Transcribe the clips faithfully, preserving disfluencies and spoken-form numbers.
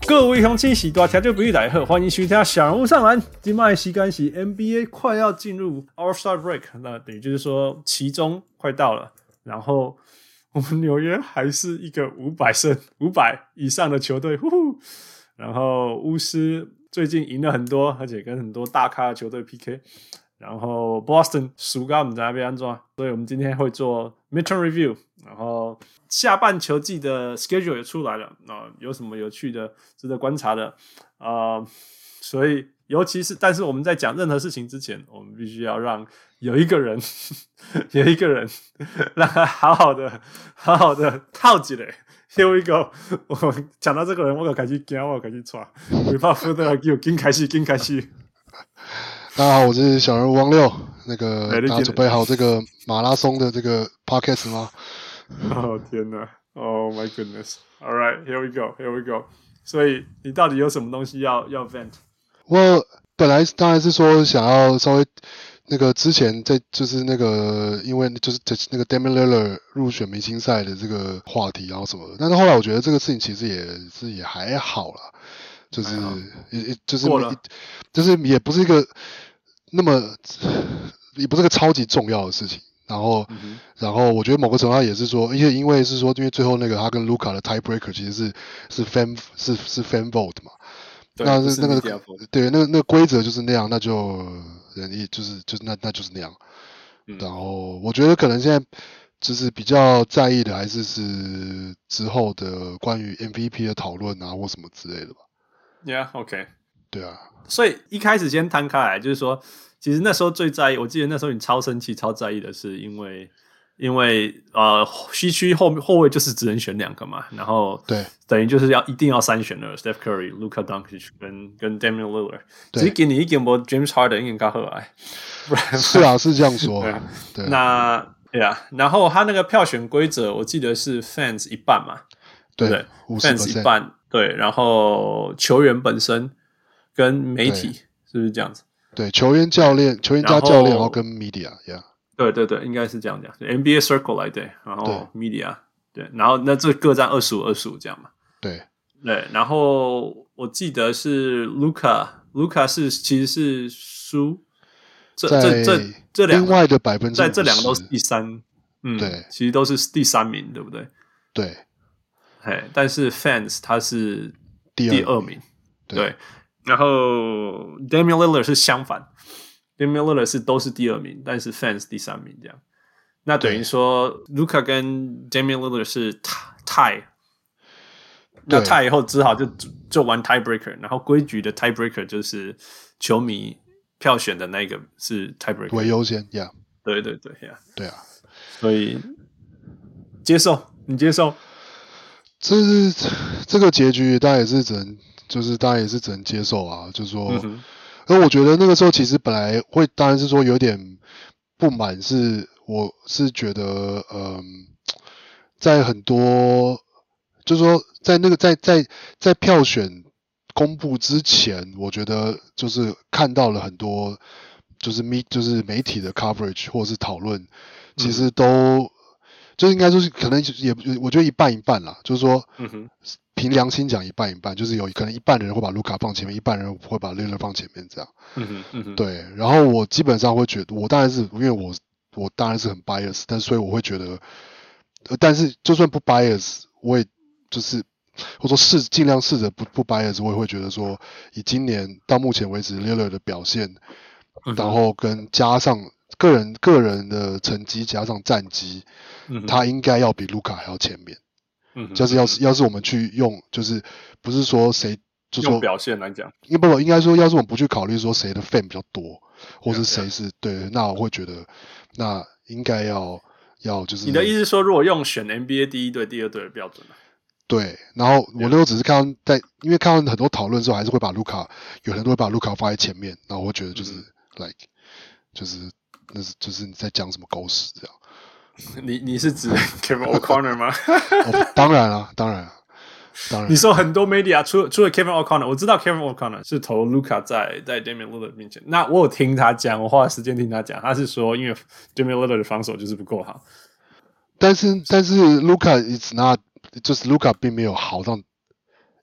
各位鄉親，喜多聽眾朋友大家好，歡迎收聽小人物上籃。今麥時間是 N B A 快要進入 All-Star Break， 那等於就是說期中快到了，然後我們紐約還是一個五百勝、五百以上的球隊，呼呼。然後巫師最近贏了很多，而且跟很多大咖的球隊 P K。然後 Boston 輸到我們在那邊安裝，所以我們今天會做 Midterm Review， 然後下半球季的 Schedule 也出來了，呃、有什麼有趣的、值得觀察的，呃，所以尤其是，但是我們在講任何事情之前，我們必須要讓有一個人，有一個人讓他好好的、好好的套起來。Here we go， 我講到這個人，我就開始驚，我就開始喘，尾巴扶的給我緊開始，緊開始。 大家好，我是小人物汪六。那個大家準備好這個馬拉松的這個 podcast 嗎？ 哦天哪 ！Oh my goodness! All right, here we go, here we go. 所以你到底有什麼東西要要 vent？ 我本來當然是說想要稍微那個之前在就是那個因為就是那個 Damian Lillard 入選明星賽的這個話題，然後什麼的，但是後來我覺得這個事情其實也是也還好啦，就是也就是就是也不是一個。那麼也不是個超級重要的事情，然後，嗯、然後我覺得某個程度上也是說，因為因為是說，因為最後那個他跟盧卡的 tiebreaker 其實是是 fan 是是 fan vote 嘛，那是那個對那個那個規則就是那樣，那就人一就是就是那那就是那樣，嗯、然後我覺得可能現在就是比較在意的還是是之後的關於 M V P 的討論啊或什麼之類的吧。 Yeah, OK. 對啊。 所以一開始先攤開來，就是說，其實那時候最在意，我記得那時候你超生氣、超在意的是，因為因為呃西區後後衛就是只能選兩個嘛，然後對， 等於就是要一定要三選二 ，Steph Curry、Luka Doncic 跟跟 Damian Lillard， 只是給你一點波 James Harden 應該更好來， 是啊，是這樣說， 對， 對那對啊，然後他那個票選規則，我記得是 fans 一半嘛，對不對 ？fans 一半，對，然後球員本身。跟媒體是不是這樣子？ 對，球員、教練、球員加教練，然後跟 media，yeah。 對對對，應該是這樣講。N B A circle 來對，然後 media 對，然後那這各占二十五、二十五這樣嘛。 對對，然後我記得是 Luka，Luka 是其實是輸，這這這這兩個另外的百分之， 在這兩個都是第三，嗯，對，其實都是第三名，對不對？ 對， 嘿，但是 fans 他是第二名， 對。 對然後 Damian Lillard 是相反 ，Damian Lillard 是都是第二名，但是 fans 第三名這樣。那等於說 Luka 跟 Damian Lillard 是 tie， 那 tie 以後只好就就玩 tiebreaker， 然後規矩的 tiebreaker 就是球迷票選的那個是 tiebreaker 為優先，yeah。 對對對，yeah。 對啊， 所以接受你接受， 這是這個結局，大家也是只能。就是當然也是只能接受啊，就是說，嗯、而我覺得那個時候其實本來會，當然是說有點不滿，是我是覺得，嗯，在很多，就是說在那個在在在票選公布之前，我覺得就是看到了很多，就是媒就是媒體的 coverage 或者是討論，其實都、嗯、就應該說是可能也我覺得一半一半啦，就是說，嗯哼。憑良心講，一半一半，就是有可能一半的人會把盧卡放前面，一半人會把 Lillard 放前面，這樣。嗯哼，嗯哼。對，然後我基本上會覺得，我當然是因為我我當然是很 bias， 但所以我會覺得，但是就算不 bias， 我也就是或者說試盡量試着不不 bias， 我也會覺得說，以今年到目前為止 Lillard 的表現，嗯、然後跟加上個人個人的成績加上戰績，嗯、他應該要比盧卡還要前面。嗯，就是要是要是我們去用，就是不是說誰就說用表現來講， 應不不應該說，要是我們不去考慮說誰的 fan 比較多，或是誰是 yeah, yeah. 對，那我會覺得那應該要要就是。 你的意思是說，如果用選 N B A 第一隊、第二隊的標準呢？ 對，然後我那時候只是看到在，因為看到很多討論之後，還是會把盧卡，有人都會把盧卡放在前面，然後我會覺得就是、嗯、like 就是那是就是你在講什麼狗屎這樣。 你你是指 Kevin O'Connor 嗎？ 哦、當然了，當然了，當然。 你說很多媒體啊，除了除了 Kevin O'Connor， 我知道 Kevin O'Connor 是投 Luka 在在 Damian Lillard 面前。那我有聽他講，我花了時間聽他講，他是說因為 Damian Lillard 的防守就是不夠好。 但是但是 Luka is not， 就是 Luka 並沒有好到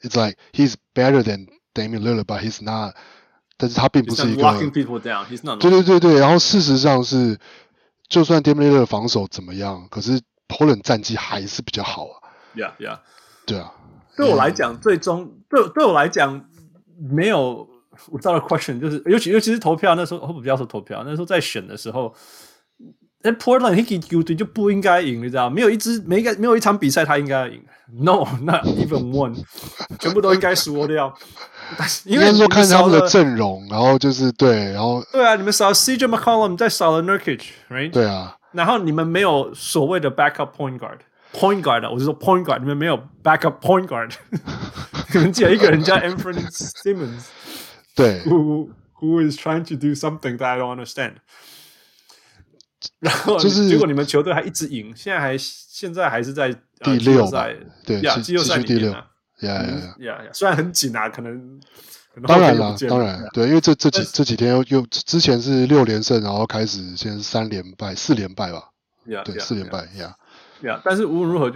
it's like he's better than Damian Lillard, but he's not。但是他并不是一個 locking people down. He's not. 對對對對，然後事實上是，就算 Damian Lillard 防守怎麼樣，可是 Portland 戰績還是比較好啊。 Yeah, yeah. 對啊。 對我來講，最終對對我來講沒有。without a question， 就是尤其尤其是投票那時候，不要說投票，那時候在選的時候，那 Portland Hickey 球隊就不應該贏，你知道沒有一支沒一個沒有一場比賽他應該要贏 ，No， not even one， 全部都應該輸掉。因為說看他們的陣容，然後就是對，然後對啊，你們少了 C J McCollum， 再少了 Nurkic，right？ 對啊， 然後你們沒有所謂的 backup point guard。Point guard， 我是說 point guard， 你們沒有 backup point guard， 你們只有一個人叫 Anthony Simmons， 對 ，who who is trying to do something that I don't understand。然後就是結果你們球隊還一直贏，現在還現在還是在第六賽，對， 呀，季後賽裡面啊， 呀呀呀，雖然很緊啊，可能當然了，當然對，因為這這幾這幾天又又之前是六連勝，然後開始現在是三連敗，四連敗吧，對，四連敗呀。 Yeah, 但是無論如何，就是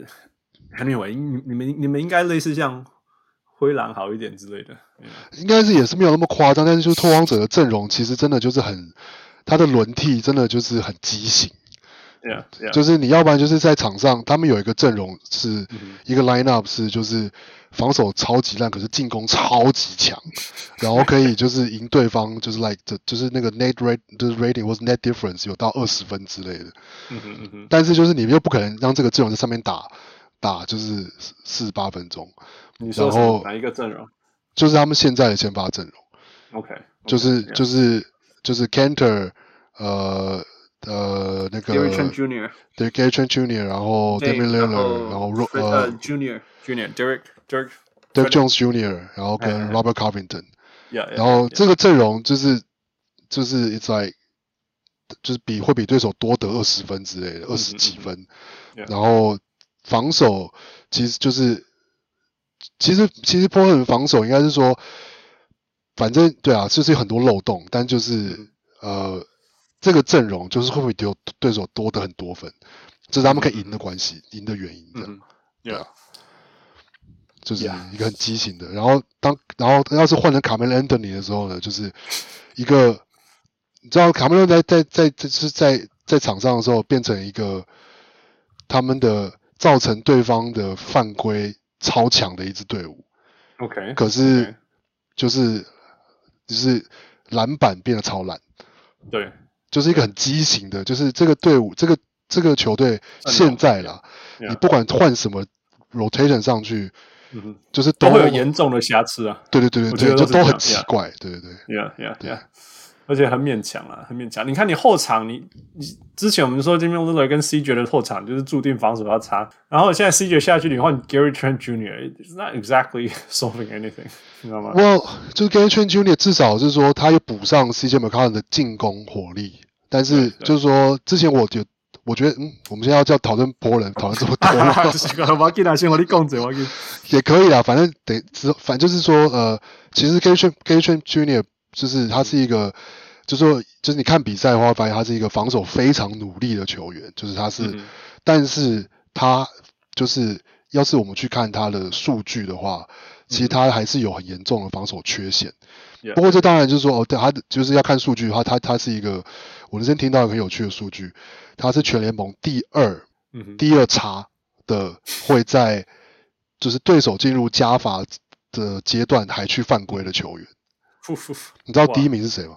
anyway， 你你們你們應該類似像灰狼好一點之類的， yeah. 應該是也是沒有那麼誇張，但是就是拓荒者的陣容其實真的就是很，他的輪替真的就是很畸形。 Yeah, yeah. 就是你要不然就是在場上，他們有一個陣容是、嗯、一個 line up 是就是防守超級爛，可是進攻超級強，然後可以就是贏對方，就是 like 就是那個 net rate 就是 rating 或是 net difference 有到二十分之類的。 嗯哼嗯哼。 但是就是你又不可能讓這個陣容在上面打打就是四十八分鐘。 你說是哪一個陣容？ 就是他們現在的先發陣容。 OK, okay。 就是 yeah. 就是就是 Kanter 呃。呃，那個 Gary Trent Junior 對 Gary Trent Junior 然後 Damian Lillard 然後呃 Junior Junior Derek Derek Derek Jones Junior 然後跟 Robert Covington， yeah, yeah, 然後這個陣容就是就是 it's like 就是比會比對手多得二十分之類的，二十幾分，然後防守其實就是其實其實 Portland 防守應該是說，反正對啊，就是有很多漏洞，但就是呃。這個陣容就是會不會丟對手多的很多分，這是他們可以贏的關係，贏、嗯、的原因，這樣，對啊，就是一個很畸形的。然後當然後要是換成卡梅倫·安東尼的時候呢，就是一個你知道卡梅倫在在在就是在在，在場上的時候變成一個他們的造成對方的犯規超強的一支隊伍 ，OK， 可是就是就是籃板變得超爛， 對。 就是一個很畸形的，就是這個隊伍，這個這個球隊現在啦， yeah, 你不管換什麼 rotation 上去， 嗯、 就是都， 都會有嚴重的瑕疵啊。 對對對對對，就都很奇怪， yeah, 對對對。 Yeah yeah yeah，而且很勉強啊，很勉強。你看你後場，你你之前我們說 Damian Lillard 跟 C J 的後場就是注定防守要差，然後現在 C J 下去，你換 Gary Trent Junior，it's not exactly solving anything， 你知道嗎？ Well， 就是 Gary Trent Junior 至少是說他有補上 C J McCollum 的進攻火力，但是就是說之前我就我覺得嗯，我們現在要叫討論波人討論這麼多嗎？ 我給他先和你講者，我給也可以啦，反正得反正就是說呃，其實 Gary Trent Gary Trent Junior 就是他是一個。嗯就是說，就是你看比賽的話，發現他是一個防守非常努力的球員。就是他是，嗯、但是他就是，要是我們去看他的數據的話，其實他還是有很嚴重的防守缺陷。嗯、不過這當然就是說，哦，對，他就是要看數據的話，他他是一個，我之前聽到一個很有趣的數據，他是全聯盟第二，嗯、第二差的，會在就是對手進入加罰的階段還去犯規的球員。你知道第一名是誰嗎？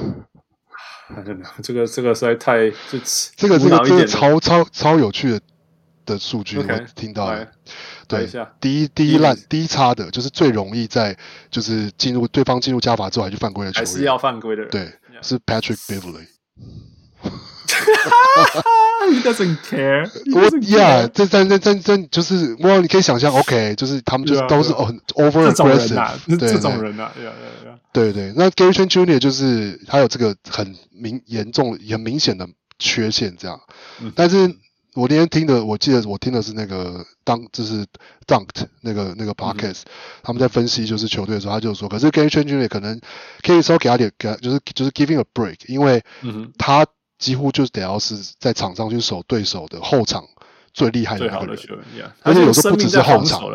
這個這個實在太就這個這個這個超超超有趣的的數據， okay, 我聽到了。 對， 第一第一爛第一差的，就是最容易在就是進入對方進入加罰之後還去犯規的球員， 還是要犯規的人。 對， yeah. 是 Patrick Beverley。He doesn't care. He doesn't yeah, 這這這這這就是我你可以想象 ，OK， 就是他們就是 yeah, 都是很 over aggressive， 這種人啊，對對對。 對對，那 Gary Trent Junior 就是他有這個很明嚴重、很明顯的缺陷，這樣。嗯、但是我那天聽的，我記得我聽的是那個當就是 Dunked 那個那個 podcast，、嗯、他們在分析就是球隊的時候，他就說，可是 Gary Trent Junior 可能可以稍微給他點，給他就是就是 giving a break， 因為他幾乎就是得要是在場上去守對手的後場最厲害的那個人， 最好的球員， 而且有時候不只是後場。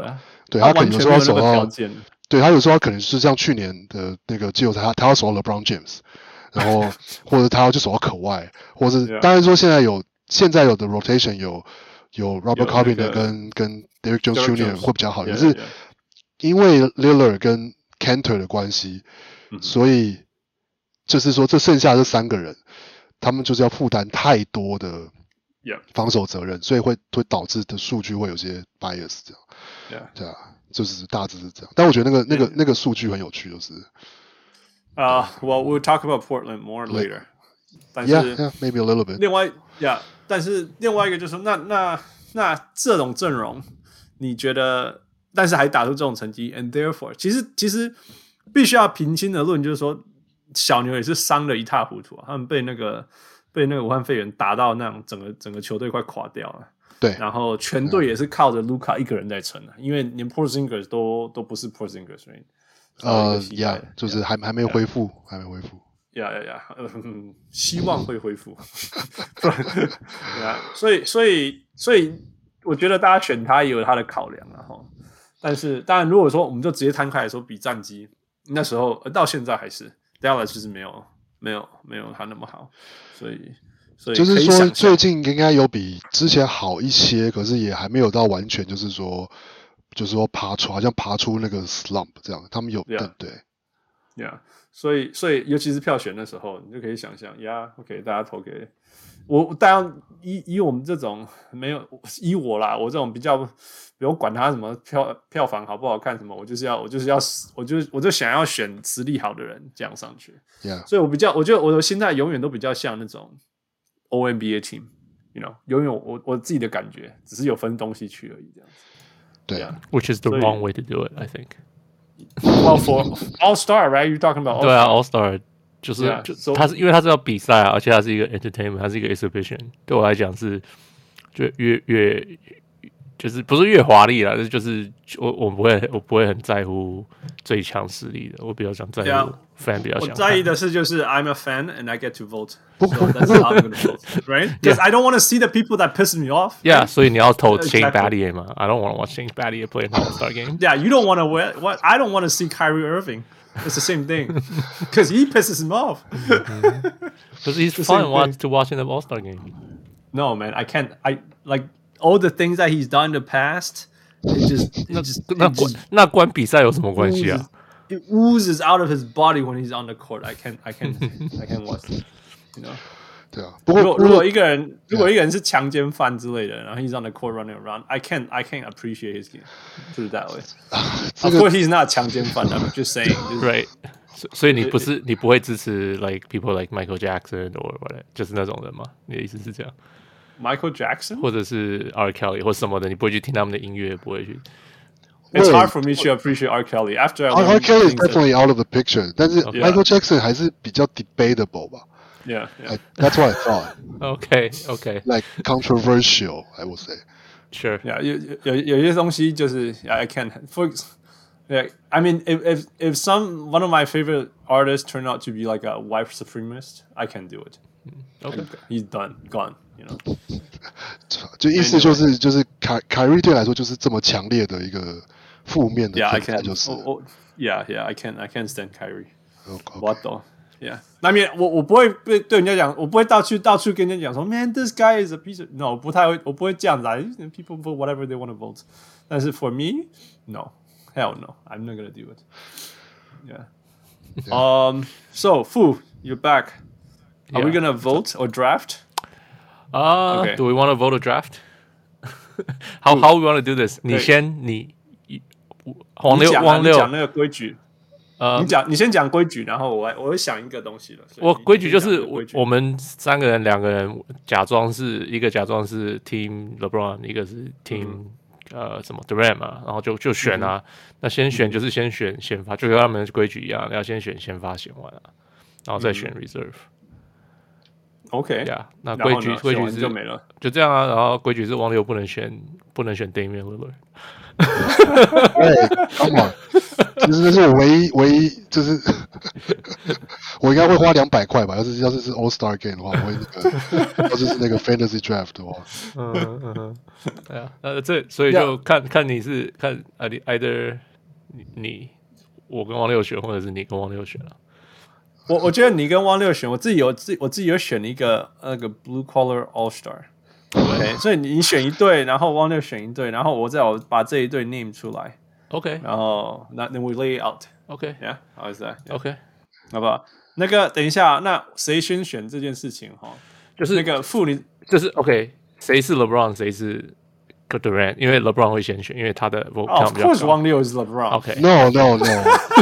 對他可能有時候要守到，對他有時候可能是像去年的那個季後賽，他他要守到 LeBron James， 然後或者他要去守到可外，或者是當然說現在有現在有的 rotation 有有 Robert Covington 跟跟 Derrick Jones Junior 會比較好，可是因為 Lillard 跟 Kanter 的關係，所以就是說這剩下這三個人，他們就是要負擔太多的防守責任，所以會會導致的數據會有些 bias 這樣。 Yeah. 對啊，就是大致是這樣。但我覺得那個、yeah. 那個那個數據很有趣，就是。 啊、uh, ，Well, we'll talk about Portland more later. 但是 yeah, yeah, maybe a little bit. 另外，Yeah， 但是另外一個就是那那那這種陣容，你覺得，但是還打出這種成績 ，and therefore， 其實其實必須要平心而論，就是說小牛也是傷得一塌糊塗啊，他們被那個被那個武漢肺炎打到那種整個整個球隊快垮掉了。 對， 然後全隊也是靠着盧卡一個人在撐的，因為連 Porzingis 都都不是 Porzingis，right？ 呃，呀、uh, ，就是還還沒恢復， yeah. 還沒恢復。 呀呀呀，嗯，希望會恢復。yeah, 所以所以所以，我覺得大家選他也有他的考量啊，哈。但是當然，如果說我們就直接攤開來說比戰績，那時候到現在還是 Dallas 其實沒有沒有沒有他那麼好，所以。所以就是說，最近應該有比之前好一些，可是也還沒有到完全，就是說，就是說爬出，好像爬出那個 slump 這樣。他們有 yeah, 對 ，Yeah， 所以所以尤其是票選的時候，你就可以想象，Yeah，OK， 大家投給我。當然，以以我們這種沒有以我啦，我這種比較不用管他什麼票票房好不好看什麼，我就是要我就是要我就我就想要選實力好的人這樣上去。 Yeah， 所以我比較，我覺得我的心態永遠都比較像那種。O N B A team，you know， 永遠我我自己的感覺，只是有分東西區而已，這樣子。 對 yeah. Which is the wrong way to do it, I think. Well, for All Star, right? You're talking about All Star. 對啊 ，All Star 就是、yeah, 就 so, 他是因為他是要比賽啊，而且他是一個 entertainment， 他是一個 exhibition。對我來講是，就越越就是不是越華麗啦，就是我我不會我不會很在乎最強實力的，我比較想在乎 fan 比較想。 我在意的是就是 I'm a fan and I get to vote, so that's how I'm gonna vote, right? Because yeah. I don't want to see the people that piss me off. Yeah, 所以你要投 Shane Battier 嘛 I don't want to watch Shane Battier play in the All-Star game. Yeah, you don't want to what? I don't want to see Kyrie Irving. It's the same thing because he pisses him off. Because he's fun watch, to watch in the All-Star game. No, man, I can't. I like. All the things that he's done in the past, it just, it just, it 那關那關比賽有什麼關係啊 it oozes out of his body when he's on the court. I can't, I can't, I can't watch it. You know? 對啊， 不过如果如果一個人如果一個人是強姦犯之類的，然後 he's on the court running around, I can't, I can't appreciate his game. Put it that way. Of course, he's not 強姦犯. I'm just saying. Right. 所以你不是你不會支持 like people like Michael Jackson or whatever， 就是那種人嗎？你的意思是這樣？ Michael Jackson 或者是 R. Kelly 或什麼的，你不會去聽他們的音樂，不會去。 It's hard for me to appreciate R. Kelly. After I R. Kelly is definitely out of the picture， 但是 Okay. Michael Jackson 還是比較 debatable 吧。 Yeah, yeah. Like, that's what I thought. Okay, okay. Like controversial, I would say. Sure. Yeah, 有有有些東西就是 I can't. For yeah, I mean, if if if some one of my favorite artists turn out to be like a white supremacist, I can't do it. Okay, he's done, gone. You know. 就意思就是就是凱凱瑞對來說就是這麼強烈的一個負面的 yeah, I 分子，就是 oh, oh, yeah, yeah, I can't, I can't stand Kyrie. Okay. What the? Yeah. 那面我我不會對對人家講，我不會到處到處跟人家講說 ，Man, this guy is a piece of no， 我不太會，我不會這樣子啊。People vote whatever they want to vote. 但是 for me, no, hell no, I'm not gonna do it. Yeah. yeah. Um. So, Fu, you're back. Are yeah. we gonna vote or draft? Uh, okay. Do we want to vote or draft? how how we want to do this? 你先，你黃六黃六講那個規矩。呃，你講，你先講規矩，然後我我會想一個東西了。 我規矩就是我們三個人，兩個人假裝是一個假裝是 Team LeBron， 一個是 Team、嗯、呃什麼 Durant 嘛，然後就就選啊。嗯、那先選就是先選先發，就跟他們的規矩一樣，要先選先發選完啊，然後再選 Reserve。OK， 呀、yeah, 那規矩規矩是就沒了， 就這樣啊。然後規矩是王六不能選不能選 Damian Lillard。 對，Come on，其實這是我唯一唯一就是我應該會花兩百塊吧。要是要是是 All Star Game 的話，我會那個，要是是那個 Fantasy Draft 的話， 嗯嗯嗯，對啊，呃，這所以就看看你是看啊，你 either 你你我跟汪六選，或者是你跟汪六選了。 我我覺得你跟汪六選，我自己有自我自己有選一個那個 Blue Collar All Star。OK， 所以你選一隊，然後汪六選一隊，然後我再我把這一隊 name 出來。 OK， 然後那 then we lay it out。OK，Yeah，how is that？OK， 好不好？那個等一下，那誰先選這件事情哈？就是那個婦女， 就是 OK， 誰是 LeBron， 誰是 Durant？ 因為 LeBron 會先選，因為他的 vote count 比較高。 Of course， 汪六 is LeBron。OK，No No No。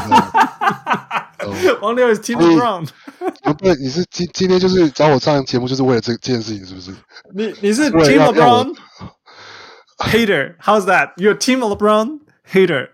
汪六 is Team LeBron。 不是，你是今今天就是找我上節目，就是為了這這件事情，是不是？ 你你是 Team LeBron hater？How's that? You're Team LeBron hater？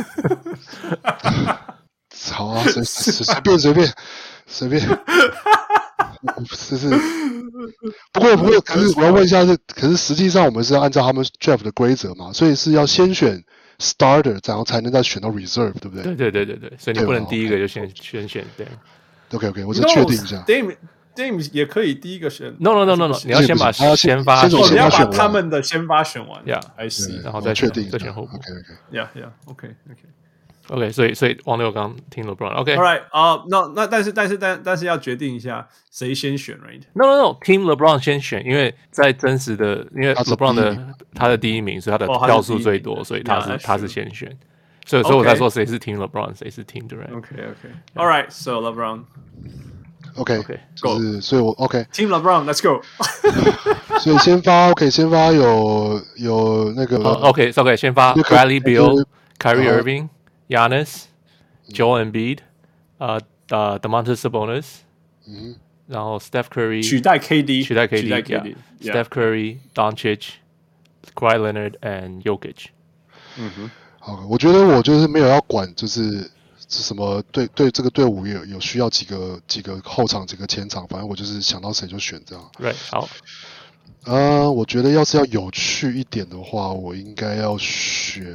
好啊，隨隨隨便隨便隨便，就是不過不過，可是我要問一下是，可是實際上我們是要按照他們 draft 的規則嘛，所以是要先選 starter， 然後才能再選到 reserve， 對不对？ 對对对对对，所以你不能第一個就先先選對。 OK OK， 我只確定一下。 Dame Dame 也可以第一個選。 No No No No No， 你要先把先發， 先你要把他們的先發選完。 Yeah，I see， 然後再選確定再選後補。 OK OK，Yeah Yeah，OK OK OK， 所以所以汪六剛聽 LeBron。OK， All right，啊，那那但是但是但但是要決定一下誰先選 ，right？No No No，Team LeBron 先選，因為在真實的，因為 LeBron 的他的第一名，所以他的票數最多，所以他是他是先選。所以所以我在說誰是 Team LeBron， 誰是 Team Durant。OK OK，All right，so LeBron。OK OK， 就是所以我 OK。Team LeBron，Let's go 。 所以先發 OK， 先發有有那個 OK OK， 先發 Bradley Beal、Kyrie Irving、Giannis、Joel Embiid，呃呃 Domantas Sabonis， 嗯， 然後 Steph Curry 取代 K D， 取代 K D，Steph Curry、Doncic、Kawhi Leonard and Jokic。 嗯哼。 好，我覺得我就是沒有要管，就是是什麼對對這個隊伍有有需要幾個幾個後場幾個前場，反正我就是想到誰就選這樣。 對，好。 呃，我覺得要是要有趣一點的話，我應該要選，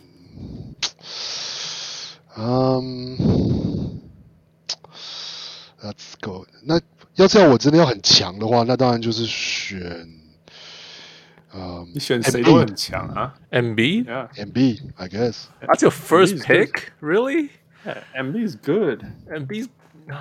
嗯 ，Let's go。那要是要我真的要很強的話，那當然就是選。Um, 你選誰都很強啊 ？Embiid? Yeah. Embiid, I guess. That's your first Embiid's pick? Good. Really? Yeah, Embiid's good. Embiid's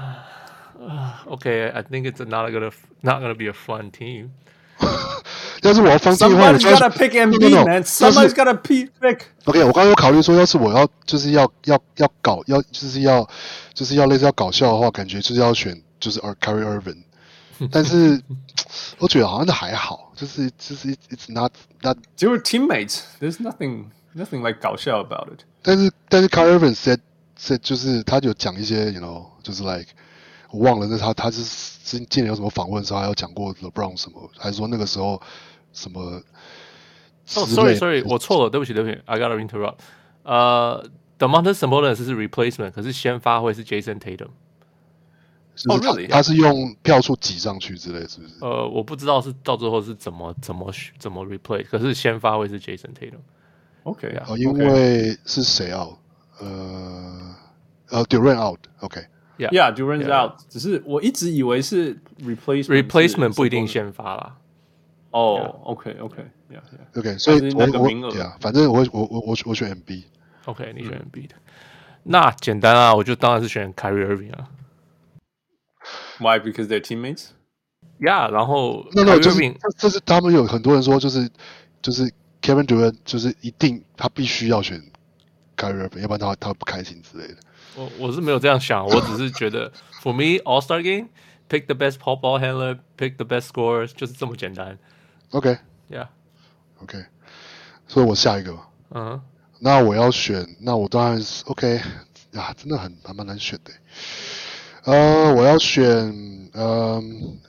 okay. I think it's not gonna not gonna be a fun team. 要是我要放棄的話 ，Somebody's gotta pick Embiid, no, no, man. Somebody's gotta pick. OK， 我剛剛有考慮說，要是我要就是要要要搞要就是要就是要類似要搞笑的話，感覺就是要選就是 Kyrie Irving。但是我覺得好像還好，就是就是 it's not that。 只有 teammates, there's nothing nothing like 搞笑 about it。 但是但是 Kyrie Irving said said 就是他有講一些 you know 就是 like 我忘了那他他是之前有什麼訪問的時候，還有講過 LeBron 什麼，還是說那個時候什麼？哦、 oh, ，sorry sorry， 我錯了，對不起對不起 ，I gotta interrupt。呃 ，Domantas Sabonis 是 replacement， 可是先發會是 Jason Tatum。 哦、oh, really? 他是用票數擠上去之類，是不是？ 呃，我不知道是到最後是怎麼怎麼怎麼 replay， 可是先發會是 Jason Tatum。OK 啊， 哦，因為是誰 out？ 呃呃 ，Durant out。OK。 Yeah，Durant out。只是我一直以為是 replacement，replacement 不一定先發啦。 哦 ，OK，OK，Yeah，Yeah。OK， 所以我那個名額， 對啊，反正我我我我我選 Embiid。OK， 你選 Embiid。那簡單啊，我就當然是選 Kyrie Irving 啊。 Why? Because they're teammates. Yeah， 然後那那就是這是他們有很多人說，就是就是 Kevin Durant 就是一定他必須要選 Kyrie Irving， 要不然他他不開心之類的。 我我是沒有這樣想，我只是覺得 For me All Star Game pick the best pop ball handler, pick the best scorers， 就是這麼簡單。 OK，Yeah，OK， okay. 所以我下一個。 嗯、uh-huh. 那我要選，那我當然是 OK 啊，真的很還蠻難選的。呃，我要選呃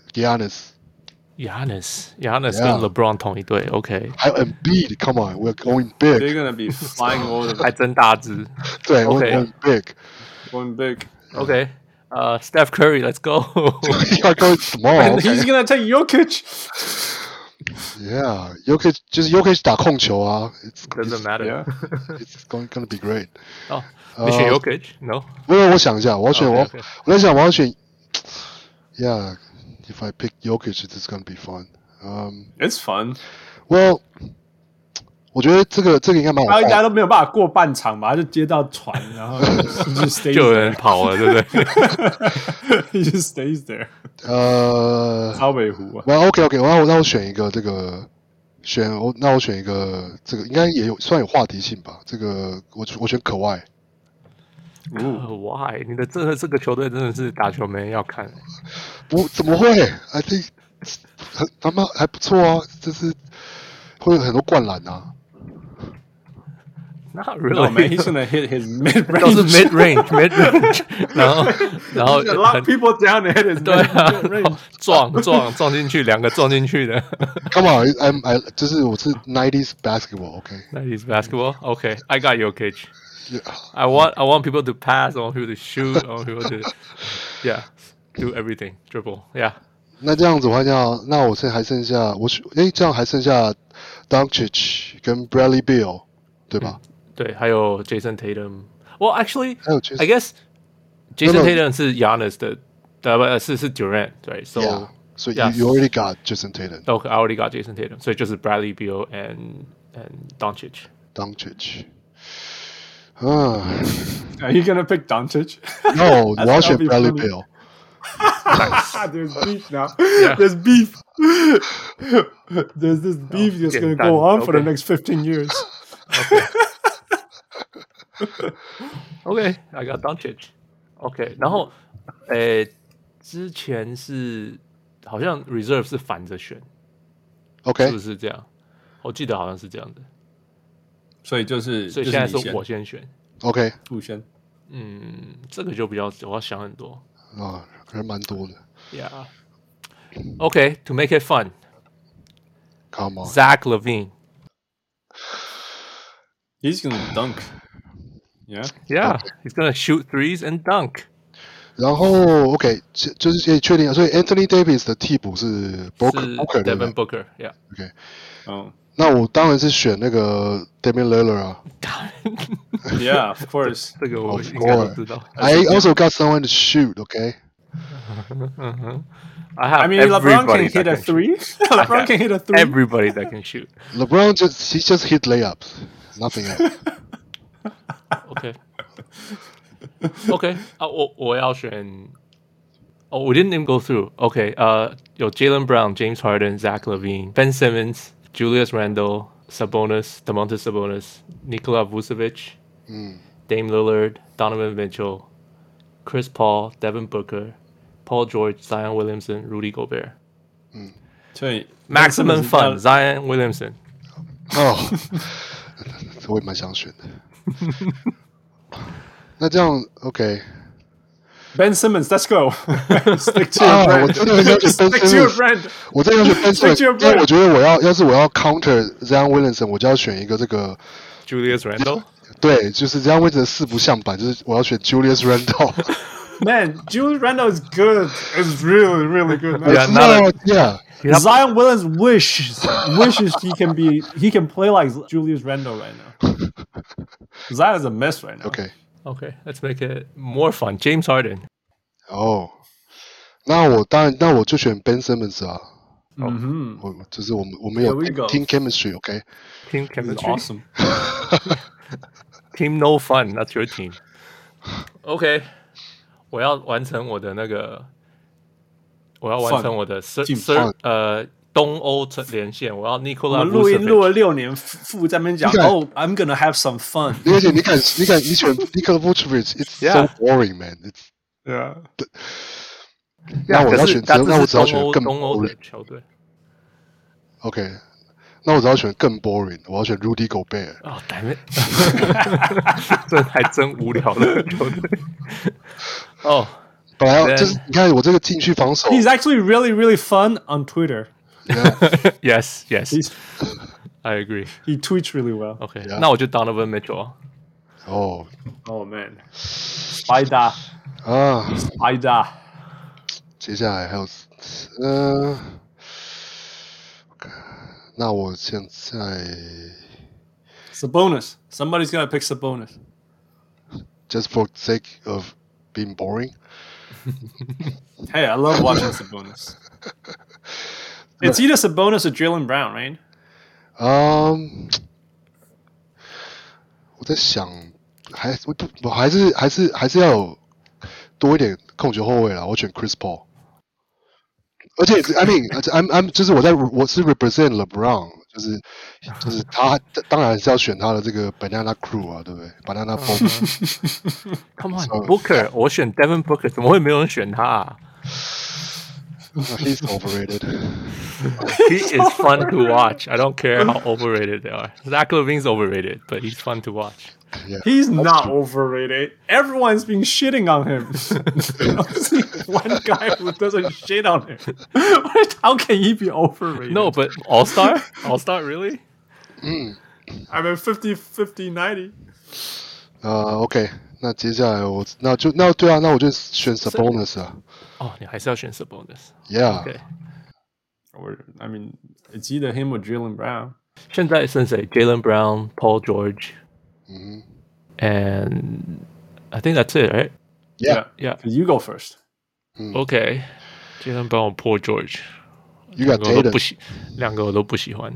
Giannis。Giannis，Giannis 跟 LeBron 同一隊 ，OK。 還有 Embiid，Come on，we're going big。 They're gonna be flying over。 還真大只。 對 ，we're going big。Going big。OK。 呃 ，Steph Curry，Let's go。You're going small。He's gonna take Jokic。Yeah，Jokic 就是 Jokic 打控球啊。 Doesn't matter。It's going gonna be great。 哦。你選 Jokic？No， 沒有，我想一下，我要選我，我在想我要選 Yeah, if I pick Jokic, it's gonna be fun. Um, It's fun. Well, 我覺得這個這個應該蠻好看。 大家都沒有辦法過半場吧，他就接到傳，然後就 stay 就有人跑了，對不對 ？He just stays there。 呃， 超北湖啊。 Well, OK OK， 我那我選一個這個選我那我選一個這個應該也有算有話題性吧。這個我我選可外。 Why？ 你的這個這個球隊真的是打球沒人要看。 不怎麼會 ？I think 很他們還不錯啊，就是會有很多灌籃啊。 Not really. No, man, he's gonna hit his mid range. 都是 mid range, mid range. 然後然後 lock people down and hit his mid range. 撞撞撞進去，兩個撞進去的。 Come on, I'm I 就是我是 nineties basketball, OK? nineties basketball, OK. I got your cage. Yeah. I want I want people to pass. I want people to shoot. I want people to yeah do everything dribble. Yeah. 那這樣子的話，那那我现在還剩下我誒，這樣還剩下 Doncic 跟 Bradley Beal 對吧？ 嗯對，還有 Jason Tatum。Well, actually, 還有 Jason, I guess Jason no, no. Tatum 是 Giannis 的，呃，不是是 Durant，對 ，so yeah, so yes. you, you already got Jason Tatum. Okay, I already got Jason Tatum， 所以就是 Bradley Beal and and Doncic. Doncic. 啊 Are you gonna pick Doncic? No, 我要選 Bradley Beal. There's beef now. Yeah. There's beef. There's this beef that's oh, gonna go on okay. for the next fifteen years. Okay. Okay, I got Doncic. OK， 然後，誒，之前是好像 reserve 是反着選 ，OK， 是不是這樣？我記得好像是這樣的。 所以就是， 所以現在是我先選 ，OK， 不先。 嗯，這個就比較我要想很多啊，還蠻多的。 Yeah. OK, to make it fun. Come on, Zach LaVine. He's gonna dunk. Yeah, yeah, okay. He's gonna shoot threes and dunk. 然後 OK， 就是可以確定，所以 Anthony Davis 的替補是 Booker， Booker Devin Booker， yeah. OK， 哦， 那我當然是選那個 Damian Lillard 啊。 Yeah, of course， 這個我應該都知道。 I also got someone to shoot. OK. I have I mean, LeBron can hit a three. LeBron can hit a three. Everybody that can shoot. LeBron just he just hit layups, nothing else. OK. OK 啊，我我要選。哦，我 didn't even go through. OK， 呃，有 Jaylen Brown、James Harden、Zach LaVine、Ben Simmons、Julius Randle、Sabonis、Domantas Sabonis、Nikola Vucevic、 嗯、 Dame Lillard、Donovan Mitchell、Chris Paul、Devin Booker、Paul George、Zion Williamson、Rudy Gobert。 嗯， 所以 Maximum Fun，Zion Williamson。 哦，我也蠻想選的。那這樣 OK。Ben Simmons，Let's go。Stick to your brand。 我真的很想選 Ben Simmons。Stick to your brand。 我真的要選 Ben Simmons。因為我覺得我要，要是我要 counter Zion Williamson，我就要選一個這個 Julius Randle。 對，就是 Zion Williamson 四不像版，就是我要選 Julius Randle。Man, Julius Randle is good. It's really, really good. Man. Yeah, no, yeah. Zion Williams wishes wishes he can be he can play like Julius Randle right now. Zion is a mess right now. Okay. Okay, let's make it more fun. James Harden. 哦，那我當然，那我就選 Ben Simmons 啊。 嗯哼， 我就是我們我們有 team chemistry，OK？ Team chemistry, awesome. Team no fun, that's your team. OK， 我要完成我的那個，我要完成我的 third third 呃東歐連線，我要 Nikola Vucevic。 我們錄音錄了六年，副在那邊講，Oh, I'm gonna have some fun。 而且你敢，你敢，你選 Nikola Vucevic，It's so boring, man. It's yeah. 那我要選，那我只要選更東歐的球隊。 OK， 那我只要選更 boring， 我要選 Rudy Gobert。 哦，damn it， 這還真無聊的球隊。哦， 本來就是你看我這個禁區防守。 He's actually really, really fun on Twitter. Yeah. Yes, yes. I agree. He tweets really well. OK， yeah. 那我就 Donovan Mitchell 啊。 哦 ，Oh man， Spider 啊 ，Spider。 接下來還有，呃，那我現在 Sabonis. Somebody's gonna pick Sabonis. Just for sake of being boring. Hey, I love watching Sabonis. It's either Sabonis or Jaylen Brown, right? Um, 我在想，还我我还是还是还是要有多一点控球後衛啦。我選 Chris Paul。而且 I mean I'm I'm 就是我在我是 represent LeBron， 就是就是他當然是要選他的這個 Banana Crew 啊，對不對 ？Banana Boat。Come on Booker， 我選 Devin Booker， 怎麼會沒有人選他啊 ？He's overrated. He is fun to watch. I don't care how overrated they are. Zach LaVine's overrated, but he's fun to watch. Yeah, he's not true. Overrated. Everyone's been shitting on him. One guy who doesn't shit on him. How can he be overrated? No, but All-Star? All-Star, really? Mm. I mean fifty, fifty, ninety. 呃、uh, ，OK， 那接下來我那就那對啊，那我就選 Sabonis 啊。 哦，你還是要選 Sabonis. Yeah. Okay. Or I mean, it's either him or Jaylen Brown. 現在剩誰 ？Jaylen Brown, Paul George. Mm-hmm. And I think that's it, right? Yeah, yeah. You go first. Mm. Okay, Jaylen Brown, Paul George. You got Tatum. 兩個我都不喜歡。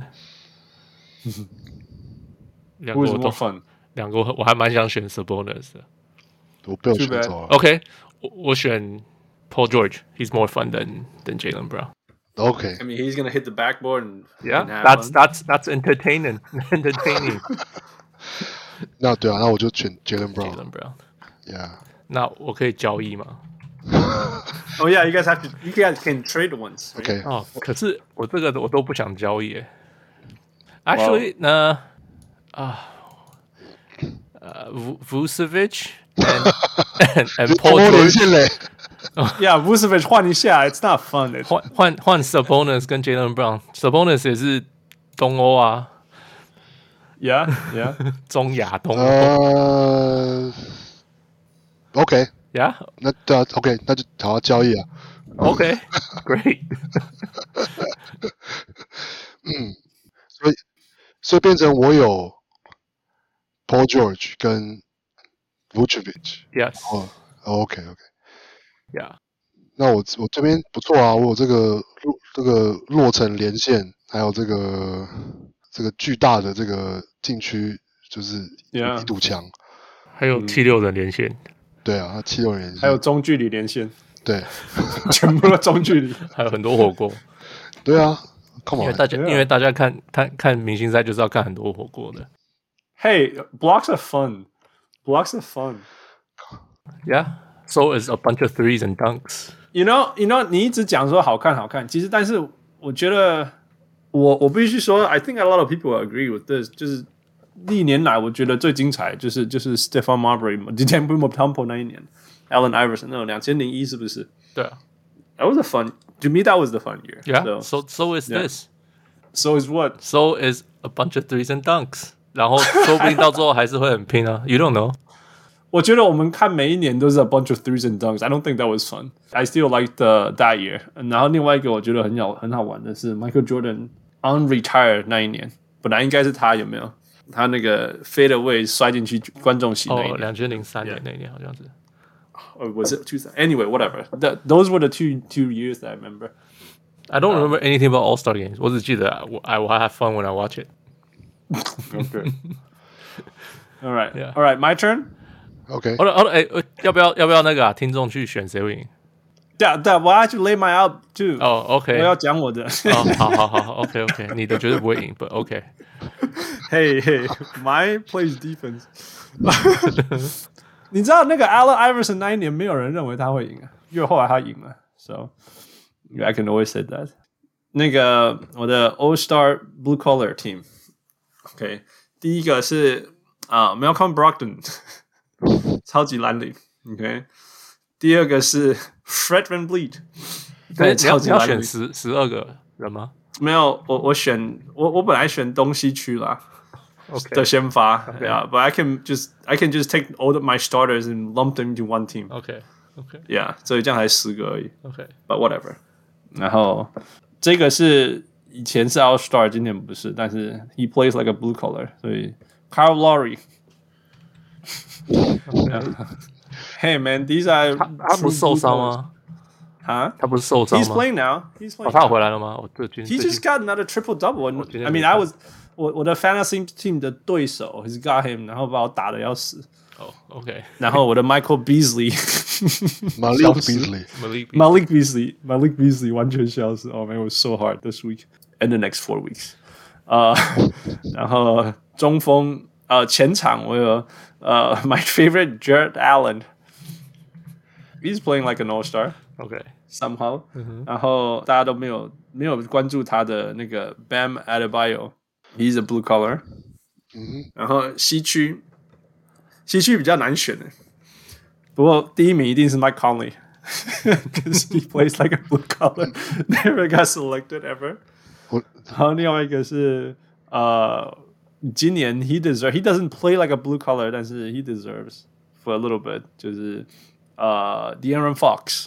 兩個我都 fun。 兩個我還蠻想選 Sabonis 的。 我被我選走了。 Okay, 我我選 Paul George. He's more fun than than Jaylen Brown. Okay. I mean, he's gonna hit the backboard and yeah, that's that's that's entertaining, entertaining. 那对啊，那我就選 Jaylen Brown. Jaylen Brown. Yeah. 那我可以交易嗎？ Oh yeah, you guys have to. You guys can trade once. Right? Okay. 哦，可是我這個我都不想交易。Actually, 呢啊，呃 ，Vucevic and and and Paul George. Yeah, Vucevic 換一下 ，It's not fun. 換換換 Sabonis 跟 Jaylen Brown。Sabonis 也是東歐啊。 Yeah, yeah. 中亞東歐。 呃 ，OK. Yeah. 那對啊 ，OK， 那就好好交易啊。 OK, great. 嗯，所以所以變成我有 Paul George 跟 Vucevic. Yes. 哦 ，OK OK. Yeah. 那我我這邊不錯啊，我有這個這個洛城連線，還有這個這個巨大的這個禁區，就是一堵牆， yeah. 還有七六人連線。嗯、 對啊，七六人連線， 還有中距離連線， 對， 全部都中距離， 還有很多火鍋。 對啊 ，Come on， 因為大家、yeah. 因為大家看看看明星賽就是要看很多火鍋的。 Hey, blocks are fun. Blocks are fun. Yeah. So is a bunch of threes and dunks. You know, you know, 你一直講說好看好看，其實但是我覺得我我必須說 I think a lot of people agree with this. 就是歷年來我覺得最精彩就是就是 Stephon Marbury、Dikembe Mutombo 那一年 ，Allen Iverson 那種兩千零一是不是？ 對啊 ，That was a fun. To me, that was the fun year. Yeah. So so, so is yeah. this. So is what? So is a bunch of threes and dunks. 然後說不定到最後還是會很拼啊。You don't know. 我覺得我們看每一年都是 a bunch of threes and dunks. I don't think that was fun. I still liked the, that year. 然後另外一個我覺得很好很好玩的是 Michael Jordan unretired 那一年，本來應該是他有沒有？他那個 fade away 摔進去觀眾席那一年。 哦，兩千零三年那一年好像是。 Or was it two thousand? Anyway, whatever. The, those were the two two years that I remember. I don't remember um, anything about All-Star games. 我只記得 I will have fun when I watch it. Okay. All right. Yeah. All right. My turn.OK， 好了好了，哎，要不要要不要那個啊？聽眾去選誰會贏？ 對啊對啊，我要去 lay my out too。 哦 ，OK， 我要講我的。 哦，好好好 ，OK OK， 你的絕對不會贏，but OK。 Hey hey, my plays defense 。你知道那個 Allen Iverson 那一年沒有人認為他會贏啊，因為後來他贏了 ，so I can always say that。那個我的 All Star Blue Collar Team，OK， 第一個是啊 Malcolm Brogdon。超級藍領 ，OK。第二個是 Fred VanVleet， 對，超級藍領。你要選十十二個人嗎？ 沒有，我我選我我本來選東西區啦 ，OK 的先發 ，OK， yeah, but I can just I can just take all of my starters and lump them into one team。 OK OK， yeah， 所以這樣才十個而已。 OK，but whatever。然後這個是以前是 All Star， 今年不是，但是 he plays like a blue collar， 所以 Kyle Lowry。 Hey man, these are 他他不是受傷嗎？ 啊， 他不是受傷嗎 ？He's playing now. He's playing. 哦，他有回來了嗎？我最近 He just got another triple double. I mean, I was 我我的 fantasy team 的對手 ，He's got him， 然後把我打得要死。 哦 ，OK。 然後我的 Michael Beasley，Malik Beasley，Malik Beasley，Malik Beasley 完全消失。Oh man, it was so hard this week and the next four weeks. 呃，然後中鋒呃前場我有呃 my favorite Jared Allen。He's playing like an all-star. OK. Somehow. 然後大家都沒有沒有關注他的那個 Bam Adebayo。He's a blue collar. 然後西區。西區比較難選的，不過第一名一定是 Mike Conley， because he plays like a blue collar, never got selected ever. 然後另外一個是呃，今年 he deserves, he doesn't play like a blue collar, 但是 he deserves for a little bit， 就是呃 De'Aaron Fox。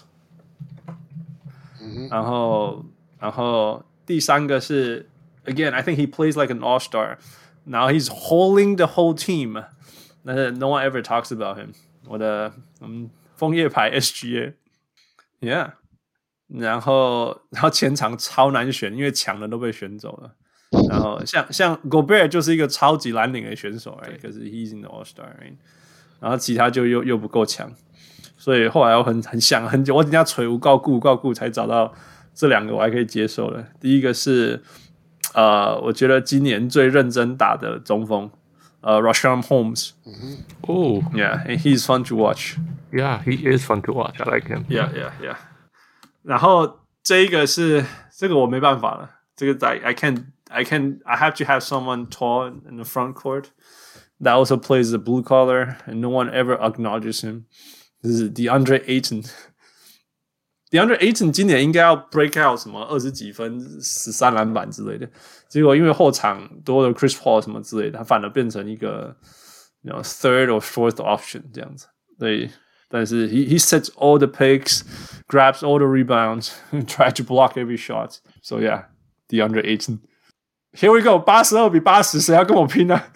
然後然後第三個是 again, I think he plays like an all-star. Now he's holding the whole team. No one ever talks about him. 我的嗯楓葉牌 S G A，Yeah， 然後然後前場超難選，因為強的都被選走了。然後像像 Gobert 就是一個超級藍領的選手，哎，可是 he's in the All Star，right? 然後其他就又又不夠強，所以後來我很很想很久，我等下捶無告顧無告顧才找到這兩個我還可以接受的。第一個是呃，我覺得今年最認真打的中鋒。Uh, Rashawn Holmes. Mm-hmm. Oh, yeah, and he's fun to watch. Yeah, he is fun to watch. I like him. Yeah, yeah, yeah. 然後這一個是這個我沒辦法了，這個 I I can I can I have to have someone tall in the front court that also plays the blue collar, and no one ever acknowledges him. This is DeAndre Ayton.DeAndre Ayton 今年應該要 break out 什麼二十幾分、十三籃板之類的，結果因為後場多了 Chris Paul 什麼之類的，他反而變成一個 you know, third or fourth option 這樣子。對，但是 he he sets all the picks, grabs all the rebounds, try to block every shot. So yeah, DeAndre Ayton. Here we go， 八十二比八十，誰要跟我拼呢？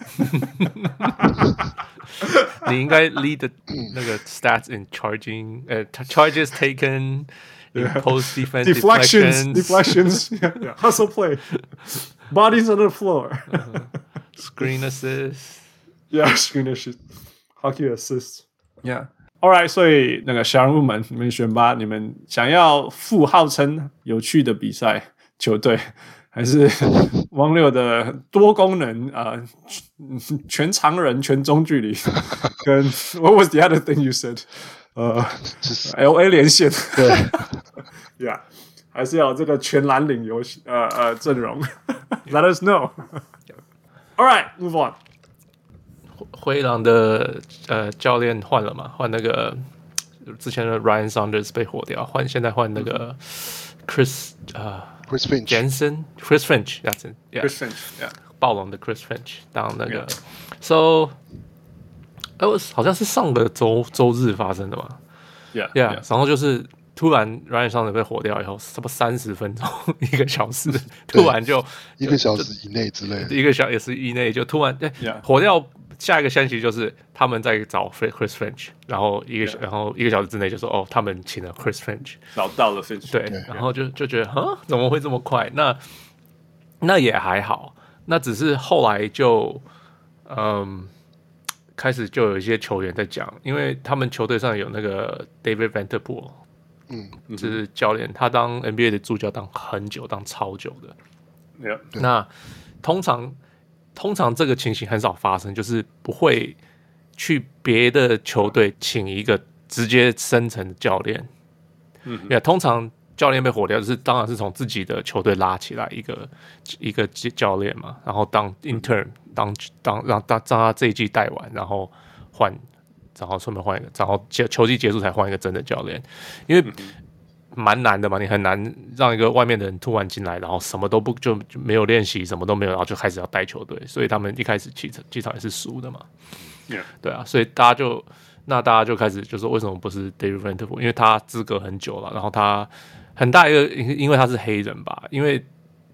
你應該 lead the 那個 stats in charging, 呃、uh, charges taken, yeah. post defense deflections, deflections, yeah, yeah. Hustle play, bodies on the floor, uh-huh. Screen assist, yeah, screen assist, hockey assist, yeah. All right, 所以那個小人物們，你們選吧，你們想要附號稱有趣的比賽球隊。還是汪六的多功能啊、呃，全長人全中距離，跟 What was the other thing you said？ 呃，就是 L A 連線， 對 ，Yeah， 還是要這個全藍領遊戲，呃呃陣容 ，Let us know。All right, move on。 灰狼的呃教練換了嘛？換那個之前的 Ryan Saunders 被火掉，換現在換那個 Chris 啊。呃 Chris Finch, Jensen, Chris Finch, that's it. Yeah. Chris Finch, yeah. 暴龍的 Chris Finch 當那個 yeah. So, it was 好像是上個周周日發生的嘛 ，Yeah, yeah. yeah. 然後就是突然 Ryan Saunders 被火掉以後，差不多三十分鐘一個小時，突然就一個小時以內之類的， 一個小時以內就突然對、 yeah. 火掉。下一個消息就是他們在找 Chris Finch， 然後一個、yeah. 然後一個小時之內就說哦，他們請了 Chris Finch， 找到了 Finch， 對， yeah. 然後就就覺得啊，怎麼會這麼快？那那也還好，那只是後來就嗯開始就有一些球員在講，因為他們球隊上有那個 David Vanterpool， 嗯，就是教練，他當 N B A 的助教當很久，當超久的， yeah. 那通常。通常這個情形很少發生，就是不會去別的球隊請一個直接升層的教練。嗯，也通常教練被火掉，就是當然是從自己的球隊拉起來一個一個教練嘛，然後當 intern 當當讓讓他這一季帶完，然後換，然後順便換一個，然後球季結束才換一個真的教練，因為。蠻難的嘛，你很難讓一個外面的人突然進來，然後什麼都不就就沒有練習，什麼都沒有，然後就開始要帶球隊，所以他們一開始幾場幾場也是輸的嘛。 Yeah. 對啊，所以大家就那大家就開始就說為什麼不是 David Vanterpool？ 因為他資格很久了，然後他很大一個因為他是黑人吧，因為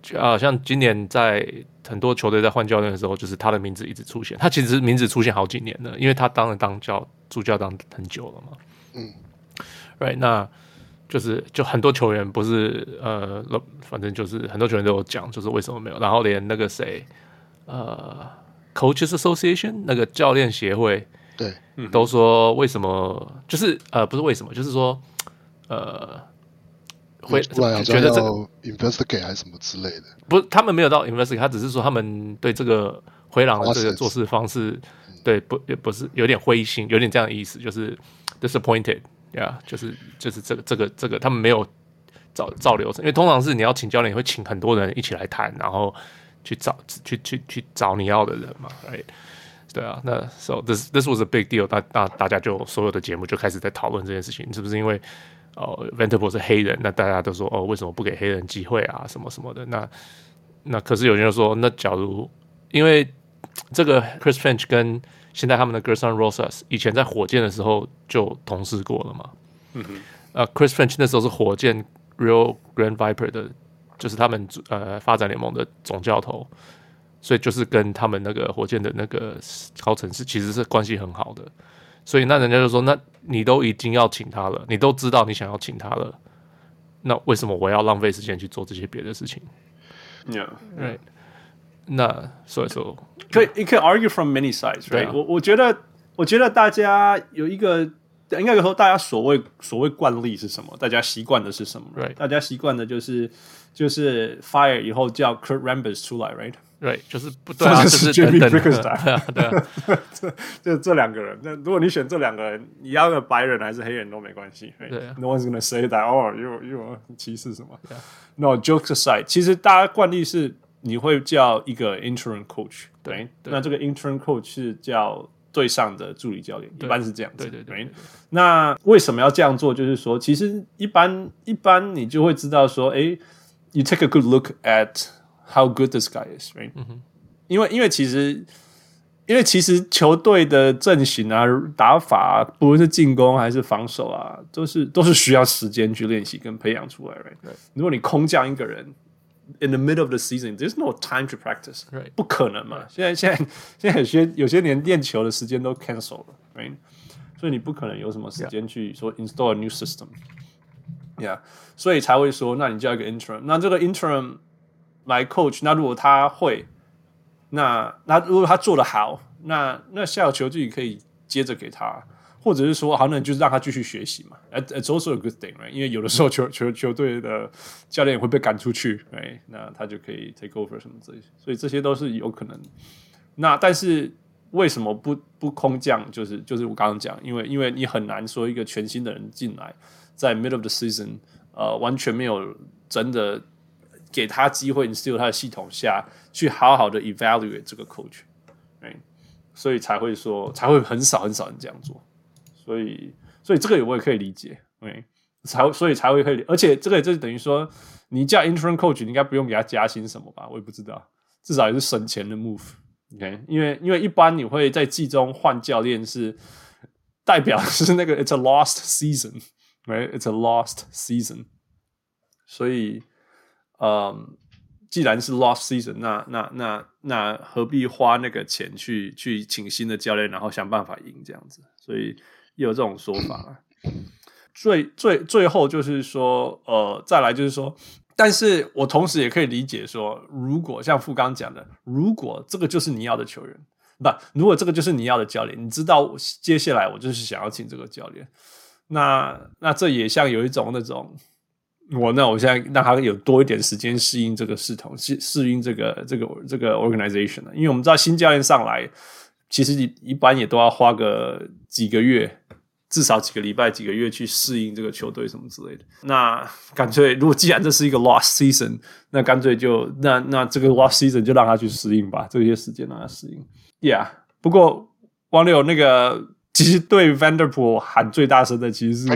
啊，像今年在很多球隊在換教練的時候，就是他的名字一直出現。他其實名字出現好幾年了，因為他當了當教助教當很久了嘛。嗯，right， 那就是就很多球員不是呃，反正就是很多球員都有講，就是為什麼沒有。然後連那個誰，呃 ，Coaches Association 那個教練協會， 對， 都說為什麼，就是呃，不是為什麼，就是說呃。會覺得這個 investigate 還是什麼之類的， 不是他們沒有到 investigate， 他只是說他們對這個灰狼的這個做事方式，對不也不是有點灰心，有點這樣的意思，就是 disappointed， 呀、yeah，就是就是這個這個這個他們沒有照照流程，因為通常是你要請教練，你會請很多人一起來談，然後去找去去去找你要的人嘛 ，right？ 對啊，那 so this this was a big deal， 大大大家就所有的節目就開始在討論這件事情，是不是因為？哦 Vanderpool 是黑人，那大家都說哦，為什麼不給黑人機會啊？什麼什麼的。那那可是有人就說，那假如因為這個 Chris Finch 跟現在他們的 Gerson Rosas 以前在火箭的時候就同事過了嘛。嗯哼。呃 ，Chris Finch 那時候是火箭 Rio Grande Viper 的，就是他們呃發展聯盟的總教頭，所以就是跟他們那個火箭的那個高層是其實是關係很好的。所以那人家就說，那你都已經要請他了，你都知道你想要請他了，那為什麼我要浪費時間去做這些別的事情 ？Yeah, right. 那所以說， 可以，你可以 argue from many sides, right? 我我覺得，我覺得大家有一個，應該說大家所謂所謂慣例是什麼？大家習慣的是什麼 ？Right. 大家習慣的就是就是 fire 以後叫 Kurt Rambis 出來 ，right?Right， 就是不對啊，就是 Jamie 等等 Bickerstaff， 对啊，对啊， 這這這兩個人，那如果你選這兩個人，你要個白人還是黑人都沒關係，對、啊、，No one's gonna say that， 哦，又又歧視什麼 ？No jokes aside， 其實大家慣例是你會叫一個 interim coach， 對，對那這個 interim coach 是叫隊上的助理教練，一般是這樣子，對對 對, 對, 對。那為什麼要這樣做？就是說，其實一般一般你就會知道說，哎 ，you take a good look at。How good this guy is, right? 嗯、因為因為其實因為其實球隊的陣型啊、打法啊，不論是進攻還是防守啊，都是都是需要時間去練習跟培養出來 ，right? 如果你空降一個人 ，in the middle of the season, there's no time to practice，、right. 不可能嘛？現在現在現在有些有些連練球的時間都 cancel 了 ，right? 所以你不可能有什麼時間去說 install a new system，yeah， 所以才會說，那你叫一個 interim， 那這個 interim。來 coach， 那如果他會，那那如果他做得好，那那下有球隊可以接着給他，或者是說，好，那就是讓他繼續學習嘛。It's also a good thing, right? 因為有的時候球球球隊的教練會被趕出去， right? 那他就可以 take over 什麼之類的，所以這些都是有可能。那但是為什麼不不空降？就是就是我剛剛講，因為因為你很難說一個全新的人進來，在 middle of the season， 呃，完全沒有真的。給他機會 instill 他的系統下去好好的 evaluate 這個 coach，right? 所以才會說才會很少很少人這樣做，所以所以這個我也可以理解，對，才所以才會可以，而且這個也就是等於說你叫 interim coach， 你應該不用給他加薪什麼吧？我也不知道，至少也是省錢的 move，OK？、Okay? 因為因為一般你會在季中換教練是代表是那個 it's a lost season，right? It's a lost season， 所以。嗯，既然是 lost season， 那那那那何必花那個錢去去請新的教練，然後想辦法贏這樣子？所以也有這種說法。最最最後就是說，呃，再來就是說，但是我同時也可以理解說，如果像富剛講的，如果這個就是你要的球員，不，如果這個就是你要的教練，你知道接下來我就是想要請這個教練，那那這也像有一種那種。我那我現在讓他有多一點時間適應這個系統，適適應這個這個這個 organization 因為我們知道新教練上來，其實一般也都要花個幾個月，至少幾個禮拜、幾個月去適應這個球隊什麼之類的。那乾脆，如果既然這是一個 lost season， 那乾脆就那那這個 lost season 就讓他去適應吧，這些時間讓他適應。Yeah， 不過王柳那個其實對 Vanderpool 喊最大聲的其實是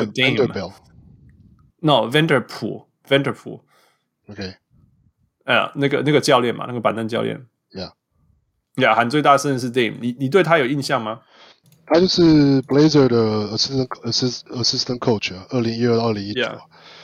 Dame。No, Vanderpool, Vanderpool。OK， 呃，那個那個教練嘛，那個板凳教練。 Yeah， yeah， 喊最大聲的是 Dame。你你對他有印象嗎？ 他就是 Blazer 的 assistant assistant assistant coach 啊，二零一二到二零一九。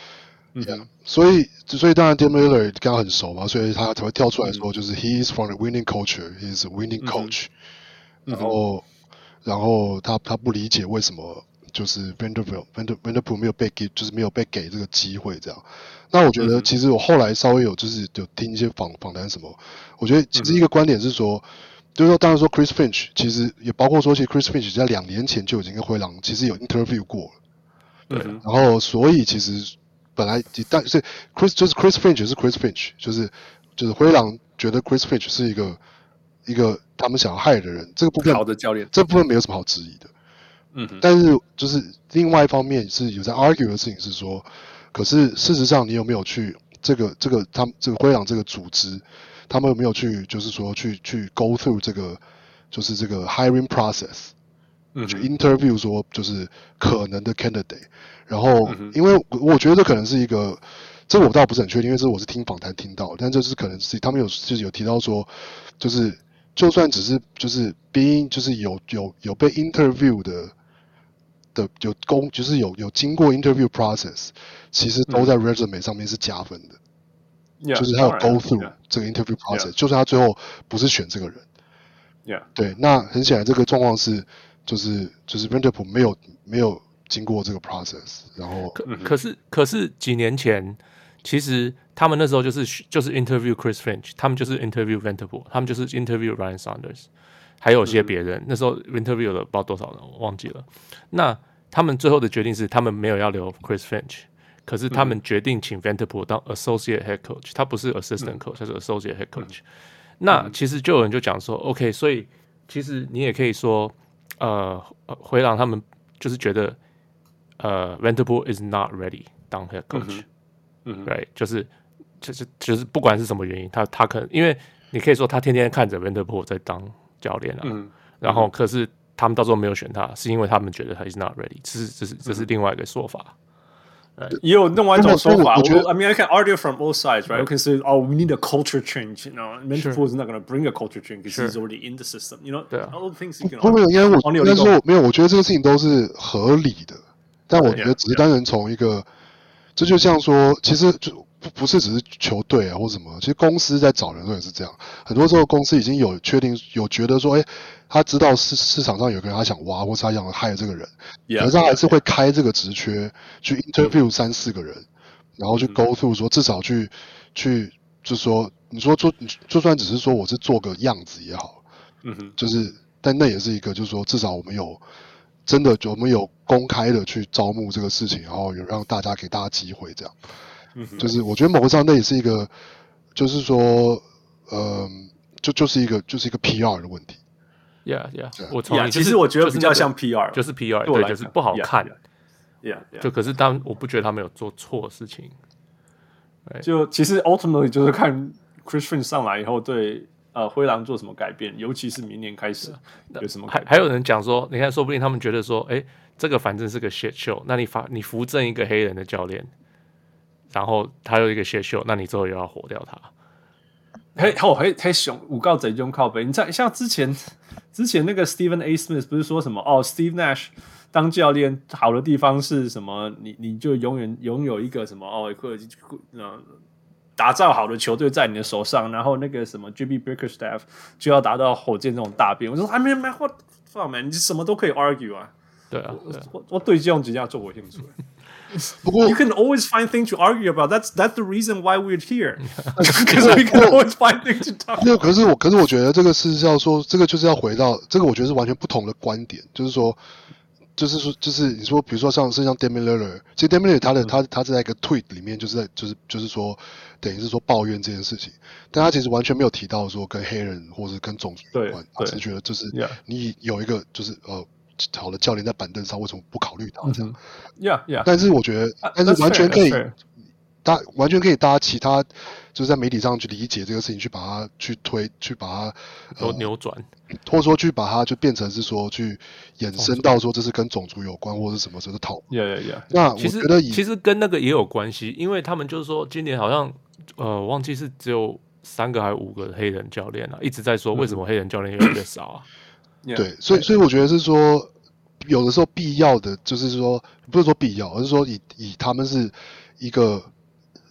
嗯哼， yeah, 所以所以當然 Damian Lillard 跟他很熟嘛，所以他才會跳出來說，就是 he is from the winning culture, he is a winning coach、嗯、然後然後他他不理解為什麼就是 Vanderbilt Vanderbilt 沒有被給就是沒有被給這個機會這樣。那我覺得其實我後來稍微有就是有聽一些訪訪談什麼，我覺得其實一個觀點是說，就是說當然說 Chris Finch 其實也包括說其實 Chris Finch 在兩年前就已經跟灰狼其實有 interview 過了，對，然後所以其實本來但是 Chris 就是 Chris Finch 是 Chris Finch 就是就是灰狼覺得 Chris Finch 是一個一個他們想要 hire 的人，這個部分好的教練， 這部分沒有什麼好質疑的。嗯，但是就是另外一方面是有在 argue 的事情是說，可是事實上你有沒有去這個這個他們這個灰狼這個組織，他們有沒有去就是說去去 go through 這個就是這個 hiring process， 嗯，去 interview 說就是可能的 candidate， 然後、嗯、因為我覺得這可能是一個，這個我倒不是很確定，因為這我是聽訪談聽到的，但這是可能是他們有就是有提到說，就是就算只是就是 being 就是有有有被 interview 的。的有公就是有有經過 interview process， 其實都在 resume 上面是加分的，嗯、就是他有 go through、yeah. 這個 interview process，、yeah. 就算他最後不是選這個人， yeah. 對，那很顯然這個狀況是就是就是 Vanderbilt 沒有沒有經過這個 process， 然後可可是可是幾年前其實他們那時候就是就是 interview Chris Finch， 他們就是 interview Vanderbilt， 他們就是 interview Ryan Saunders。還有些別人、嗯，那時候 interview 了不知道多少人，我忘記了。那他們最後的決定是，他們沒有要留 Chris Finch， 可是他們決定請 Vanderbilt 當 associate head coach， 他不是 assistant coach，、嗯、他是 associate head coach、嗯。那其實就有人就講說、嗯、，OK， 所以其實你也可以說，呃，灰狼他們就是覺得，呃 ，Vanderbilt is not ready 當 head coach，嗯，對、right? 就是就是就是不管是什麼原因，他他可能因為你可以說他天天看着 Vanderbilt 在當。教練啊、嗯，然後可是他們到時候沒有選他，是因為他們覺得他 is not ready， 這是這是這是另外一個說法。 也有另外一種說法，我覺得 I mean I can argue from both sides, right? You can say, oh, we need a culture change. You know, Vanderbilt is not going to bring a culture change because he's already in the system. You know, all the things you can. 不，沒有，因為我應該說沒有，我覺得這個事情都是合理的，但我覺得只是單純從一個，這就像說，其實就。不不是只是球隊啊或什麼，其實公司在找人的時候也是這樣。很多時候公司已經有確定有覺得說，哎，他知道市市場上有個人他想挖，或是他想 hire 這個人， yeah, 可是他還是會開這個職缺、yeah. 去 interview 三四個人，嗯、然後去 go through 說至少去、嗯、去就是說，你說做就算只是說我是做個樣子也好，嗯哼，就是但那也是一個就是說至少我們有真的我們有公開的去招募這個事情，然後有讓大家給大家機會這樣。就是我覺得某個上那也是一個，就是說，呃，就就是一個就是一個 P R 的問題。 Yeah, yeah，, yeah. 我同意、yeah, 其實我覺得比較像 P R， 就是 P R， 對，就是不好看。 Yeah, yeah, yeah. 就可是當我不覺得他沒有做錯事情。 就其實 ultimately 就是看 Chris Finch 上來以後對呃灰狼做什麼改變，尤其是明年開始有什麼改變。 還還有人講說，你看，說不定他們覺得說，哎，這個反正是個 shit show， 那你發你扶正一個黑人的教練。然後他有一個shit show，那你之後又要火掉他。 嘿，好，嘿，嘿，熊五告賊中靠北。你在像之前之前那個 Stephen A. Smith 不是說什麼哦 ，Steve Nash 當教練好的地方是什麼？你你就永遠擁有一個什麼哦，或者呃打造好的球隊在你的手上。然後那個什麼 J B Bickerstaff 就要達到火箭這種大兵。我說 I mean man what fuck man，你什麼都可以 argue 啊。 對啊， 對啊我我對這種只要做我興趣。 不過 you can always find things to argue about. That's that's the reason why we're here. Because we can always find things to talk about. 可是我可是我覺得這個是要說，這個就是要回到這個，我覺得是完全不同的觀點。就是說，就是說，就是你說，比如說像是像 Damian Lillard， 其實 Damian Lillard 他的、嗯、他他是在一個 tweet 裡面，就是在就是就是說，等於是說抱怨這件事情，但他其實完全沒有提到說跟黑人或者跟種族有關，他只是覺得就是你有一個就是呃。好的教練在板凳上，為什麼不考慮他這樣？ Yeah, yeah. 但是我覺得， uh, 但是完全可以，大完全可以大家其他就是在媒體上去理解這個事情，去把它去推，去把它都扭轉、 呃，或者說去把它就變成是說去衍生到說這是跟種族有關，或者什麼什麼討論。 Yeah, yeah, yeah. 那我覺得其實跟那個也有關係，因為他們就是說今年好像呃忘記是只有三個還是五個黑人教練啊，一直在說為什麼黑人教練越來越少啊。 Yeah, 對，所以所以我覺得是說，有的時候必要的就是說，不是說必要，而是說以以他們是一個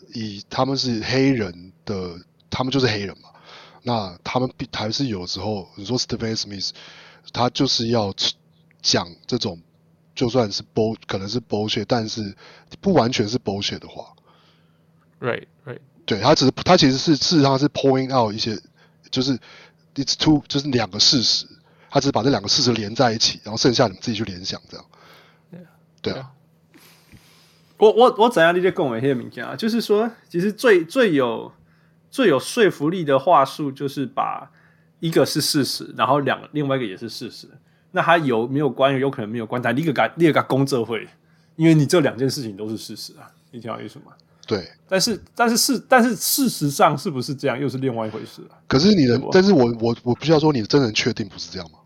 以他們是黑人的，他們就是黑人嘛。那他們還是有時候，你說 Stephen Smith， 他就是要講這種，就算是 bull 可能是 bullshit， 但是不完全是 bullshit 的話。 Right, right。 對，他只是他其實是事實上是 point out 一些，就是 it's two 就是兩個事實，他只是把這兩個事實連在一起，然後剩下你們自己去聯想這樣。Yeah, 對啊。 我我我怎樣理解共為黑的物件啊？就是說，其實最最有最有說服力的話術，就是把一個是事實，然後兩另外一個也是事實。那它有沒有關係？有可能沒有關係。但你個你個公證會，因為你這兩件事情都是事實啊，你聽我意思嗎？ 對。但是但是事但是事實上是不是這樣，又是另外一回事啊。 可是你的，但是我我我必須要說，你真的確定不是這樣嗎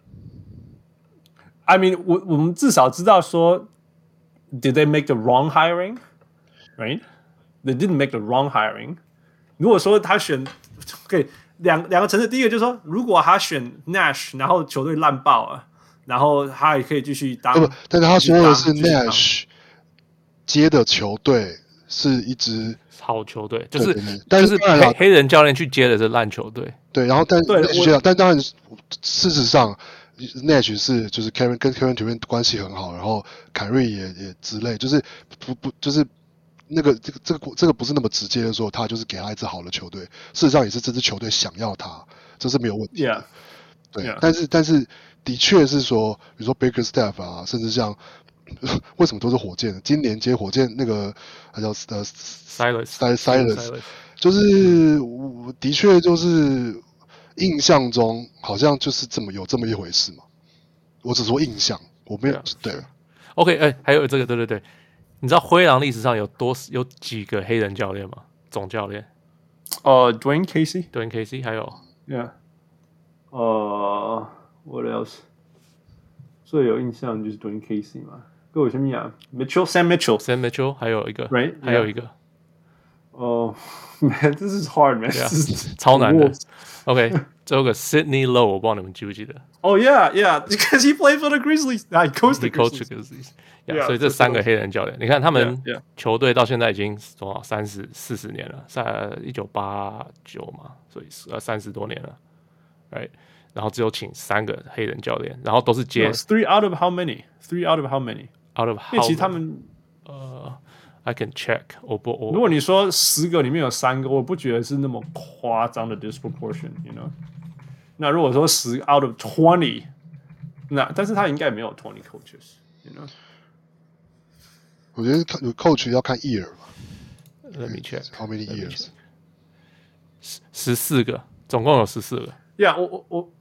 ？I mean， 我我們至少知道說。Did they make the wrong hiring? Right? They didn't make the wrong hiring. 如果說他選，可以兩兩個層次，第一個就是說，如果他選 Nash， 然後球隊爛爆了，然後他也可以繼續當。 不，但是他說的是 Nash 接的球隊是一支好球隊，就是對對對但是就是黑黑人教練去接的是爛球隊。 對，然後但對， 但當然事實上。Nash 是就是 Kevin 跟 Kevin Durant 關係很好，然後凱瑞也也之類，就是不不就是那個這個這個這個不是那麼直接的說他就是給他一支好的球隊，事實上也是這支球隊想要他，這是沒有問題的。 Yeah. 對， yeah. 但是但是的確是說，比如說 Bickerstaff 啊，甚至像為什麼都是火箭？今年接火箭那個他叫呃 Silas Silas， 就是我的確就是。印象中好像就是這麼有這麼一回事嘛，我只說印象，我沒有 yeah, 對。 OK， 哎、欸，還有這個，對對對，你知道灰狼歷史上有多有幾個黑人教練嗎？總教練？ 呃、uh, ，Dwayne Casey，Dwayne Casey， 還有 ，Yeah， 呃、uh, ，What else？ 最有印象就是 Dwayne Casey 嘛，跟我什麼呀 ？Mitchell，Sam Mitchell，Sam Mitchell， 還有一個 ，Right， 還有一個。 哦、uh, ，Man， this is hard, man，、yeah, 超難的。OK， 最後一個 Sidney Lowe， 我不知道你們記不記得。 Oh yeah, yeah, because he played for the Grizzlies. He coached the Grizzlies. Yeah, 所以這三個黑人教練，你看他們球隊到現在已經多少三十四十年了，在一九八九嘛，所以呃三十多年了，right？ 然後只有請三個黑人教練，然後都是接。 No, three out of how many? Three out of how many? Out of how? 因為其實他們呃。I can check 我不我。 如果你說十個裡面有三個，我不覺得是那麼誇張的 disproportion，you know。那如果說十 out of twenty， 那但是他應該沒有 twenty coaches，you know。 我覺得 coach 要看 year 吧。 Let me check how many years。 十四個，總共有十四個。 Yeah， 我我我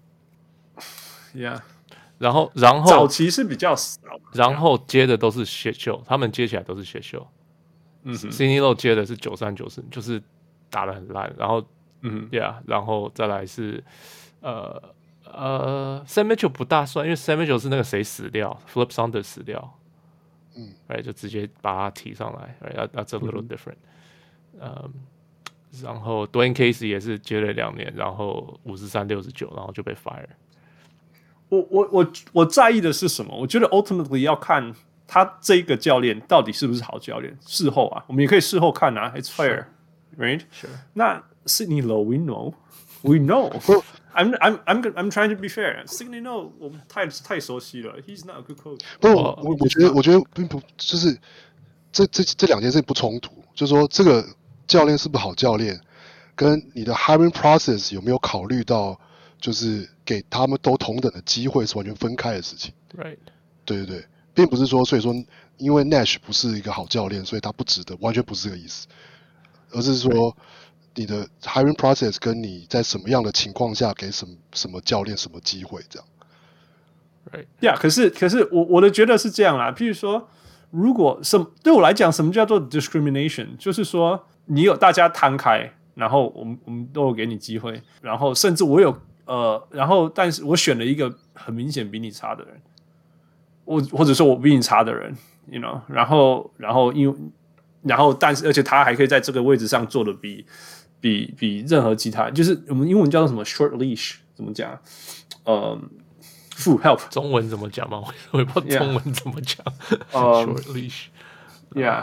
，Yeah。 然後然後早期是比較少， 然後接的都是選秀，他們接起來都是選秀。嗯 Sidney Lowe 接的是九三九四，就是打得很爛，然後嗯 ，Yeah， 然後再來是呃呃 Sam Mitchell 不大算，因為 Sam Mitchell 是那個誰死掉 ，Flip Saunders 死掉，嗯，哎，就直接把他提上來 ，Right， that's a little different，嗯，嗯，然後 Dwayne Casey 也是接了兩年，然後五十三六十九，然後就被 fire。 我我我我在意的是什麼？我覺得 ultimately 要看。他這個教練到底是不是好教練？事後啊，我們也可以事後看啊。It's fair, right? Sure. 那 Sidney Lowe, we know, we know. I'm I'm I'm I'm trying to be fair. Sidney Lowe 我們太太熟悉了。He's not a good coach. 不，我我覺得我覺得並不就是這這這兩件事情不衝突。就是說，這個教練是不是好教練，跟你的 hiring process 有沒有考慮到，就是給他們都同等的機會是完全分開的事情。 Right. 對對對。並不是說，所以說，因為 Nash 不是一個好教練，所以他不值得，完全不是這個意思，而是說，你的 hiring process 跟你在什麼樣的情況下給什麼什麼教練什麼機會這樣。 Right. Yeah， 可是可是我我的覺得是這樣啦。譬如說，如果什對我來講，什麼叫做 discrimination？ 就是說，你有大家攤開，然後我們我們都有給你機會，然後甚至我有呃，然後但是我選了一個很明顯比你差的人。我或者說我比你差的人 ，you know， 然後然後因為然後但是而且他還可以在這個位置上做的比比比任何其他，就是我們英文叫做什麼 short leash 怎麼講？呃 ，full help 中文怎麼講嗎？我也不知道中文怎麼講。 呃 short leash， yeah，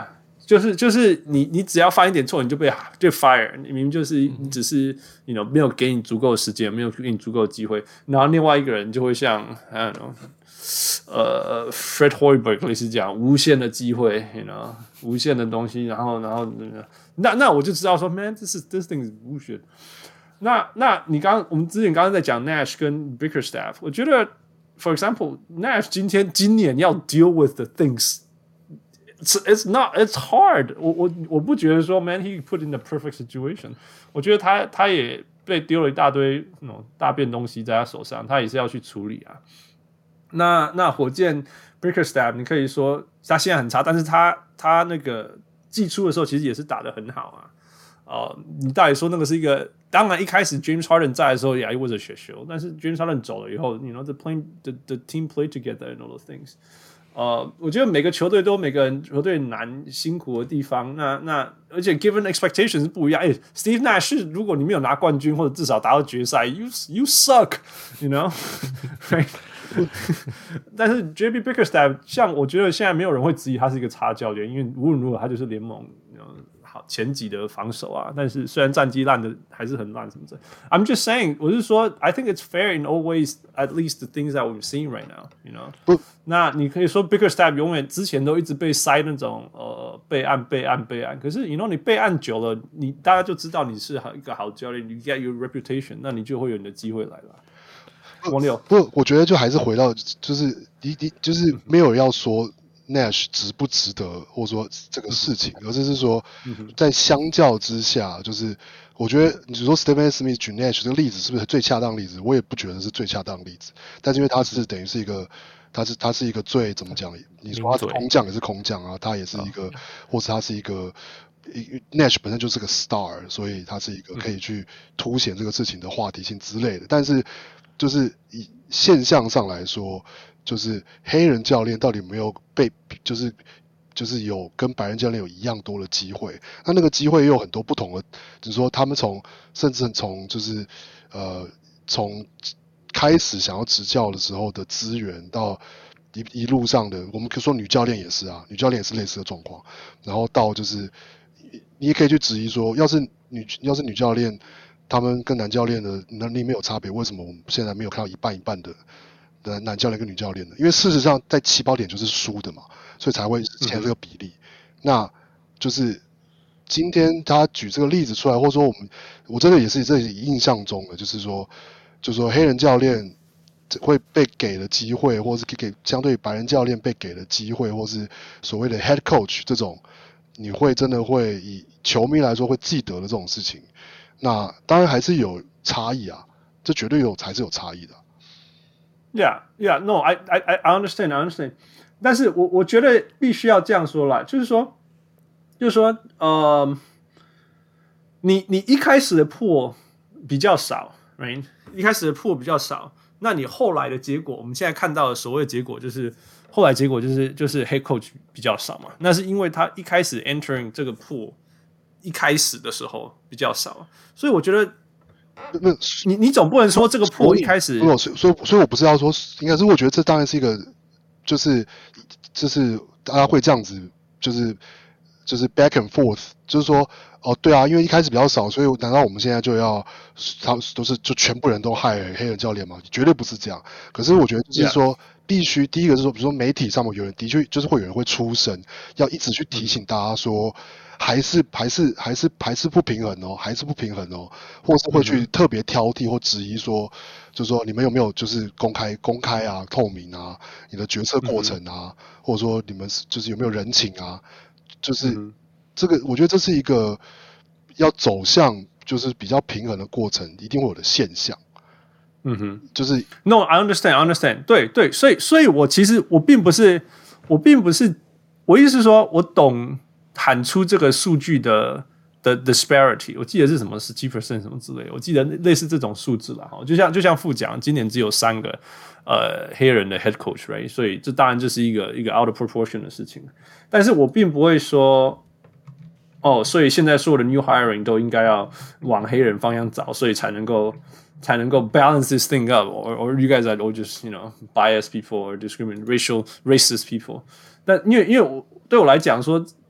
就是就是你你只要犯一點錯，你就被就 fire， 你明明就是你只是 you know 沒有給你足夠的時間，沒有給你足夠的機會，然後另外一個人就會像 I don't know， 呃 Fred Hoiberg 類似這樣無限的機會 ，you know 無限的東西，然後然後那那我就知道說 man this is this thing is bullshit。那那你剛我們之前剛剛在講 Nash 跟 Bickerstaff， 我覺得 for example Nash 今天今年要 deal with the things。It's, it's not. It's hard. 我我我不覺得說 ，man, he put in the perfect situation. 我覺得他他也被丟了一大堆那種大便東西在他手上，他也是要去處理啊。那那火箭 Bickerstaff， 你可以說他現在很差，但是他他那個季初的時候其實也是打得很好啊。呃，你到底說那個是一個？當然一開始 James Harden 在的時候，yeah, it was a shit show。但是 James Harden 走了以後 ，you know the playing the the team played together and all those things。呃，我覺得每個球隊都有每個人球隊難辛苦的地方。那那而且 given expectations 是不一樣。哎 ，Steve Nash 如果你沒有拿冠軍或者至少打到決賽 ，you you suck，you know 。但是 J B Bickerstaff 像我覺得現在沒有人會質疑他是一個差教練，因為無論如何他就是聯盟 you know, 好前幾的防守啊。但是雖然戰績爛的還是很爛什麼的。I'm just saying， 我是說 I think it's fair in all ways, at least the things that we're seeing right now，you know。那你可以說 Bickerstaff 永遠之前都一直被塞那種呃備案備案備案，可是 you know 你備案久了，你大家就知道你是一個好教練，你 get your reputation， 那你就會有你的機會來了。王六， 不，我覺得就還是回到，就是你你就是沒有要說 Nash 值不值得，或者說這個事情，而是是說在相較之下，就是我覺得你說 Stephen Smith 舉 Nash 這個例子是不是最恰當的例子？我也不覺得是最恰當的例子，但是因為他是等於是一個，他是他是一個最怎麼講？你說他是空降也是空降啊，他也是一個，或是他是一個。Nash 本身就是個 star， 所以他是一個可以去凸顯這個事情的話題性之類的。但是，就是以現象上來說，就是黑人教練到底有沒有被，就是就是有跟白人教練有一樣多的機會？那那個機會又有很多不同的，就是說他們從甚至從就是呃從開始想要執教的時候的資源到。一一路上的，我們可以說女教練也是啊，女教練也是類似的狀況。然後到就是，你也可以去質疑說，要是女要是女教練，他們跟男教練的能力沒有差別，為什麼我們現在沒有看到一半一半的的男教練跟女教練呢？因為事實上在起跑點就是輸的嘛，所以才會形成這個比例。嗯、那就是今天他舉這個例子出來，或者說我們我真的也是這裡印象中的，就是說，就是說黑人教練。會被給的機會，或是給相對於白人教練被給的機會，或是所謂的 head coach 這種，你會真的會以球迷來說會記得的這種事情，那當然還是有差異啊，這絕對有還是有差異的。 Yeah, yeah, no, I, I, I understand, I understand. 但是我我覺得必須要這樣說啦，就是說，就是說，呃，你你一開始的破比較少 ，right？ 一開始的破比較少。那你後來的結果，我們現在看到的所謂的結果，就是後來結果就是就是 head coach 比較少嘛。那是因為他一開始 entering 這個 pool 一開始的時候比較少，所以我覺得，那你你總不能說這個 pool 一開始， 所以所以所以，所以我不是要說，應該是我覺得這當然是一個，就是就是大家會這樣子，就是就是 back and forth，就是說。哦，對啊，因為一開始比較少，所以難道我們現在就要他都是就全部人都害黑人教練嗎？絕對不是這樣。可是我覺得就是說，必須第一個是說，比如說媒體上面有人的確就是會有人會出聲，要一直去提醒大家說，還是還是還是還是不平衡哦，還是不平衡哦，或是會去特別挑剔或質疑說，就是說你們有沒有就是公開公開啊、透明啊，你的決策過程啊，或者說你們就是有沒有人情啊，就是。這個我覺得這是一個要走向就是比較平衡的過程，一定會有的現象。嗯哼，就是 No, I understand, I understand 對。對對，所以所以我其實我並不是我並不是我意思是說，我懂喊出這個數據的的 disparity， 我記得是什麼十七 percent 什麼之類的，我記得類似這種數字了哈。就像就像副講，今年只有三個呃黑人的 head coach，right？ 所以這當然就是一個一個 out of proportion 的事情。但是我並不會說。哦，所以現在所有的 new hiring 都應該要往黑人方向找，所以才能夠才能夠 balance this thing up, or or you guys are all just you know biased people or discriminate racial racist people。但因為因為我對我來講說，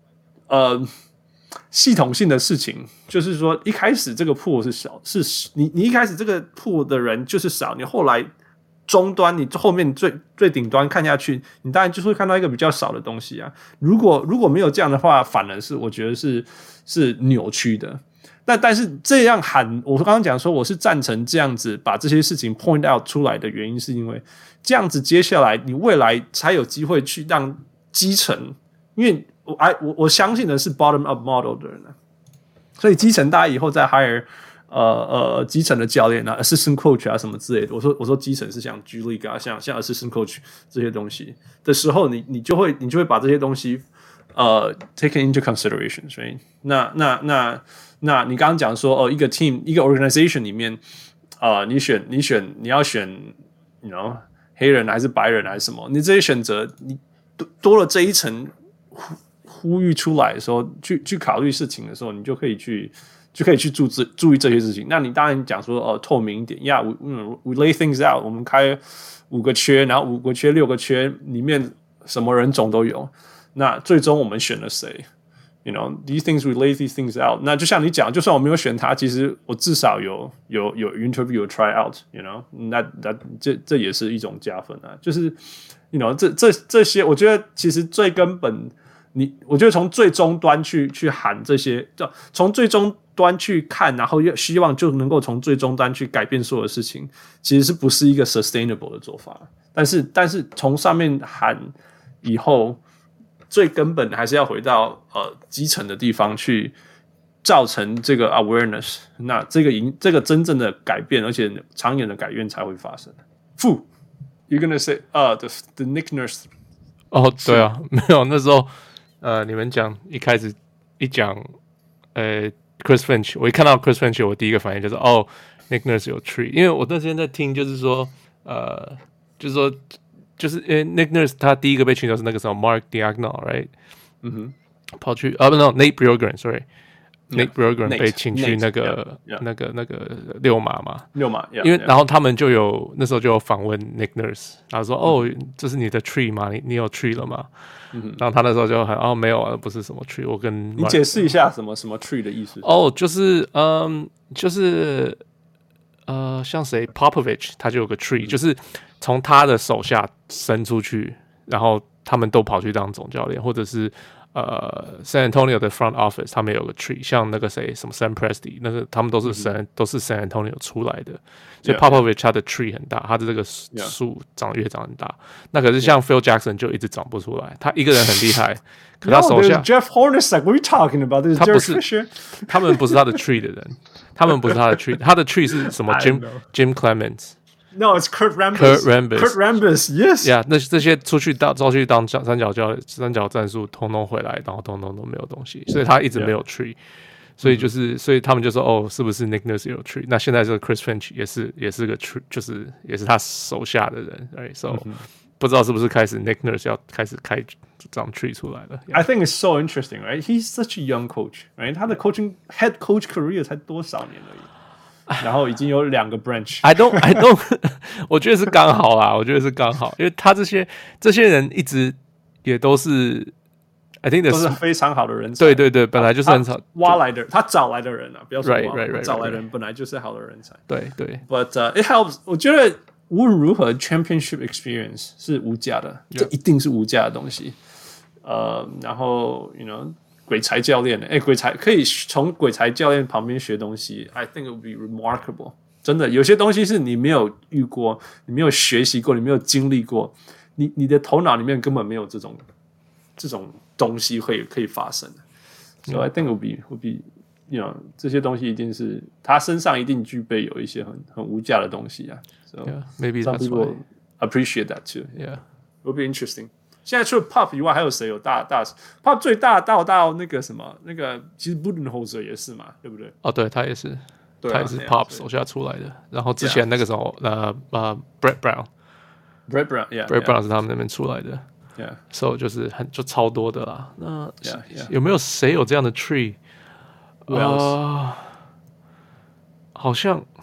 呃系統性的事情，就是說一開始這個 pool 是小，是你你一開始這個 pool 的人就是少，你後來終端你後面最最頂端看下去，你當然就是會看到一個比較少的東西啊。如果如果沒有這樣的話，反而是我覺得是是扭曲的。但但是這樣喊，我剛剛講說我是贊成這樣子把這些事情 point out 出來的原因，是因為這樣子接下來你未來才有機會去讓基層，因為我我我相信的是 bottom up model 的人啊，所以基層大家以後再 hire 呃呃基層的教練啊 assistant coach 啊什麼之類的，我說我說基層是像 G League 啊，像像 assistant coach 這些東西的時候，你你就會你就會把這些東西呃 taken into consideration， 所以那那那那你剛剛講說哦，一個 team 一個 organization 裡面啊、呃，你選你選你要選 you know 黑人還是白人還是什麼，你這些選擇你多多了這一層呼呼籲出來的時候，去去考慮事情的時候，你就可以去就可以去注注注意這些事情。那你當然講說哦，透明一點呀、yeah, we, we lay things out， 我們開五個缺，然後五個缺六個缺裡面什麼人種都有，那最終我們選了誰？You know, these things we lay these things out。那就像你講，就算我沒有選他，其實我至少有有有 interview 有 try out。You know， 那那這這也是一種加分啊。就是 you know 這這這些，我覺得其實最根本，你我覺得從最終端去去喊這些，從最終端去看，然後希望就能夠從最終端去改變所有的事情，其實是不是一個 sustainable 的做法？但是但是從上面喊以後。最根本還是要回到呃基層的地方去造成這個 awareness， 那這個贏這個真正的改變，而且長遠的改變才會發生。Fu, you're gonna say 呃、uh, the the Nick Nurse？ 哦，對啊，沒有那時候呃你們講一開始一講呃 Chris Finch， 我一看到 Chris Finch， 我第一個反應就是哦 Nick Nurse 有 tree， 因為我那天在聽就是說呃就是說。就是因為 Nick Nurse 他第一個被請到是那個什麼 Mark Diagonal，right？ 嗯哼，跑去啊不 no Nate Bjorkgren，sorry，Nate Bjorkgren 被請去那個 Nate, yeah, yeah. 那個那個溜馬嘛， 溜馬， yeah, 因為 yeah. 然後他們就有那時候就有訪問 Nick Nurse， 然後說、嗯、哦這是你的 tree 嗎？你你有 tree 了嗎？嗯、然後他那時候就很哦沒有啊，不是什麼 tree， 我跟 Mark, 你解釋一下什麼什麼 tree 的意思？ 哦就是嗯就是呃像誰 Popovich 他就有個 tree，、嗯、就是從他的手下伸出去，然後他們都跑去當總教練，或者是呃 San Antonio 的 front office 他們有個 tree， 像那個誰什麼 Sam Presti 那個他們都是 San、嗯、都是 San Antonio 出來的，所以 Popovich 他的 tree 很大，他的這個樹長越長很大。那可是像 Phil Jackson 就一直長不出來，他一個人很厲害，可他手下 no, Jeff Hornacek， what are you talking about？ 他不是，他們不是他的 tree 的人，他們不是他的 tree， 他的 tree 是什麼 Jim Jim Clements。No, it's Kurt Rambis. Kurt Rambis. Kurt Rambis, yes. Yeah, 那這些出去到出去當三角教三角戰術，通通回來，然後通通都沒有東西，所以他一直沒有 tree。Yeah. 所以就是，所以他們就說，哦，是不是 Nick Nurse 有 tree？ 那現在這個 Chris Finch 也是，也是個 tree， 就是也是他手下的人 ，right? So、嗯、不知道是不是開始 Nick Nurse 要開始開長 tree 出來了。Yeah. I think it's so interesting, right? He's such a young coach, right? 他的 coaching head coach career 才多少年而已。然後已經有兩個 branch I don't, I don't 我覺得是剛好啦，我覺得是剛好，因為他這些這些人一直也都是 I think 都是非常好的人才， 對對對，本來就是很少挖來的，他找來的人啊，不要說挖 right, right, right, 找來的人本來就是好的人才， 對對 But、uh, it helps， 我覺得無論如何 championship experience 是無價的， yeah. 這一定是無價的東西。呃，然後 you know。鬼才教練，哎，鬼才可以從鬼才教練旁邊學東西 ，I think it would be remarkable。真的，有些東西是你沒有遇過，你沒有學習過，你沒有經歷過，你你的頭腦裡面根本沒有這種這種東西會可以發生。So I think it would be would be you know 這些東西一定是他身上一定具備有一些很很無價的東西啊。So yeah, maybe some that's people why. appreciate that too. Yeah, it would be interesting. 現在除了 Pop 以外，還有誰有大大 Pop 最大到到那個什麼那個，其實 Budenholzer 也是嘛，對不對？ 哦，對，他也是， 對啊、 他也是 Pop 手下出來的。然後之前那個時候，呃呃 ，Brett Brown，Brett Brown，yeah，Brett Brown, yeah, Brown 是他們那邊出來的 ，yeah， 所以就是很就超多的啦。那 yeah, yeah. 有沒有誰有這樣的 tree？ 呃， 好像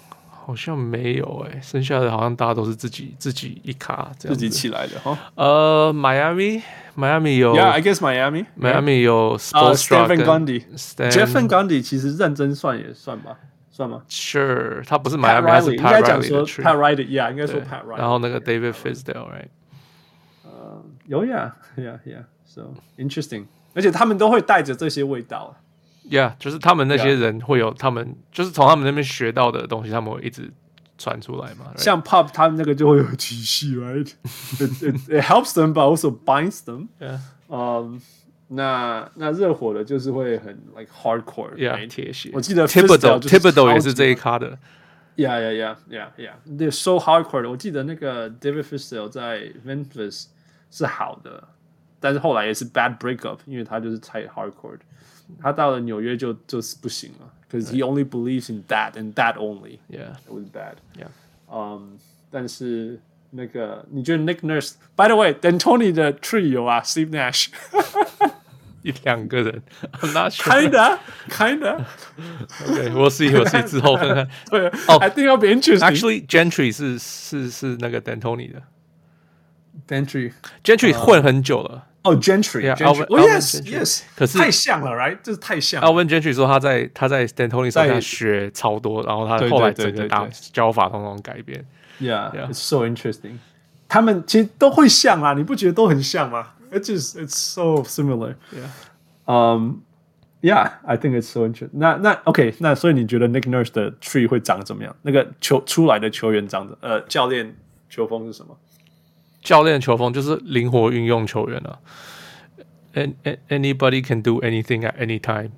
好像沒有哎、欸，剩下的好像大家都是自己自己一卡這樣自己起來的哈。 呃，Miami Miami 有 ，Yeah，I guess Miami Miami 有 Spoelstra 跟 Jeff Van Gundy 其實認真算也算吧，算嗎 ？Sure， 他不是 Miami， 他是 Pat Riley， 應該講說 Pat Riley，Yeah， 應該說 Pat Riley。 然後那個 David Fizdale，right？ 呃，有 Yeah，Yeah，Yeah，So interesting， 而且他們都會帶着這些味道。 Yeah， 就是他們那些人會有他們，就是從他們那邊學到的東西，他們會一直傳出來嘛。Right? 像 Pop 他們那個就會有體系 ，right？ it, it, it helps them, but also binds them. Yeah. 嗯，那那熱火的就是會很 like hardcore，Yeah， 鐵血。 我記得 Thibodeau Thibodeau 也是這一咖的。 Yeah, yeah, yeah, yeah, yeah. They're so hardcore 的。我記得那個 David Fizdale 在 Memphis 是好的，但是後來也是 bad breakup， 因為他就是太 hardcore。他到了紐約就就是不行了 ，because he only believes in that and that only. Yeah, it was bad. Yeah. 嗯、um, ，但是那個你覺得 Nick Nurse？By the way, D'Antoni 的 tree 有啊 ，Steve Nash 一兩個人 ，I'm not sure. Kinda, kinda. Okay, we'll see, we'll see 之後看看。 對，哦 I think it'll be interesting. Actually, Gentry 是是是那個 D'Antoni 的 ，Gentry Gentry 混很久了。 哦、oh, Gentry, yeah, Gentry. Alvin, Oh, yes, Alvin yes. 可是太像了 ，right？ 就是太像了。 Alvin Gentry 說他在他在 D'Antoni 手上學超多，然後他後來整個打教法統統改變。 Yeah, yeah, it's so interesting. 他們其實都會像啊，你不覺得都很像嗎 ？It's just it's so similar. Yeah. Um, yeah, I think it's so interesting. 那那 OK， 那所以你覺得 Nick Nurse 的 tree 會長怎麼樣？那個球出來的球員長的呃教練球風是什麼？ 教練球風就是靈活運用球員啊。And, and anybody can do anything at any time.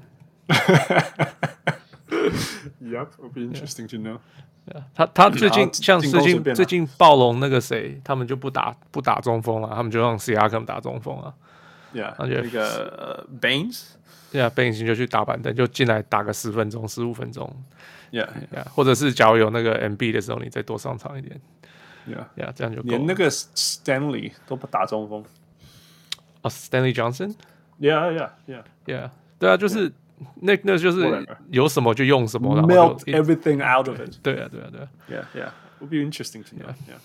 Yep, it'll be interesting to know. Yeah, 他他最近像最近最近暴龍那個誰，他們就不打不打中鋒啊，他們就讓 Siakam 打中鋒啊。 Yeah, 那個 Baines，Yeah, Baines 就去打板凳，就進來打個十分鐘、十五分鐘。 Yeah, yeah. 或者是假如有那個 M B 的時候，你再多上場一點。 Yeah, yeah, 這樣就夠了。 連那個 Stanley 都不打中鋒。 哦、oh, ，Stanley Johnson。Yeah, yeah, yeah, yeah. 對啊，就是 Nick Nurse 就是有什麼就用什麼，然後 melt everything out of it。 對啊，對啊，對啊。 Yeah, yeah. Would be interesting to know. Yeah.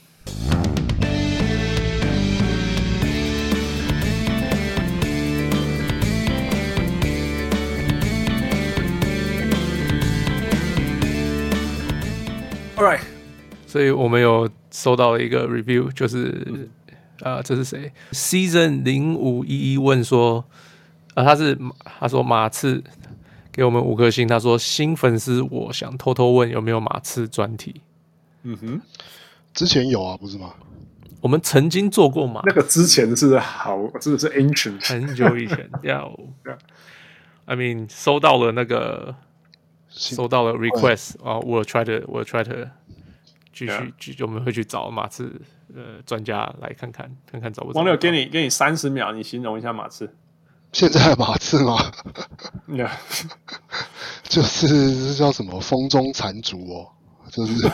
All right. 所以我們有收到了一個 review，就是。嗯啊、呃，這是誰 ？Season 零五一一問說，啊、呃，他是他說馬刺給我們五顆星，他說新粉絲，我想偷偷問有沒有馬刺專題？ 嗯哼， 之前有啊，不是嗎？ 我們曾經做過馬， 那個之前是好，真的是 ancient， 很久以前。要、yeah, ，I mean， 收到了那個，收到了 request 啊、oh, ，we'll try to，we'll try to 繼續，繼、yeah. 續我們會去找馬刺。呃，專家來看看，看看找不找。 王六，給你給你三十秒，你形容一下馬刺。 現在的馬刺嗎？ Yeah. 就是這叫什麼風中殘燭哦，就是。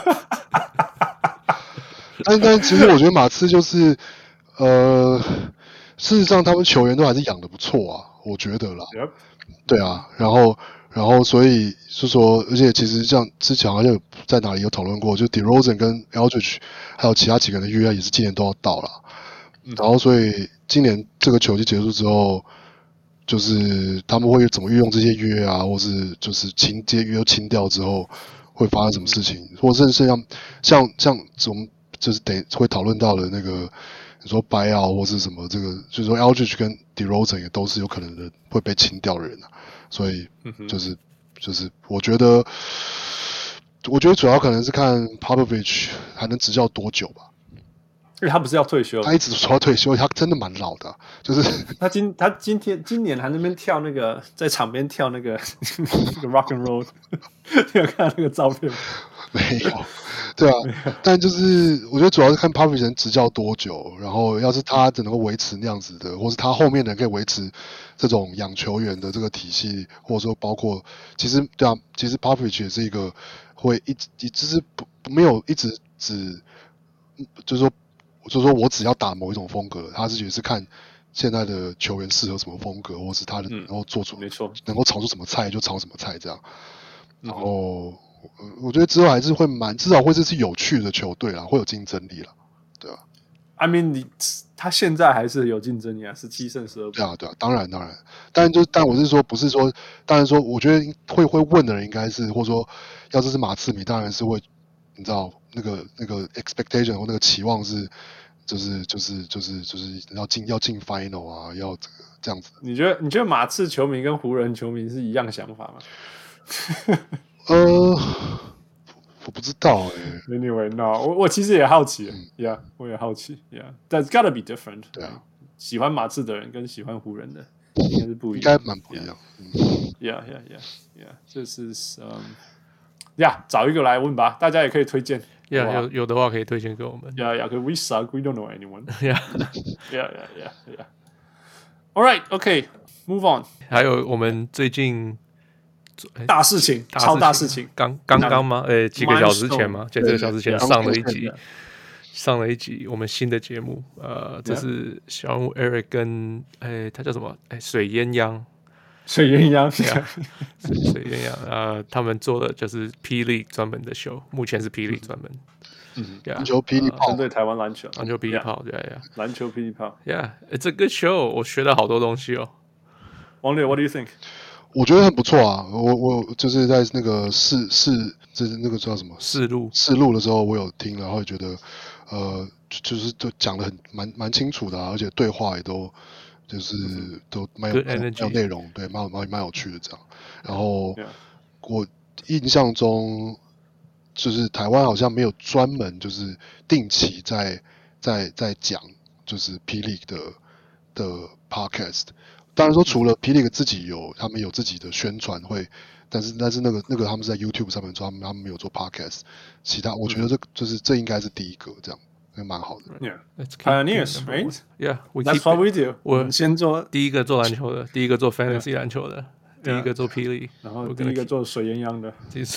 但但其實我覺得馬刺就是，呃，事實上他們球員都還是養得不錯啊，我覺得啦。 Yep. 對啊，然後然後所以是說，而且其實像之前好像有在哪裡有討論過，就 DeRozan 跟 Aldridge 還有其他幾個人的約也是今年都要到了，嗯，然後所以今年這個球季結束之後，就是他們會怎麼運用這些約啊，或是就是清這些約清掉之後會發生什麼事情，嗯，或者是像像像我們就是得會討論到的那個你說 buyout 或是什麼這個，就是說 Aldridge 跟 DeRozan 也都是有可能的會被清掉的人啊。所以就是就是我覺得，我覺得主要可能是看 Popovich 還能執教多久吧。 因為他不是要退休， 他一直說要退休，他真的蠻老的，啊。就是他今他今天今年還在那邊跳那個，在場邊跳那個那個 rock and roll， 你有看到那個照片嗎？ 沒有，對啊，但就是我覺得主要是看 Popovich 能執教多久，然後要是他只能夠維持那樣子的，或是他後面的人可以維持這種養球員的這個體系，或者說包括其實對啊，其實 Popovich 也是一個會一直一直是不沒有一直只就是說就是說我只要打某一種風格，他是也是看現在的球員適合什麼風格，或是他能夠做出、嗯、沒錯能夠炒出什麼菜就炒什麼菜這樣，然後。 我我覺得之後還是會蠻，至少會是是有趣的球隊啦，會有競爭力啦，對吧 ？I mean， 你他現在還是有競爭力啊，十七勝十二負。 對啊，對啊，當然當然，但就但我是說，不是說，當然說，我覺得會會問的人應該是，或者說，要是是馬刺迷，當然是會，你知道那個那個 expectation 或那個期望是，就是就是就是就是要進要進 final 啊，要這個這樣子。 你覺得你覺得馬刺球迷跟湖人球迷是一樣想法嗎？ 呃。我不知道哎、欸。 Anyway， no， 我我其實也好奇、嗯、，Yeah， 我也好奇 ，Yeah，That's gotta be different。 對啊， 喜歡馬刺的人跟喜歡湖人的應該是不一樣， 應該蠻不一樣。 Yeah，Yeah，Yeah，Yeah， 這是嗯 ，Yeah， 找一個來問吧，大家也可以推薦。 Yeah， 有有的話可以推薦給我們。 Yeah，Yeah， we suck， we don't know anyone。Yeah，Yeah，Yeah，Yeah。All right，OK，move on。 還有我們最近。 大事情， 大超大事情， 剛剛剛嗎？呃，幾個小時前嗎？就這個小時前上了一集，上了一集我們新的節目。呃，這是小人物 Eric 跟哎，他叫什麼？哎，水鴛鴦， 水鴛鴦， 水水鴛鴦。呃，他們做的就是霹靂專門的秀，目前是霹靂專門。 嗯，籃球霹靂炮， 針對台灣籃球， 籃球霹靂炮，對呀， 籃球霹靂炮 ，Yeah，it's a good show， 我學了好多東西哦。 王烈 ，What do you think？ 我覺得很不錯啊，我我就是在那個試試，就是那個叫什麼試錄試錄的時候，我有聽，然後也覺得，呃，就是都講得很蠻蠻清楚的、啊，而且對話也都就是都蠻有蠻有內容，對，蠻蠻蠻有趣的這樣。然後我印象中，就是台灣好像沒有專門就是定期在在在講就是 P. League 的的 podcast。當然說，除了 P. League 自己有，他們有自己的宣傳會，但是但是那個那個他們是在 YouTube 上面做，他們他們沒有做 Podcast。其他我覺得這就是這應該是第一個，這樣也蠻好的。 Yeah, pioneers, right? Yeah, that's what we do. 我先做第一個做籃球的，第一個做 Fantasy 籃球的，第一個做 P. League， 然後第一個做水鴛鴦的。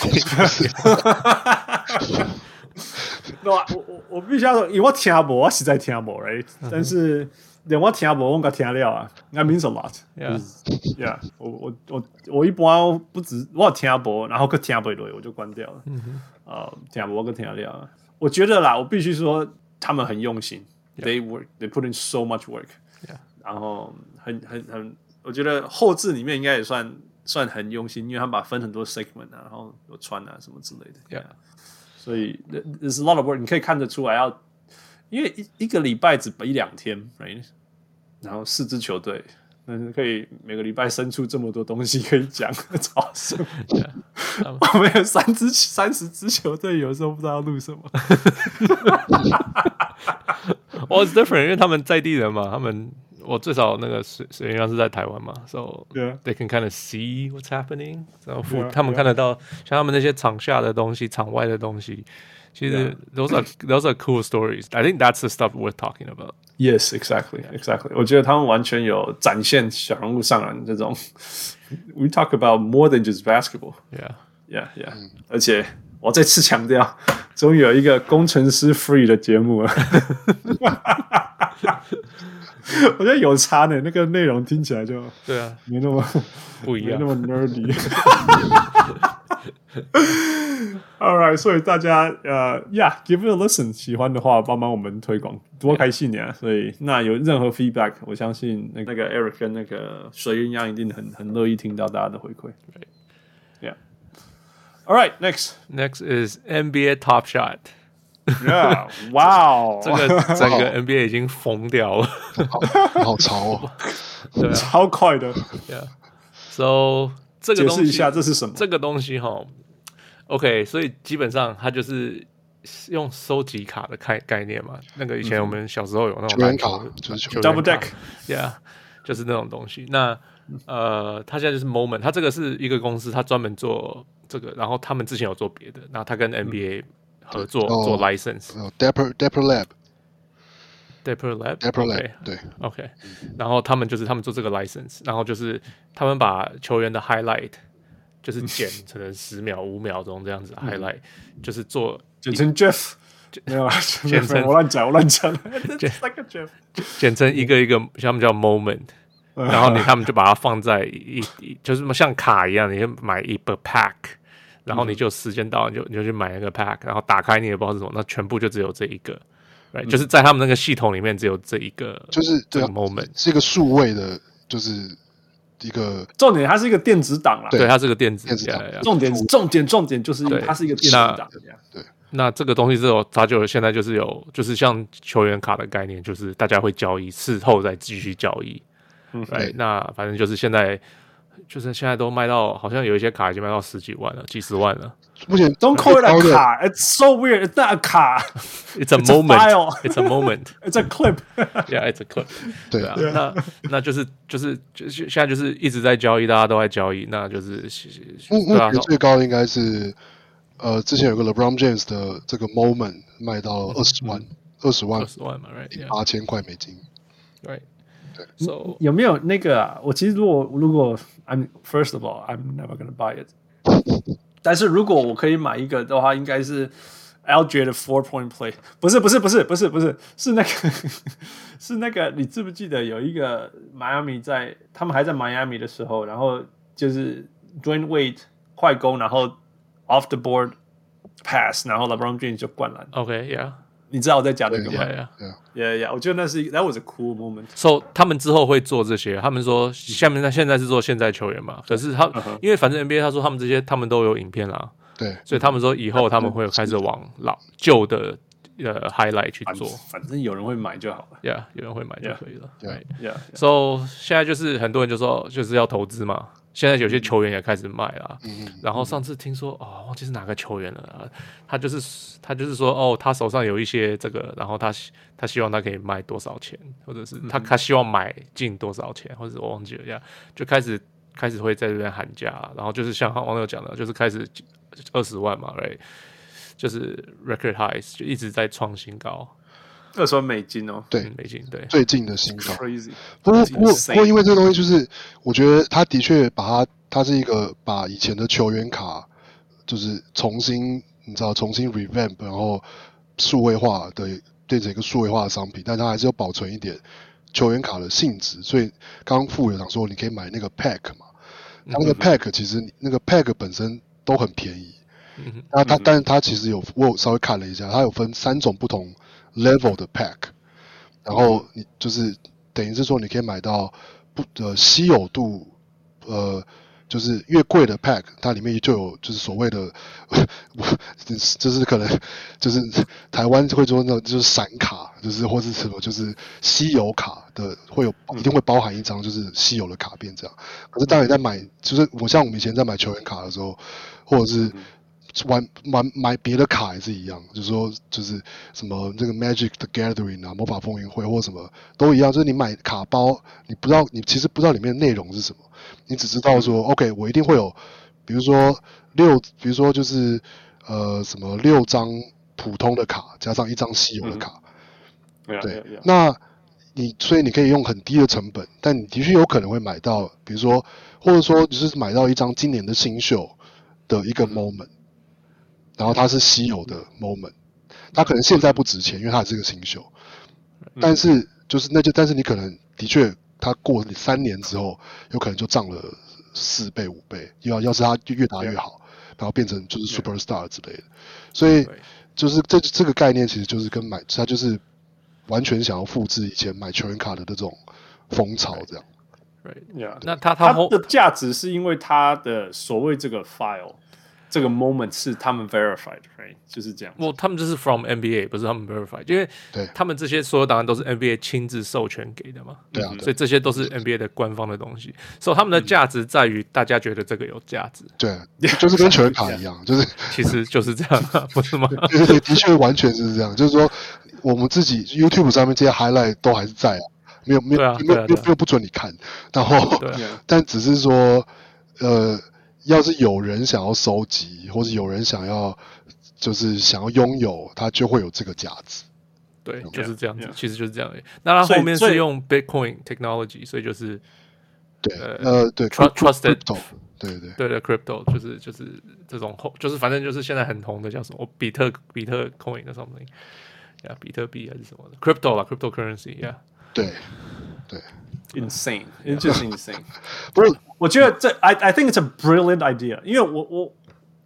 那我我我必須要說，因為我聽無，我實在聽無 ，right？ 但是。連我聽無，我甲聽了啊 ，That means a lot. Yeah, yeah. 我我我我一般不止我聽無，然後佮聽不落，我就關掉了。嗯哼，呃，聽無我佮聽了。我覺得啦，我必須說，他們很用心 ，Yeah. They work, they put in so much work. Yeah. 然後很很很，我覺得後製裡面應該也算算很用心，因為他們把分很多 segment 啊，然後有穿啊什麼之類的。 Yeah. 所以 there's a lot of work， 你可以看得出來要。因為一一個禮拜只比兩天 ，right？ 然後四支球隊，但是可以每個禮拜生出這麼多東西可以講，超神！我們有三支、三十支球隊，有時候不知道要錄什麼。 Well, it's different，因為他們在地人嘛，他們我最少那個水水鴛鴦是在台灣嘛 ，so yeah. they can kind of see what's happening， 然後 yeah, 他們看得到 yeah. 像他們那些場下的東西、場外的東西。其實 those are those are cool stories. I think that's the stuff worth talking about. Yes, exactly, exactly. 我覺得他們完全有展現小人物上籃這種。We talk about more than just basketball. Yeah, yeah, yeah. 嗯、而且我再次強調，終於有一個工程師 free 的節目了。我覺得有差呢，那個內容聽起來就對啊， 沒那麼不一樣， 沒那麼 nerdy。All right， 所以大家呃、uh, ，Yeah， give it a listen， 喜歡的話幫忙我們推廣，多開心呀！ Yeah. 所以那有任何 feedback， 我相信那個 Eric 跟那個水鴛鴦一定很很樂意聽到大家的回饋。Yeah。All right，next next is N B A Top Shot。Yeah， 哇哦， 這個整個 N B A 已經瘋掉了， 好, 好潮哦， 對啊， 超快的。 Yeah，so 這個東西，解釋一下這是什麼？ 這個東西哈。OK， 所以基本上它就是用收集卡的概概念嘛。那個以前我們小時候有那種籃球， 就是 double deck，yeah， 就是那種東西。那呃，它現在就是 Moment， 它這個是一個公司，它專門做這個，然後他們之前有做別的，然後它跟 N B A 合作、嗯、做 license。Dapper Dapper Lab。Dapper Lab，Dapper Lab， 對 ，OK， 然後他們就是他們做這個 license， 然後就是他們把球員的 highlight。就是剪成十秒、五秒鐘這樣子 highlight，、嗯、就是做剪成 Jeff， 沒有啊，剪成我亂講，我亂講，剪 like Jeff， 剪成一個一個，他們叫 moment，、嗯、然後你他們就把它放在一一，就是像卡一樣，你就買一個 pack， 然後你就時間到，你就你就去買那個 pack， 然後打開你也不知道是什麼，那全部就只有這一個。Right, 嗯、就是在他們那個系統裡面只有這一個， 就是這個 moment 是一個數位的，就是一個重點，它是一個電子檔啦。 對，它是個電子電子檔。 Yeah, yeah. 重點重點重點就是它是一個電子檔。 對， 那這個東西之後，它就現在就是有，就是像球員卡的概念，就是大家會交易，事後再繼續交易。嗯，對。那反正就是現在，就是現在都賣到，好像有一些卡已經賣到十幾萬了，幾十萬了。 目前 Don't call it a 卡 ，It's so weird. It's not a 卡 ，It's a moment. It's a moment. It's a clip. Yeah, it's a clip. 对啊，那那就是就是就是現在就是一直在交易，大家都在交易，那就是目目前最高的應該是呃，之前有個 LeBron James 的這個 moment 賣到二十萬，二十萬， 二十萬嘛 ，right？ 八千塊美金 ，right？ 對 ，So 有沒有那個啊？我其實如果如果 I'm first of all, I'm never gonna buy it. 但是如果我可以買一個的話，應該是 L J 的 four point play， 不是不是不是不是不是是那個是那個，你記不記得有一個邁阿密在他們還在邁阿密的時候，然後就是 Dwayne Wade 快攻，然後 off the board pass， 然後 LeBron James 就灌籃。 OK，yeah， 你知道我在講這個嗎 ？Yeah，yeah，yeah， yeah, yeah, 我覺得那是 that was a cool moment. So 他們之後會做這些，他們說下面現在是做現在球員嘛，可是他、uh-huh. 因為反正 N B A 他說他們這些他們都有影片啦， 對， 所以他們說以後他們會開始往老舊的呃 highlight 去做， 反正有人會買就好了 ，Yeah， 有人會買就可以了 ，Right， Yeah， So 現在就是很多人就說就是要投資嘛。現在有些球員也開始賣了，嗯、然後上次聽說哦，忘記是哪個球員了、啊，他就是他就是說哦，他手上有一些這個，然後他他希望他可以賣多少錢，或者是他他希望買進多少錢，或者是我忘記了，就開始開始會在這邊喊價，然後就是像網友講的，就是開始二十萬嘛 ，right， 就是 record highs 就一直在創新高。 二十萬美金哦， 對， 美金對， 最近的新高。 Crazy， 不過不過不過，因為這個東西就是，我覺得他的確把它，它是一個把以前的球員卡，就是重新，你知道，重新 revamp， 然後數位化的變成一個數位化的商品，但它還是要保存一點球員卡的性質。所以剛剛富有講說，你可以買那個 pack 嘛，它那個 pack 其實那個 pack 本身都很便宜。嗯、那它但是它其實有，我有稍微看了一下，它有分三種不同level 的 pack， 然後你就是等於是說你可以買到不呃稀有度呃就是越貴的 pack， 它裡面就有就是所謂的就是可能就是台灣會說那種就是閃卡，就是或是什麼就是稀有卡的會有一定會包含一張就是稀有的卡片這樣。可是當你在買就是我像我們以前在買球員卡的時候，或者是玩玩買別的卡也是一樣，就是說就是什麼這個 Magic the Gathering 啊，魔法風雲會或什麼都一樣，就是你買卡包，你不知道你其實不知道裡面的內容是什麼，你只知道說、嗯、OK 我一定會有，比如說六，比如說就是呃什麼六張普通的卡加上一張稀有的卡，嗯、對， yeah, yeah, yeah. 那你所以你可以用很低的成本，但你的確有可能會買到，比如說或者說就是買到一張今年的新秀的一個 moment。然後它是稀有的 moment， 它可能現在不值錢，因為它是個新秀，但是就是那就但是你可能的確它過三年之後，有可能就漲了四倍五倍，要要是它越打越好，然後變成就是 superstar 之類的，所以就是這這個概念其實就是跟買它就是完全想要複製以前買球員卡的那種風潮這樣。 Right, yeah. 那它它的價值是因為它的所謂這個 file。這個 moment 是他們 verified， right？ 就是這樣。 我、well, 他們就是 from N B A， 不是他們 verified， 因為他們這些所有檔案都是 N B A 親自授權給的嘛。 對啊， 所以這些都是 N B A 的官方的東西。所以他們的價值在於大家覺得這個有價值。 對，就是跟球員卡一樣，就是其實就是這樣、啊，不是嗎？ 對對對，的確完全是這樣。就是說，我們自己 YouTube 上面這些 highlight 都還是在啊，沒有沒有沒有沒有沒有不准你看。然後，但只是說，呃。要是有人想要收集，或是有人想要，就是想要擁有，它就會有這個價值。 對，就是這樣子， yeah, yeah. 其實就是這樣。那它後面是用 Bitcoin technology， 所以就是對呃對 trusted， 對對對的 crypto， 就是就是這種後，就是反正就是現在很紅的叫什麼比特比特 coin 的 something， 呀，比特幣還是什麼的 crypto 啦 ，cryptocurrency，yeah， 對對。 Insane, it's just insane. 不是，我覺得這 I I think it's a brilliant idea， 因為我我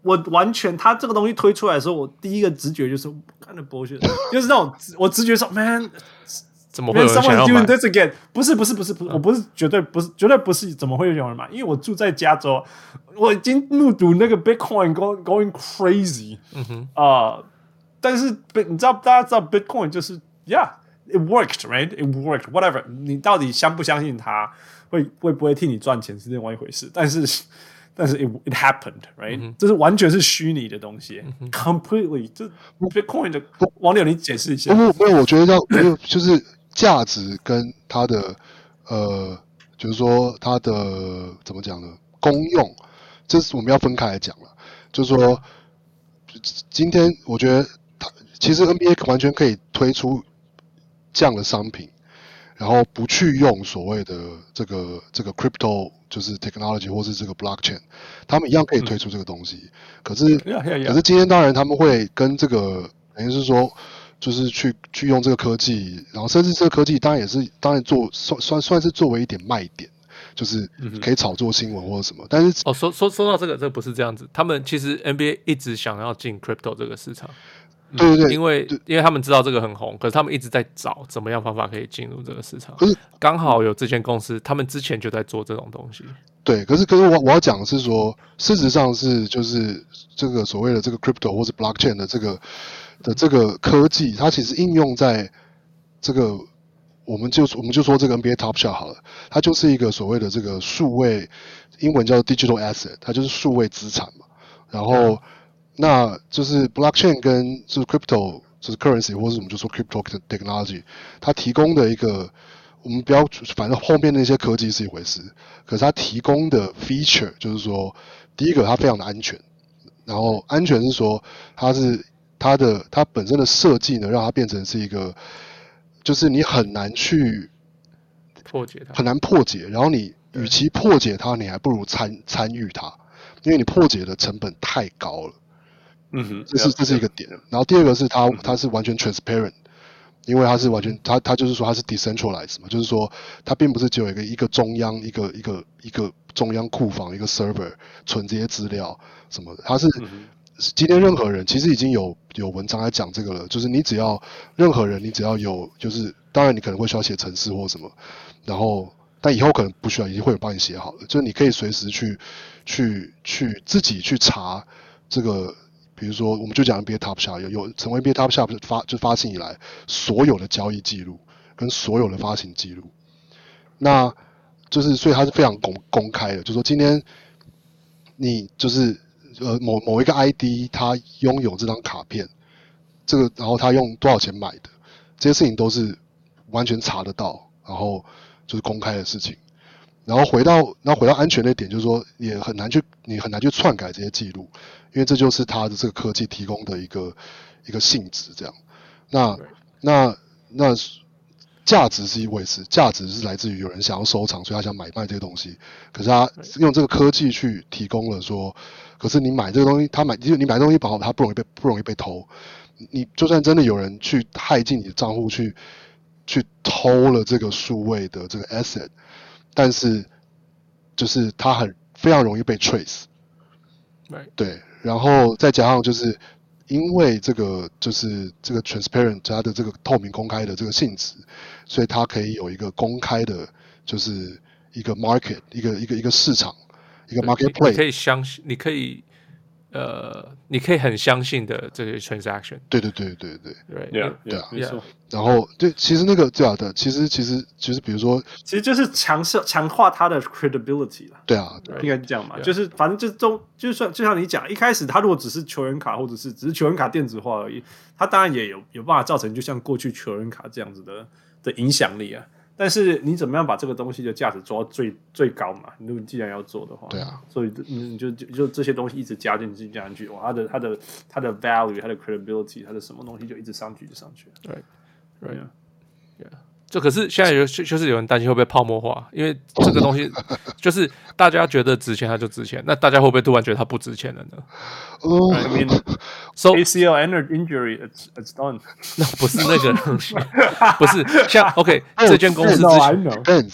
我完全他這個東西推出來的時候，我第一個直覺就是看的 bullshit， 就是那種我直覺說 man。 怎麼會有人想要買 doing this again？ 不是不是不是不是，嗯、我不是絕對不是絕對不是，怎麼會有人買？因為我住在加州，我已經目睹那個 Bitcoin going going crazy。嗯哼啊、呃，但是你知道大家知道 Bitcoin 就是 yeah it worked right it worked whatever。你到底相不相信它會會不會替你賺錢是另外一回事，但是但是 it it happened right，、嗯、這是完全是虛擬的東西、嗯、，completely 這 Bitcoin 的網友你解釋一下。 不不，我覺得要就是價值跟它的呃，就是說它的怎麼講呢？功用，這是我們要分開來講了。就是說，今天我覺得它其實 N B A 完全可以推出這樣的商品，然後不去用所謂的這個這個 crypto 就是 technology 或是這個 blockchain， 他們一樣可以推出這個東西。嗯、可是 yeah, yeah, yeah. 可是今天當然他們會跟這個等於是說。就是去去用這個科技，然後甚至這個科技當然也是當然做算算算是作為一點賣點，就是可以炒作新聞或者什麼。但是哦，說說說到這個，這個不是這樣子。他們其實 N B A 一直想要進 crypto 這個市場， 對對對， 因為因為他們知道這個很紅，可是他們一直在找怎麼樣方法可以進入這個市場。可是剛好有這間公司，他們之前就在做這種東西。 對，可是可是我我要講的是說，事實上是就是這個所謂的這個 crypto 或者 blockchain 的這個。的這個科技，它其實應用在這個，我們就我們就說這個 N B A Top Shot 好了，它就是一個所謂的這個數位，英文叫 digital asset， 它就是數位資產嘛。然後，嗯、那就是 blockchain 跟就是 crypto 就是 currency， 或者我們就說 crypto technology， 它提供的一個，我們不要反正後面那些科技是一回事，可是它提供的 feature 就是說，第一個它非常的安全，然後安全是說它是。它的它本身的設計呢，讓它變成是一個，就是你很難去破解它， 很難破解。然後你與其破解它，你還不如參參與它，因為你破解的成本太高了。嗯哼，這是這是一個點。然後第二個是它它是完全 transparent， 因為它是完全它它就是說它是 decentralized 嘛，就是說它並不是只有一個一個中央一個一個一個中央庫房一個 server 存這些資料什麼的，它是。嗯今天任何人其實已經有有文章來講這個了，就是你只要任何人，你只要有，就是當然你可能會需要寫程式或什麼，然後但以後可能不需要，已經會有幫你寫好了，就是你可以隨時去去去自己去查這個，比如說我們就講 N B A Top Shot 有有成為 N B A Top Shot 發就發行以來所有的交易記錄跟所有的發行記錄，那就是所以它是非常公公開的，就是說今天你就是。呃，某某一個 I D， 他擁有這張卡片，這個，然後他用多少錢買的，這些事情都是完全查得到，然後就是公開的事情。然後回到，然後回到安全的點，就是說也很難去，你很難去篡改這些記錄，因為這就是它的這個科技提供的一個一個性質。這樣，那那那價值是一回事，價值是來自於有人想要收藏，所以他想買賣這個東西。可是他用這個科技去提供了說。可是你買這個東西，他買你買東西保好，它不容易被不容易被偷。你就算真的有人去駭進你的賬戶去去偷了這個數位的這個 asset， 但是就是它很非常容易被 trace。對，然後再加上就是因為這個就是這個 transparent 它的這個透明公開的這個性質，所以它可以有一個公開的，就是一個 market 一個一個一個市場。一個 marketplace， 你可以相信，你可以，呃，你可以很相信的這些 transaction。 對對對對對對， 對啊， 對啊， 沒錯。 然後對，其實那個對啊的，其實其實其實比如說， 其實就是強勢強化它的 credibility 啦。 對啊， 應該這樣嘛，就是反正就都就算就像你講，一開始他如果只是球員卡或者是只是球員卡電子化而已，他當然也有有辦法造成就像過去球員卡這樣子的的影響力啊。但是你怎麼樣把這個東西的價值做到最最高嘛？如果既然要做的話， 對啊， 所以你就就就這些東西一直加進去加進去，哇，它的它的它的 value， 它的 credibility， 它的什麼東西就一直上去，就上去。 對，對呀，對啊。這可是現在有就是有人擔心會不會泡沫化，因為這個東西就是大家覺得值錢它就值錢，那大家會不會突然覺得它不值錢了呢？ 哦 I mean, so A C L injury, it's it's done。 那不是那個東西，不是像 OK 這間公司之前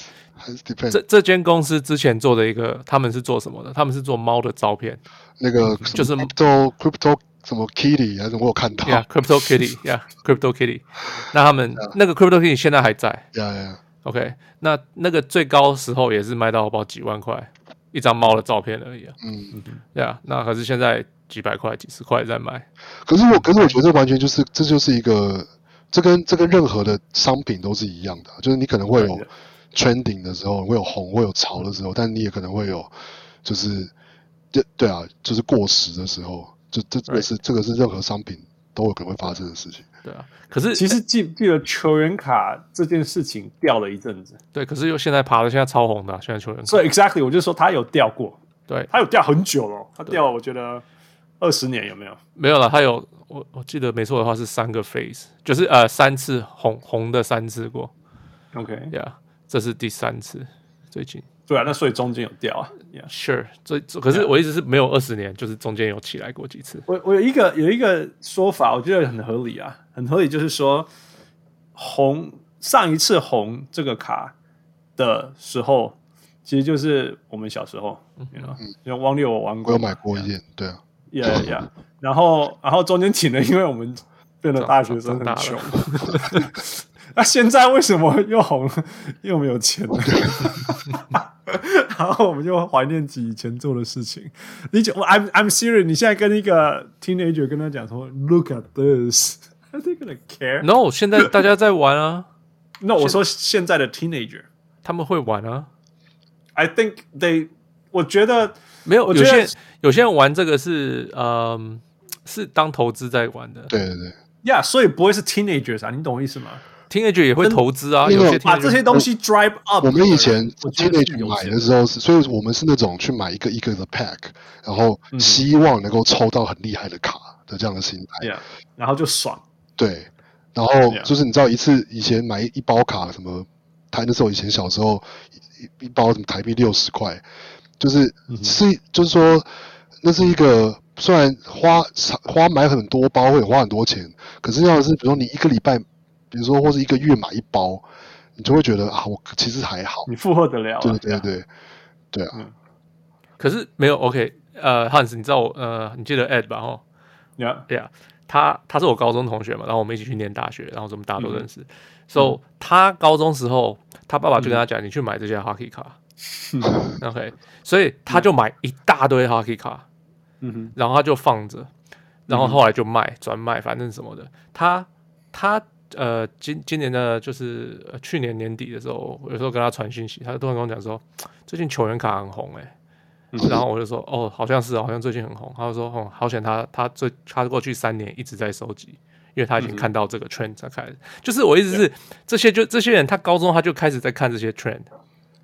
還是 depend？ 這這間公司之前做的一個，他們是做什麼的？他們是做貓的照片， 那個就是 crypto crypto 什麼 kitty 還是我有看到 ，yeah，crypto kitty，yeah，crypto kitty。那他們、yeah. 那個 crypto kitty 現在還在 ，yeah yeah。 OK， 那那個最高時候也是賣到不知道幾萬塊一張貓的照片而已啊。嗯嗯，對啊，那可是現在幾百塊、幾十塊在賣。 可是我，可是我覺得這完全就是，這就是一個，這跟這跟任何的商品都是一樣的，就是你可能會有 trending 的時候，會有紅，會有潮的時候，但你也可能會有，就是，對對啊，就是過時的時候。這這這個是這個是任何商品都有可能會發生的事情。 對啊，可是其實記記得球員卡這件事情掉了一陣子。 對，可是又現在爬的現在超紅的、啊，現在球員卡。 所以 exactly 我就說他有掉過， 對， 他有掉很久了，他掉了我覺得二十年有沒有？ 沒有了，他有我我記得沒錯的話是三個 phase， 就是呃三次紅紅的三次過。 OK， yeah， 這是第三次，最近。 對啊，那所以中間有掉啊 ，Yeah， Sure， 所以可是我一直是沒有二十年，就是中間有起來過幾次。 我我有一個有一個說法，我覺得很合理啊，很合理，就是說紅上一次紅這個卡的時候，其實就是我們小時候，嗯，因為汪六我玩過， 我有買過一件，對啊 ，Yeah Yeah， 然後然後中間停了，因為我們變得大學生很窮。那、啊、現在為什麼又紅了？因為我們有錢了。然後我們就懷念起以前做的事情。你講 I'm I'm serious， 你現在跟一個 teenager 跟他講說 ，Look at this，are they gonna care？ No， 現在大家在玩啊。 No， 我說現在的 teenager 他們會玩啊。 I think they， 我覺得沒有， 我覺得有些有些人玩這個是嗯是當投資在玩的。 對對對。 Yeah， 所以不會是 teenagers 啊，你懂我意思嗎 ？Teenager 也會投資啊，有些把這些東西 drive up。 我們以前 teenager 買的時候是，所以我們是那種去買一個一個的 pack， 然後希望能夠抽到很厲害的卡的這樣的心態。 Yeah， 然後就爽。 對，然後就是你知道一次以前買一包卡什麼，台那時候以前小時候一一包什麼台幣六十塊，就是、嗯、是就是說那是一個雖然花花買很多包會花很多錢，可是要是比如說你一個禮拜。比如說，或是一個月買一包，你就會覺得啊，我其實還好， 你負荷得了、啊。 對對對，對啊。 嗯、可是沒有 OK， 呃，Hans， 你知道我呃，你記得 Ed 吧？哈 ，Yeah， yeah， 他他是我高中同學嘛，然後我們一起去念大學，然後我們大家都認識。嗯、so、嗯、他高中時候，他爸爸就跟他講、嗯，你去買這些 hockey 卡。嗯、OK， 所以他就買一大堆 hockey 卡，嗯哼，然後他就放着，然後後來就賣轉、嗯、賣，反正什麼的，他他。呃，今今年的就是、呃、去年年底的時候，有時候跟他傳訊息，他突然跟我講說，最近球員卡很紅哎、欸嗯，然後我就說，哦，好像是，好像最近很紅。他就說，哦，好險他他最他過去三年一直在收集，因為他已經看到這個 trend 才開始。嗯、就是我意思是，這些就這些人，他高中他就開始在看這些 trend， 呀、yeah, ，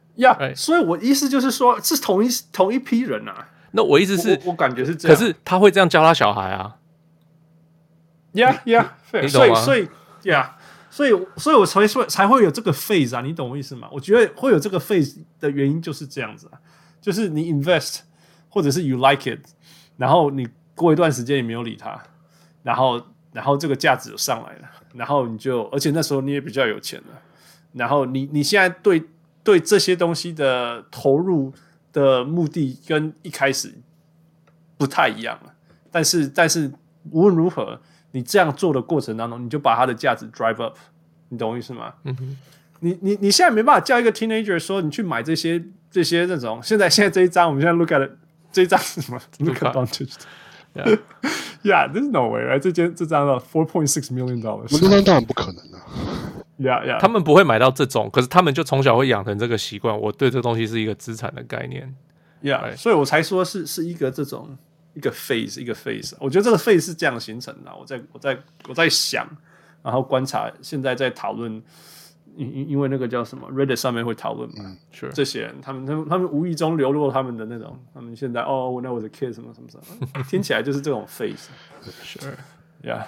所以我意思就是說，是同一同一批人啊。 那我意思是， 我, 我感覺是這樣， 可是他會這樣教他小孩啊。 呀呀， 你懂嗎？ 所以。Yeah， 所以所以我才說才會有這個 phase 啊，你懂我意思嗎？我覺得會有這個 phase 的原因就是這樣子啊，就是你 invest 或者是 you like it， 然後你過一段時間你沒有理它，然後然後這個價值就上來了，然後你就而且那時候你也比較有錢了，然後你你現在對對這些東西的投入的目的跟一開始不太一樣了，但是但是無論如何。你這樣做的過程當中，你就把它的價值 drive up， 你懂我意思嗎？嗯哼，你你你現在沒辦法叫一個 teenager 說你去買這些這些那種，現在現在這一張，我們現在 look at it, 這一張是什麼 ？Look advantage，yeah yeah， there's no way，right？ 這間這張的 four point six million dollars， 這張當然不可能啊。 Yeah yeah， 他們不會買到這種，可是他們就從小會養成這個習慣，我對這個東西是一個資產的概念。 Yeah， 所以我才說是是一個這種。一個 phase 一個 phase， 我覺得這個 phase 是這樣形成的。我在我在我在想，然後觀察，現在在討論，因因為那個叫什麼 Reddit 上面會討論嘛，嗯，這些人他們他們他們無意中流露他們的那種，他們現在哦，when I was a kid 什麼什麼什麼，聽起來就是這種 phase。Sure, yeah.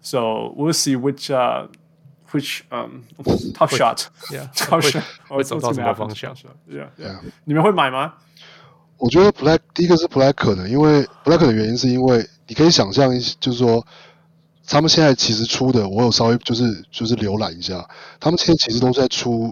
So we'll see which uh which um tough shot, yeah, tough shot 會走到什麼方向 ？Yeah, yeah. 你們會買嗎？ 我覺得不太，第一個是不太可能，因為不太可能的原因是因為你可以想象，就是說他們現在其實出的，我有稍微就是就是瀏覽一下，他們現在其實都是在出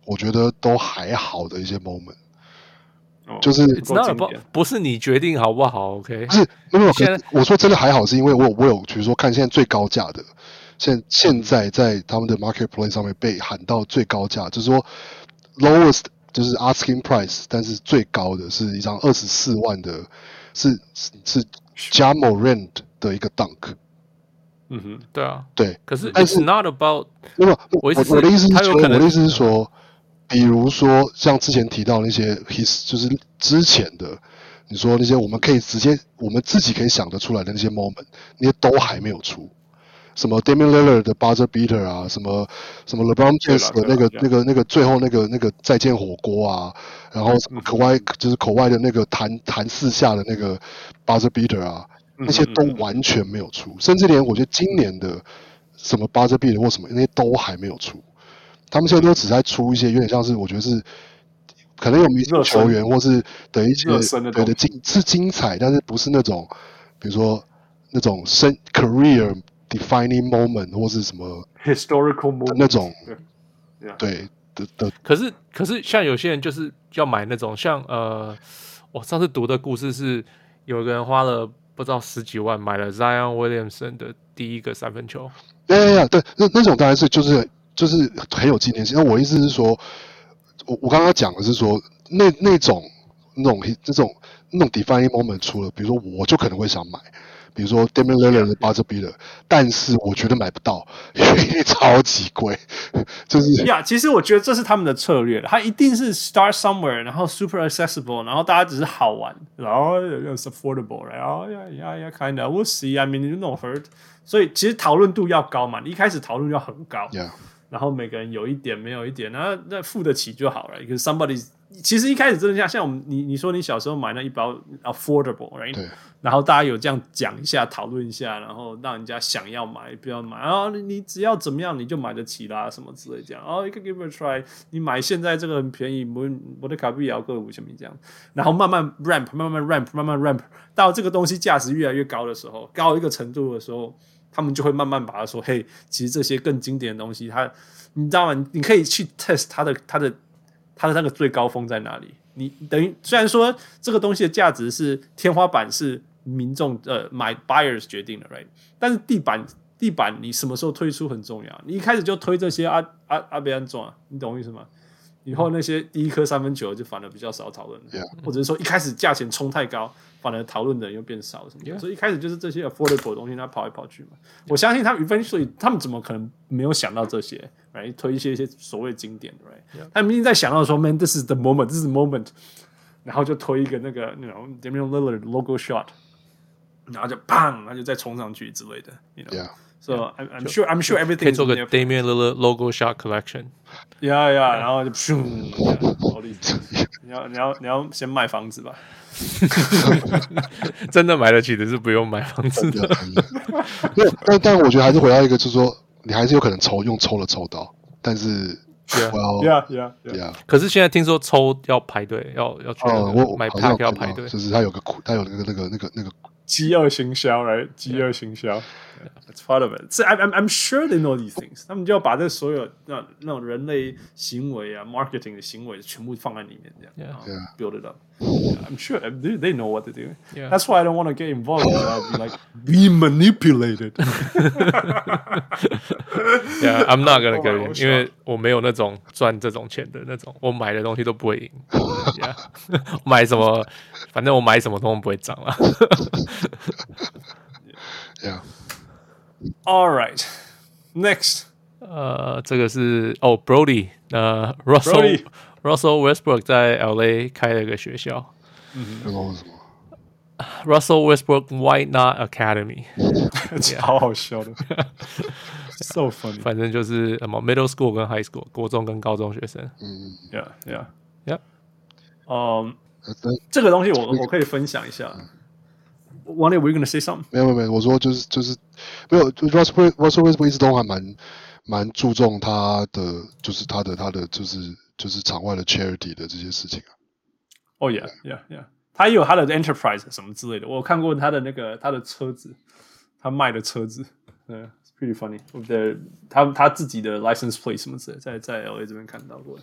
我覺得都還好的一些 moment。就是 It's not about, 不是你決定好不好 ，OK？ 不是，沒有，我說真的還好，是因為我我有比如說看現在最高價的，現現在在他們的 marketplace 上面被喊到最高價，就是說 lowest 就是 asking price， 但是最高的是一張二十四萬的，是是 Ja Morant 的一個 dunk。 嗯哼，對啊， 對， 可是 It's not about， 沒有，我我的意思是說，我的意思是說。比如說，像之前提到那些 his 就是之前的，你說那些我們可以直接我們自己可以想得出來的那些 moment， 那些都還沒有出。什麼 Damian Lillard 的 buzzer beater 啊，什麼什麼 LeBron James 的那個那個那個最後那個那個再見火鍋啊，然後什麼口外就是口外的那個彈彈四下的那個 buzzer beater 啊，那些都完全沒有出，甚至連我覺得今年的什麼 buzzer beater 或什麼那些都還沒有出。他們現在都只在出一些有點像是，我覺得是可能有明星球員或是的一些對的精是精彩，但是不是那種比如說那種生 career defining moment 或是什麼 historical moment 那種對的的。 可是可是像有些人就是要買那種像呃，我上次讀的故事是有個人花了不知道十幾萬買了 Zion Williamson 的第一個三分球。 對對對，那那種当然是就是。就是很有紀念性。那我意思是說，我我剛剛講的是說，那那種那種這種那種 defining moment 出了，比如說我就可能會想買，比如說 Damian Lillard 的 buzzer beater， 但是我覺得買不到，因為超級貴。就是呀， yeah, 其實我覺得這是他們的策略，他一定是 start somewhere， 然後 super accessible， 然後大家只是好玩，然後 it's affordable， 然後 yeah yeah yeah kind of we'll see，I mean you don't hurt， 所以其實討論度要高嘛，你一開始討論要很高。 Yeah。 然後每個人有一點沒有一點，然後那付得起就好了。因為 somebody 其實一開始真的像像我們你你說你小時候買那一包 affordable，right？ 對。 然後大家有這樣講一下，討論一下，然後讓人家想要買，不要買。然後你只要怎麼樣你就買得起啦，什麼之類這樣。哦，一個 give it a try， 你買現在這個很便宜，我我的卡幣也要個五千米這樣。然後慢慢 ramp， 慢慢 ramp， 慢慢 ramp， 到這個東西價值越來越高的時候，高一個程度的時候。他們就會慢慢把它說，嘿，其實這些更經典的東西，它，你知道嗎？你可以去 test 它的、它的、它的那個最高峰在哪裡？你等於雖然說這個東西的價值是天花板是民眾呃買 buyers 決定的 ，right？ 但是地板地板你什麼時候推出很重要。你一開始就推這些阿阿阿別安裝啊，你懂我意思嗎？以後那些第一顆三分球就反而比較少討論了， yeah. 或者是說一開始價錢衝太高，反而討論的人又變少什麼的。Yeah. 所以一開始就是這些 affordable 的東西，他跑來跑去嘛。Yeah. 我相信他們 eventually 他們怎麼可能沒有想到這些 ，right？ 推一些一些所謂經典的 ，right？ Yeah. 他們一定在想到說 ，man， this is the moment，this is the moment， 然後就推一個那個那種 Damian Lillard logo shot， 然後就砰，然後就再衝上去之類的 ，you know。So yeah. I'm, I'm sure I'm sure everything 可以做個 Damian Lillard logo shot collection。Yeah yeah， 然後就咻，你要你要你要先賣房子吧。 真的買得起的是不用買房子的。 但但我覺得還是回到一個，就是說你還是有可能抽用抽了抽到，但是 yeah yeah yeah yeah。 可是現在聽說抽要排隊，要要去買 pack 要排队， 就是他有個他有那個那個那個那個飢餓行銷 ，right？ 飢餓行銷。That's part of it. So I'm I'm sure they know these things. 他們就要把這所有那那種人類行為啊、marketing 的行為全部放在裡面，這樣 yeah. build it up. Yeah, I'm sure they they know what to do. Yeah. That's why I don't want to get involved. I'll be like be manipulated. Yeah, I'm not gonna get in， 因為我沒有那種賺這種錢的那種，我買的東西都不會贏。Yeah. 買什麼，反正我買什麼都不會漲了。 Yeah. All right, next. 呃，這個是哦 ，Brody， 呃 ，Russell Brody. Russell Westbrook 在 L A 開了一個學校。 嗯，這個是什麼 ？Russell Westbrook Why Not Academy， 超好笑的，so funny。 反正就是什麼 middle school 跟 high school， 國中跟高中學生。 嗯 ，Yeah, yeah, yeah。 嗯，這個東西我我可以分享一下。Were you gonna say something？ 沒有沒有，我說就是就是沒有。Russell Russell Westbrook 一直都還蠻蠻注重他的，就是他的他的就是就是場外的 charity 的這些事情啊。 哦、oh, yeah yeah yeah， 他也有他的 enterprise 什麼之類的。我有看過他的那個他的車子，他賣的車子，對 ，pretty funny。對，他他自己的 license plate 什麼之類的，在在 L A 這邊看到過。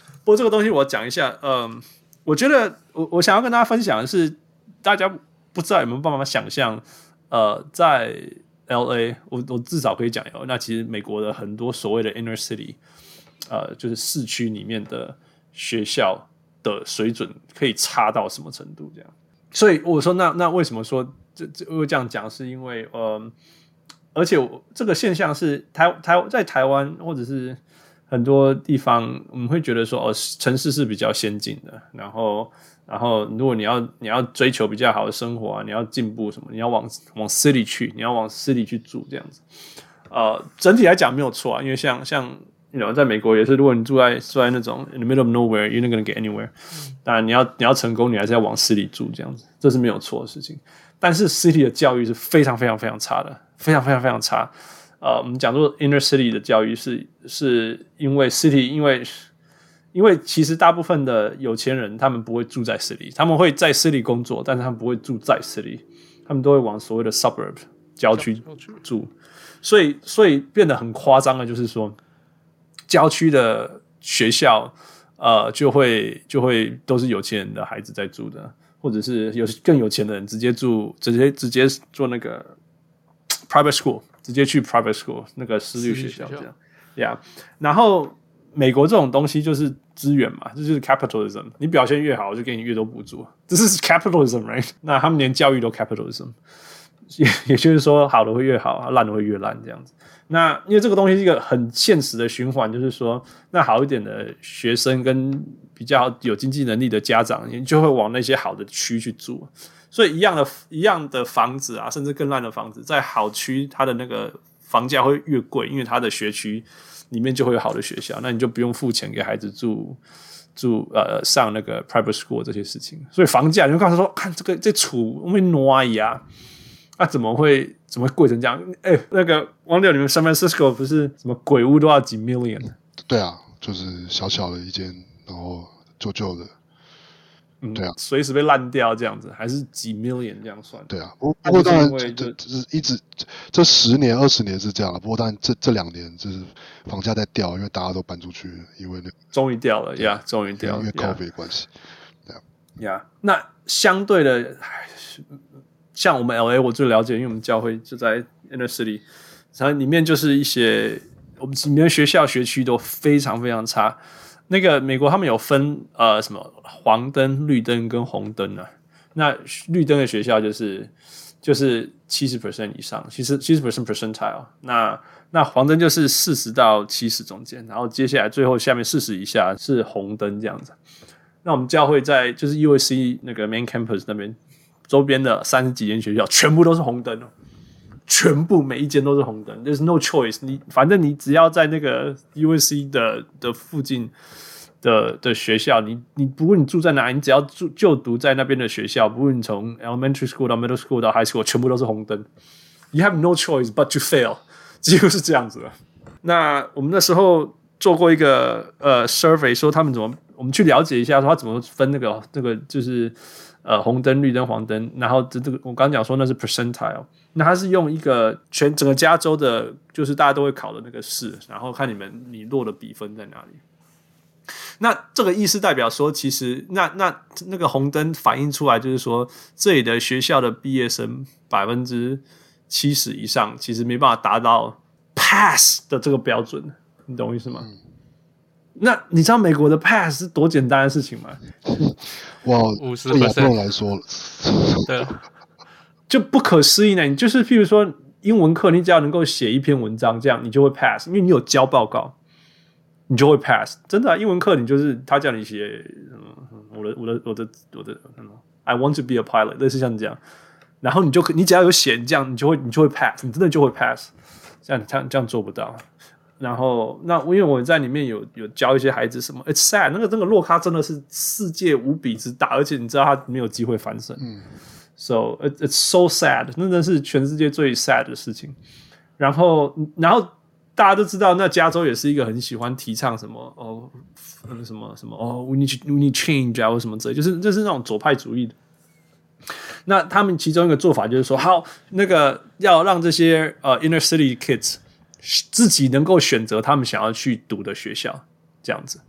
不過這個東西我講一下，嗯，我覺得我我想要跟大家分享的是，大家不知道有沒有辦法想象，呃，在 L A， 我我至少可以講有，那其實美國的很多所謂的 inner city， 呃，就是市區裡面的學校的水準可以差到什麼程度？這樣，所以我說那那為什麼說這這我這樣講？是因為呃，而且我這個現象是台台在台灣或者是很多地方，我們會覺得說哦，城市是比較先進的，然後然後如果你要你要追求比較好的生活啊，你要進步什麼，你要往往 city 去，你要往 city 去住這樣子。呃，整體來講沒有錯啊，因為像像 you know 在美國也是，如果你住在住在那種 in the middle of nowhere, you're not gonna get anywhere。當然你要你要成功，你還是要往 city 住這樣子，這是沒有錯的事情。但是 city 的教育是非常非常非常差的，非常非常非常差。呃，我們講說 inner city 的教育是是因為 city， 因為因為其實大部分的有錢人他們不會住在 city， 他們會在 city 工作，但是他們不會住在 city， 他們都會往所謂的 suburb 郊區住，所以所以變得很誇張的，就是說郊區的學校呃就會就會都是有錢人的孩子在住的，或者是有更有錢的人直接住直接直接做那個 private school。直接去 private school 那個私立學校這樣 ，Yeah。然後美國這種東西就是資源嘛，這就是 capitalism。你表現越好，我就給你越多補助，這是 capitalism，right？ 那他們連教育都 capitalism， 也也就是說，好的會越好，爛的會越爛這樣子。那因為這個東西是一個很現實的循環，就是說，那好一點的學生跟比較有經濟能力的家長，你就會往那些好的區去住。所以一樣的一樣的房子啊，甚至更爛的房子，在好區，它的那個房價會越貴，因為它的學區裡面就會有好的學校，那你就不用付錢給孩子住住呃上那個 private school 這些事情。所以房價，你會告訴他說，看這個這厝我們挪呀，啊怎麼會怎麼會貴成這樣？哎，那個王六，你們 San Francisco 不是什麼鬼屋都要幾 million？ 對啊，就是小小的一間，然後舊舊的。 嗯、 對啊， 隨時被爛掉這樣子，還是幾 million 這樣算？ 對啊，不過當然這這是一直這十年二十年是這樣了。不過當然這這兩年就是房價在掉，因為大家都搬出去了，因為那終於掉了呀，終於掉了， 因為 COVID 關係。對啊， 呀，那相對的，像我們 L A 我最了解，因為我們教會就在 Inner City， 然後裡面就是一些我們裡面學校學區都非常非常差。那個美國他們有分呃什麼黃燈、綠燈跟紅燈啊。那綠燈的學校就是就是七十 percent 以上，其實七十 percent percentile。那那黃燈就是四十到七十中間，然後接下來最後下面四十以下是紅燈這樣子。那我們教會在就是 U S C 那個 main campus 那邊周邊的三十幾間學校全部都是紅燈哦。全部每一間都是紅燈 ，There's no choice 你。你反正你只要在那個 U S C 的的附近的的學校，你你不論你住在哪裡，你只要住就讀在那邊的學校，不論你從 elementary school 到 middle school 到 high school， 全部都是紅燈。You have no choice but to fail， 幾乎是這樣子的。那我們那時候做過一個呃 survey， 說他們怎麼，我們去了解一下，說他怎麼分那個那個就是呃紅燈、綠燈、黃燈，然後這這個我剛剛講說那是 percentile。那他是用一個全整個加州的，就是大家都會考的那個試，然後看你們你落的比分在哪裡。那這個意思代表說，其實那那那個紅燈反映出來，就是說這裡的學校的畢業生百分之七十以上，其實沒辦法達到 pass 的這個標準，你懂我意思嗎？嗯、那你知道美國的 pass 是多簡單的事情嗎？ 哇， 五十對亞洲人來說， 對。 就不可思議呢！你就是譬如說英文課，你只要能夠寫一篇文章，這樣你就會 pass，因為你有交報告，你就會 pass。真的、啊，英文課你就是他叫你寫，嗯，我的我的我的我的、嗯、，I want to be a pilot， 類似像這樣，然後你就你只要有寫這樣，你就會你就會 pass，你真的就會 pass。這樣這樣這樣做不到。然後那因為我在裡面有有教一些孩子什麼 ，it's sad， 那個那個落差真的是世界無比之大，而且你知道他沒有機會翻身。嗯。So it's so sad， 那真的是全世界最 sad 的事情。然後，然後大家都知道，那加州也是一個很喜歡提倡什麼哦，什麼什麼哦 ，we need we need change 啊，或什麼之類，就是就是那種左派主義的。那他們其中一個做法就是說，好，那個要讓這些呃 inner city kids 自己能夠選擇他們想要去讀的學校，這樣子。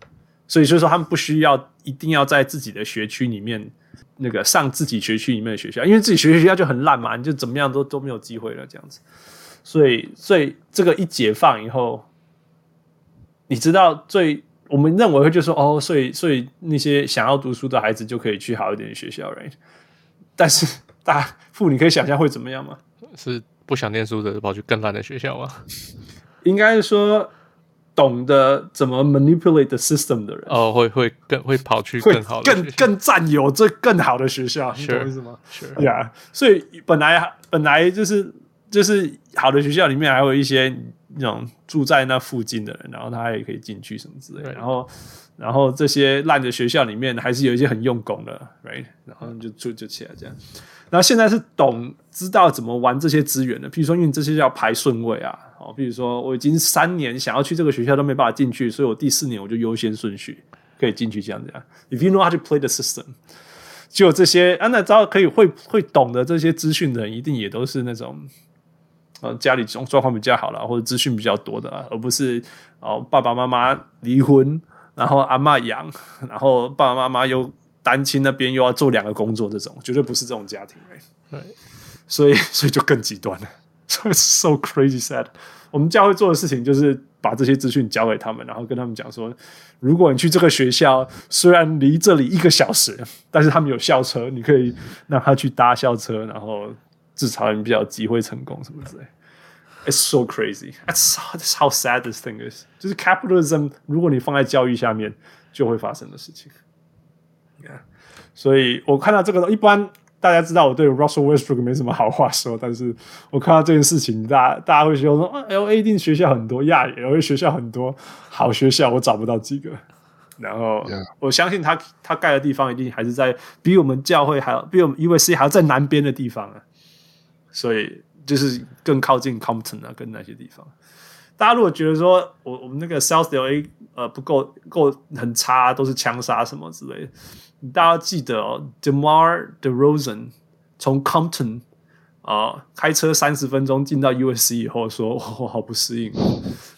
所以就是說他們不需要一定要在自己的學區裡面那個上自己學區裡面的學校，因為自己學學校就很爛嘛，你就怎麼樣都都沒有機會了這樣子。所以，所以這個一解放以後，你知道最我們認為會就說哦，所以所以那些想要讀書的孩子就可以去好一點的學校 ，right？ 但是大父，你可以想象會怎麼樣嗎？ 是不想念書的跑去更爛的學校嗎？ 應該是說懂得怎麼 manipulate the system 的人， 哦，會會更會跑去更好的學校， 更更佔有這更好的學校， sure, 你懂我意思嗎？是呀，所以本來本來就是就是好的學校裡面還有一些那種住在那附近的人，然後他也可以進去什麼之類的，然後然後這些爛的學校裡面還是有一些很用功的 ，right？ 然後就就就起來這樣。然後現在是懂知道怎麼玩這些資源的，譬如說因為這些要排順位啊，哦，譬如說我已經三年想要去這個學校都沒辦法進去，所以我第四年我就優先順序可以進去這樣子啊。If you know how to play the system， 就這些啊，那知道可以會會懂得這些資訊的人，一定也都是那種呃家裡狀狀況比較好啦，或者資訊比較多的啦，而不是哦爸爸媽媽離婚，然後阿嬤養，然後爸爸媽媽又單親那邊又要做兩個工作，這種絕對不是這種家庭，對，所以所以就更極端了。So it's so crazy sad。我們教會做的事情就是把這些資訊交給他們，然後跟他們講說，如果你去這個學校，雖然離這裡一個小時，但是他們有校車，你可以讓他去搭校車，然後至少你比較有機會成功什麼之類。It's so crazy. That's, that's how sad this thing is. 就是 capitalism， 如果你放在教育下面，就會發生的事情。Yeah. 所以我看到這個，一般大家知道我對 Russell Westbrook 沒什麼好話說，但是我看到這件事情，大家大家會說說、啊、L A 一定學校很多，亞 L A 學校很多好學校，我找不到幾個。然後、yeah. 我相信他他蓋的地方一定還是在比我們教會還要比我們 U S C 還要在南邊的地方啊，所以就是更靠近 Compton 啊，跟那些地方。大家如果覺得說我我們那個 South L A 呃不夠夠很差，都是槍殺什麼之類的。大家要記得哦 ，DeMar DeRozan 從 Compton 啊、呃、開車三十分鐘進到 U S C 以後說，說我好不適應、哦。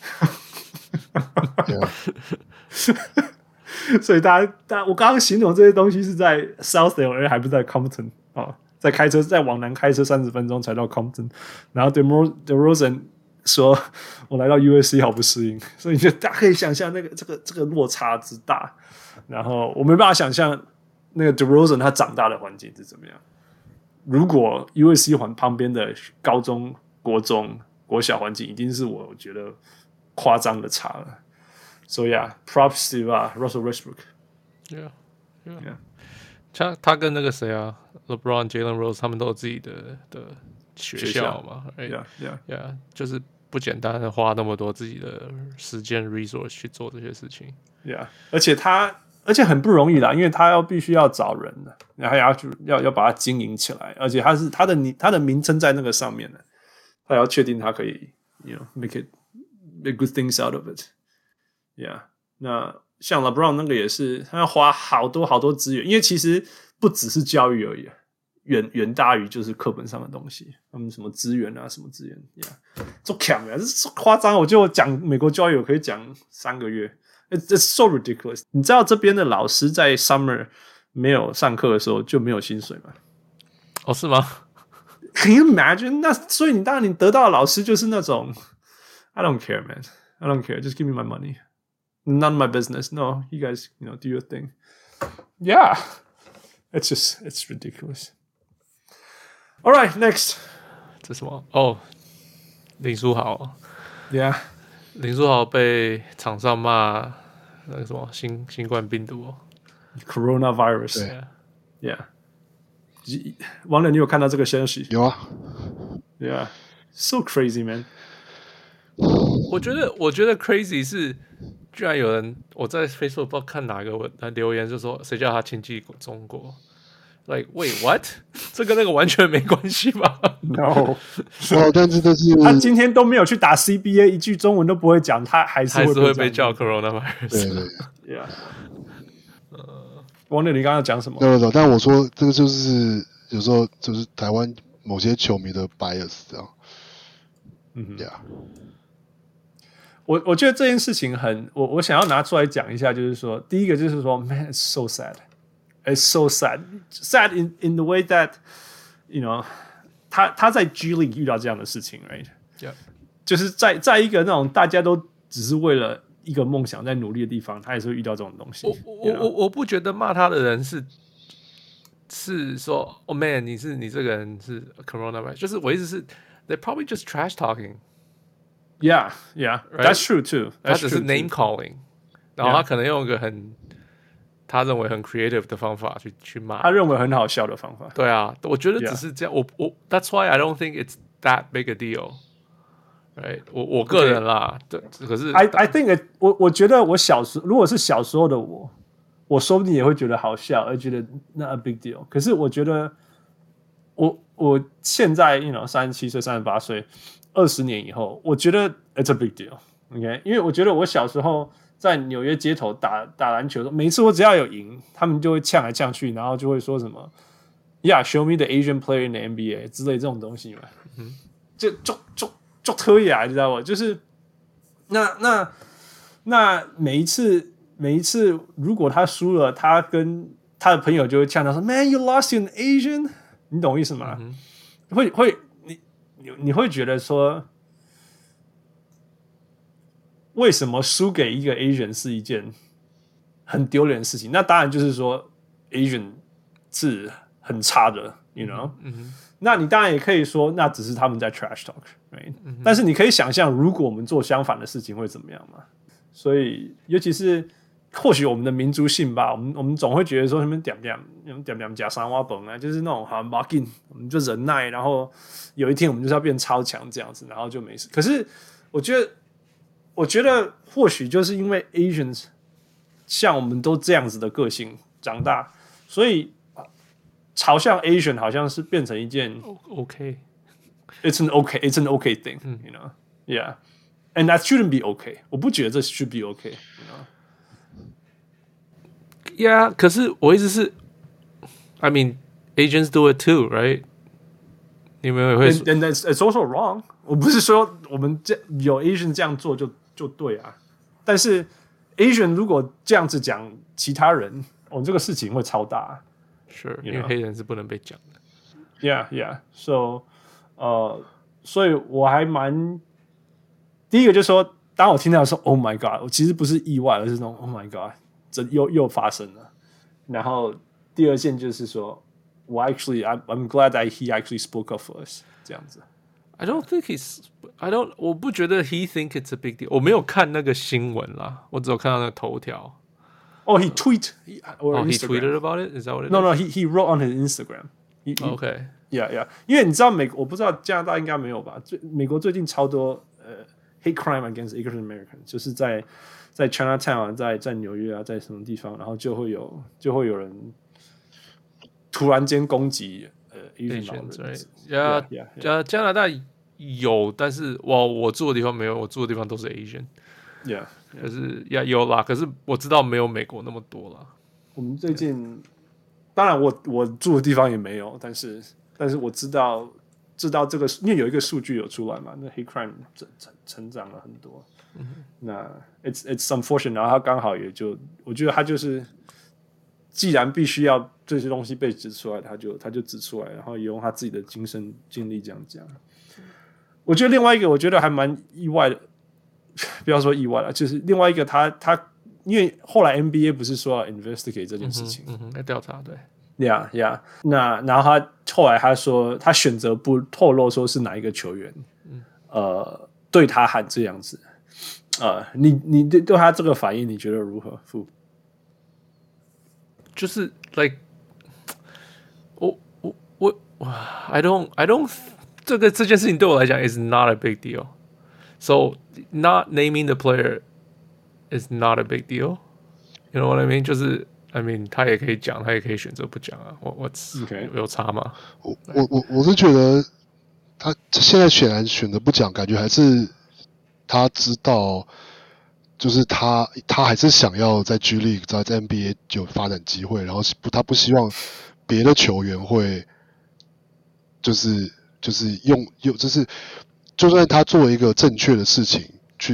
所以大家，大家我剛剛形容這些東西是在 South L A 還不是在 Compton 啊、哦，在開車再往南開車三十分鐘才到 Compton， 然後 DeMar DeRozan 說我來到 U S C 好不適應，所以就大家可以想象那個這個這個落差之大，然後我沒辦法想象。那個 DeRozan 他長大的環境是怎麼樣？如果 U S C 環旁邊的高中、國中、國小環境，一定是我覺得誇張的差了。所以啊 ，props to 啊 ，Russell Westbrook。Yeah, yeah. yeah. 他他跟那個誰啊 ，LeBron、Jalen Rose 他們都有自己的的學校嘛。 Right? Yeah, yeah, yeah. 就是不簡單的花那麼多自己的時間 resource 去做這些事情。 Yeah， 而且他。而且很不容易啦，因為他要必須要找人的，然後要要要把它經營起來，而且他是他的他的名稱在那個上面的，他要確定他可以 ，you know make it make good things out of it，yeah。那像 LeBron 那個也是，他要花好多好多資源，因為其實不只是教育而已，遠遠大於就是課本上的東西，他們什麼資源啊，什麼資源，yeah， 做強啊，這是誇張，我就講美國教育我可以講三個月。It's, it's so ridiculous。你知道這邊的老師在 summer 沒有上課的時候就沒有薪水嗎？ 哦，是嗎 ？Can you imagine？ 那所以你當然你得到的老師就是那種 I don't care, man. I don't care. Just give me my money. None of my business. No, you guys, you know, do your thing. Yeah, it's just it's ridiculous. All right, next. 這是什麼？哦，林書豪。 Yeah. 林書豪被場上罵那個什麼新新冠病毒、哦、 ，Coronavirus。Yeah， 王磊，你有看到這個消息？ 有啊。 Yeah，so crazy, man。 我覺得，我覺得 crazy 是，居然有人我在 Facebook 不知道看哪個文留言，就說誰叫他親近中國。Like wait what？ 這跟那個完全沒關係吧 ？No， 哦，但是這是他今天都沒有去打 C B A， 一句中文都不會講，他還是會被， 還是會被叫 coronavirus。 對對 ，Yeah。呃，王磊，你剛剛講什麼？ 沒有沒有，但我說這個就是有時候就是台灣某些球迷的 bias 這樣。 嗯，Yeah。 我我覺得這件事情很，我我想要拿出來講一下，就是說，第一個就是說 ，man, it's so sad, it's so sad, sad in in the way that, you know, 他他在 G League 遇到這樣的事情 ，right？ Yeah. 就是在在一個那種大家都只是為了一個夢想在努力的地方，他也是會遇到這種東西。 我我我我不覺得罵他的人是是說，哦、oh、man， 你是你這個人是 coronavirus， 就是我意思是 ，they probably just trash talking。Yeah, yeah, right? That's true too. That's 他只是 name calling， 然後他可能用一個很他認為很 creative 的方法去去罵， 他認為很好笑的方法。 對啊，我覺得只是這樣。Yeah. 我我 That's why I don't think it's that big a deal。Right， 我我個人啦， okay. 對，可是 I I think it, 我我覺得我小時如果是小時候的我，我說不定也會覺得好笑，而覺得 not a big deal。可是我覺得我我現在 you know 三十七歲、三十八歲。二十年以後，我覺得 it's a big deal，OK？、Okay? 因為我覺得我小時候在紐約街頭打打籃球的時候，每次我只要有贏，他們就會嗆來嗆去，然後就會說什麼 "Yeah, show me the Asian player in the N B A" 之類這種東西嘛，嗯、就就就就特意啊，你知道嗎？就是那那那每一次每一次，如果他輸了，他跟他的朋友就會嗆他說 "Man, you lost to an Asian"， 你懂我意思嗎？嗯、會會。你會覺得說，為什麼輸給一個 Asian 是一件很丟臉的事情？那當然就是說 Asian 是很差的 ，you know、嗯。那你當然也可以說，那只是他們在 trash talk，right？、嗯、但是你可以想象，如果我們做相反的事情會怎麼樣嗎？所以，尤其是或許我們的民族性吧，我們我們總會覺得說，他們點點點點加三瓦崩啊，就是那種好像沒緊，我們就忍耐，然後。有一天我們就是要變超強這樣子，然後就沒事。可是我覺得，我覺得或許就是因為 Asians 像我們都這樣子的個性長大，所以嘲笑 Asian 好像是變成一件 OK，It's an OK, It's an OK thing, you know, yeah, and that shouldn't be OK。我不覺得這 should be OK，you know。Yeah， 可是我意思是 ，I mean Asians do it too, right？你們也會 and, and it's, it's also wrong。我不是說我們這有 Asian 這樣做就就對啊，但是 Asian 如果這樣子講其他人，哦，這個事情會超大。 是，因為黑人是不能被講的。 Yeah, yeah. So，呃，所以我還蠻第一個就是說，當我聽到說 "Oh my God"， 我其實不是意外，而是那種 "Oh my God"， 這又又發生了。然後第二件就是說。我 actually, I'm, I'm glad that he actually spoke up for us. 這樣子 I don't think he's, I don't, 我不覺得 he think it's a big deal. 我沒有看那個新聞啦，我只有看到那個頭條。 Oh, he tweet, or oh, he tweeted about it? Is that what it is? No, no, he he wrote on his Instagram. He, he, okay. Yeah, yeah. 因為你知道美，我不知道加拿大應該沒有吧？最美國最近超多呃、uh, hate crime against Asian Americans， 就是在在 Chinatown 在在紐約啊，在什麼地方，然後就會有就會有人。突然間攻擊呃 Asian 老人， 呀呀，加拿大有，但是我我住的地方沒有，我住的地方都是 Asian，yeah， 可是呀有啦，可是我知道沒有美國那麼多啦。 我們最近，當然我我住的地方也沒有，但是但是我知道知道這個，因為有一個數據有出來嘛，那 hate crime 成成成長了很多。嗯、那 it's it's unfortunate， 然後他剛好也就，我覺得他就是。既然必須要這些東西被指出來，他就他就指出來，然後也用他自己的親身經歷這樣講。我覺得另外一個，我覺得還蠻意外的，不要說意外了，就是另外一個他，他他因為後來 N B A 不是說要 investigate 這件事情， 嗯哼，來調查，對 ，yeah yeah。那然後他後來他說，他選擇不透露說是哪一個球員，嗯、呃，對他喊這樣子，呃，你你對對他這個反應，你覺得如何？傅？ 就是 like 我我我 I don't I don't 這個這件事情對我來講 is not a big deal. So not naming the player is not a big deal. You know what I mean? 就是 I mean 他也可以講，他也可以選擇不講啊。我我 Okay. 有差嗎？ 我我我我是覺得他現在顯然選擇不講，感覺還是他知道。就是他，他還是想要在 G League 在 N B A 有發展機會，然後不，他不希望別的球員會，就是就是用用，就是就算他做一個正確的事情去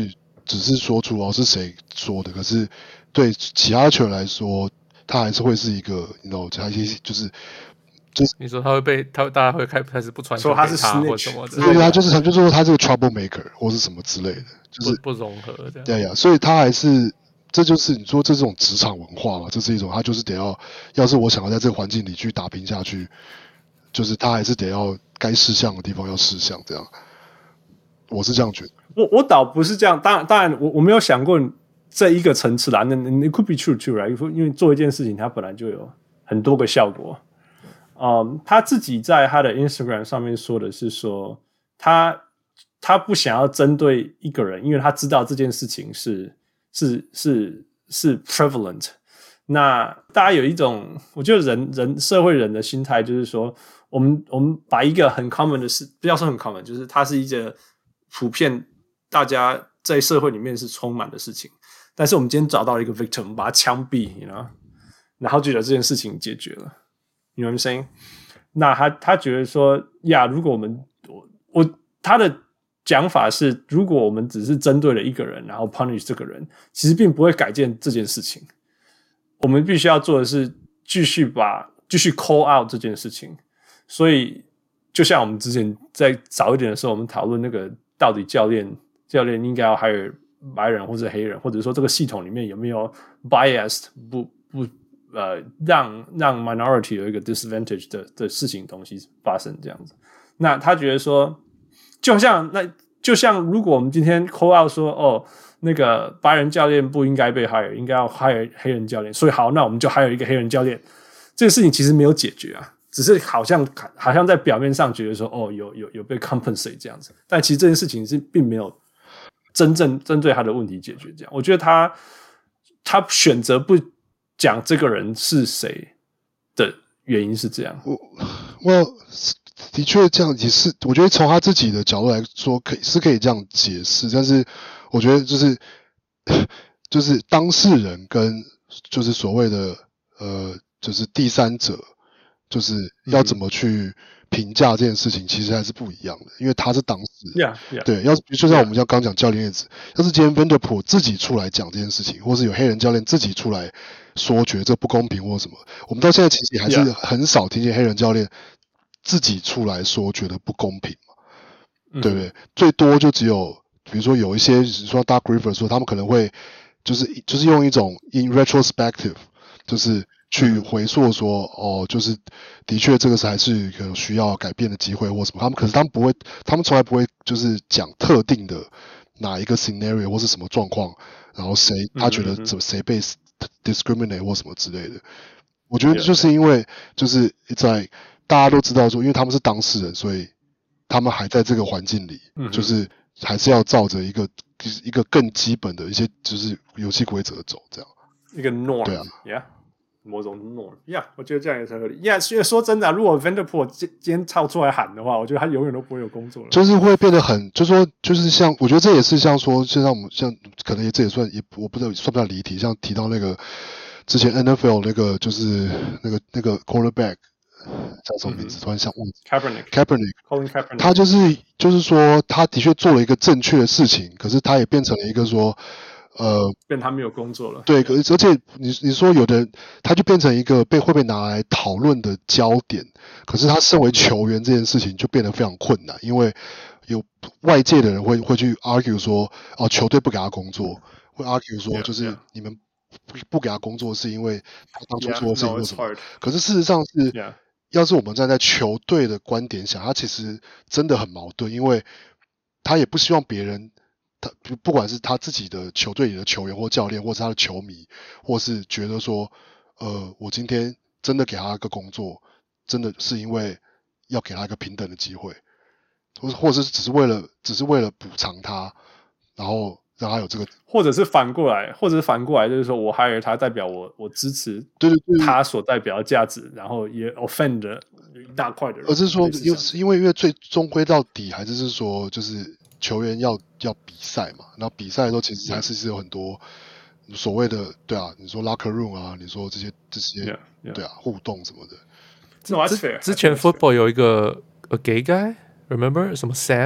只是說出哦是誰說的，可是對其他球員來說，他還是會是一個，你知道，他一些就是就是你說他會被他大家會開開始不傳球給他， 說他是或什麼的， 對，他就是他就是說他這個 trouble maker 或是什麼之類的，就是不不融合這樣。 對呀，所以他還是這就是你說這種職場文化嘛，這是一種他就是得要，要是我想要在這個環境裡去打拼下去，就是他還是得要該識相的地方要識相，這樣，我是這樣覺得。 我我倒不是這樣，當然當然我我沒有想過這一個層次啦，那 it could be true too, right? 因為做一件事情，它本來就有很多個效果。嗯，他自己在他的 Instagram 上面說的是說，他他不想要針對一個人，因為他知道這件事情是是是是 prevalent。那大家有一種，我覺得人人社會人的心態就是說，我們我們把一個很 common 的事，不要說很 common，就是它是一個普遍。大家在社會裡面是充滿的事情，但是我們今天找到了一個 victim， 我們把他槍斃 you know? 然後覺得這件事情解決了 you know what I'm saying？ 那他他覺得說呀，如果我們我我他的講法是，如果我們只是針對了一個人，然後 punish 這個人，其實並不會改變這件事情。我們必須要做的是繼續把繼續 call out 這件事情。所以就像我們之前在早一點的時候，我們討論那個到底教練。教練應該要 hire 白人或者黑人，或者說這個系統裡面有沒有 biased 不不呃讓讓 minority 有一個 disadvantage 的的事情東西發生這樣子。那他覺得說，就像那就像如果我們今天 call out 說哦那個白人教練不應該被 hire， 應該要 hire 黑人教練，所以好，那我們就 hire 一個黑人教練。這個事情其實沒有解決啊，只是好像好像在表面上覺得說哦有有有被 compensate 這樣子，但其實這件事情是並沒有。真正針對他的問題解決，這樣，我覺得他他選擇不講這個人是誰的原因是這樣。 我我的確這樣也是，我覺得從他自己的角度來說，可以是可以這樣解釋，但是我覺得就是就是當事人跟就是所謂的呃就是第三者，就是要怎麼去評價這件事情，其實還是不一樣的，因為他是當事人。 Yeah, yeah. 對，要是就像我們像剛講教練例子，要是今天 Vanderpool 自己出來講這件事情，或是有黑人教練自己出來說覺得這不公平或什麼，我們到現在其實還是很少聽見黑人教練自己出來說覺得不公平嘛， Yeah. 對不對？最多就只有比如說有一些說 Doc Rivers 說他們可能會就是就是用一種 in retrospective 就是去回溯說，哦，就是的確這個是還是有需要改變的機會或什麼。他們可是他們不會，他們從來不會就是講特定的哪一個 scenario 或是什麼狀況，然後誰他覺得怎麼誰被 discriminate 或什麼之類的。我覺得就是因為就是在大家都知道說，因為他們是當事人，所以他們還在這個環境裡，就是還是要照着一個一個更基本的一些就是遊戲規則走，這樣一個 norm， 對啊 ，yeah。某種 norm， 呀、yeah, ，我覺得這樣也是合理。呀、yeah, 因為說真的、啊，如果 Vanderpool 今今天跳出來喊的話，我覺得他永遠都不會有工作了。 就是會變得很，就是說，就是像，我覺得這也是像說，就像我們像，可能也這也算也，我不知道算不算離題。像提到那個之前 N F L 那個就是那個那個 quarterback 叫什麼名字？突然想忘記。Kaepernick，Kaepernick，Colin Kaepernick， 他就是就是說，他的確做了一個正確的事情，可是他也變成了一個說。呃， 變他沒有工作了。 對，可是而且你你說有的人，他就變成一個被會被拿來討論的焦點。可是他身為球員這件事情就變得非常困難，因為有外界的人會會去 argue 說，哦，球隊不給他工作，會 argue 說就是你們不不給他工作是因為他當初做的事情為什麼？ yeah, no, 可是事實上是，yeah. 要是我們站在球隊的觀點想，他其實真的很矛盾，因為他也不希望別人。他不管是他自己的球隊裡的球員或教練，或是他的球迷，或是覺得說，呃，我今天真的給他一個工作，真的是因為要給他一個平等的機會，或或者是只是為了只是為了補償他，然後讓他有這個， 或者是反過來，或者是反過來，就是說我 hire 他，代表我我支持對對對他所代表的價值，然後也 offend 了一大塊的人， 而是說，因為因為因為最終歸到底還是是說就是。球員要要比賽嘛，然後比賽的時候其實還是是有很多所謂的對啊，你說 locker room 啊，你說這些這些 yeah, yeah. 對啊互動什麼的。 No, that's fair. 之前 football 有一個 a gay guy，remember 什麼 Sam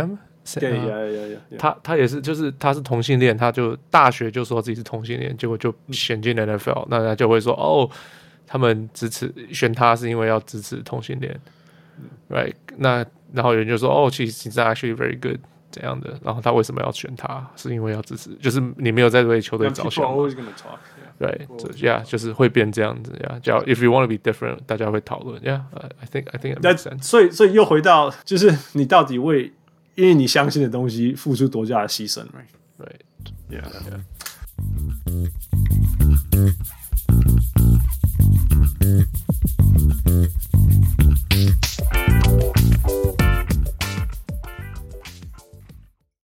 對呀呀呀！ 他他也是，就是他是同性戀，他就大學就說自己是同性戀，結果就選進 N F L，、嗯、那他就會說哦，他們支持選他是因為要支持同性戀、嗯、，right？ 那然後有人就說哦，其實 he's actually very good 怎樣的，然後他為什麼要選他？是因為要支持，就是你沒有在為球隊着想。對，這呀，就是會變這樣子呀。叫 If you want to be different， 大家會討論。Yeah，I think I think it makes sense。 所以所以又回到，就是你到底為因為你相信的東西付出多大的犧牲 ，right？Right，yeah。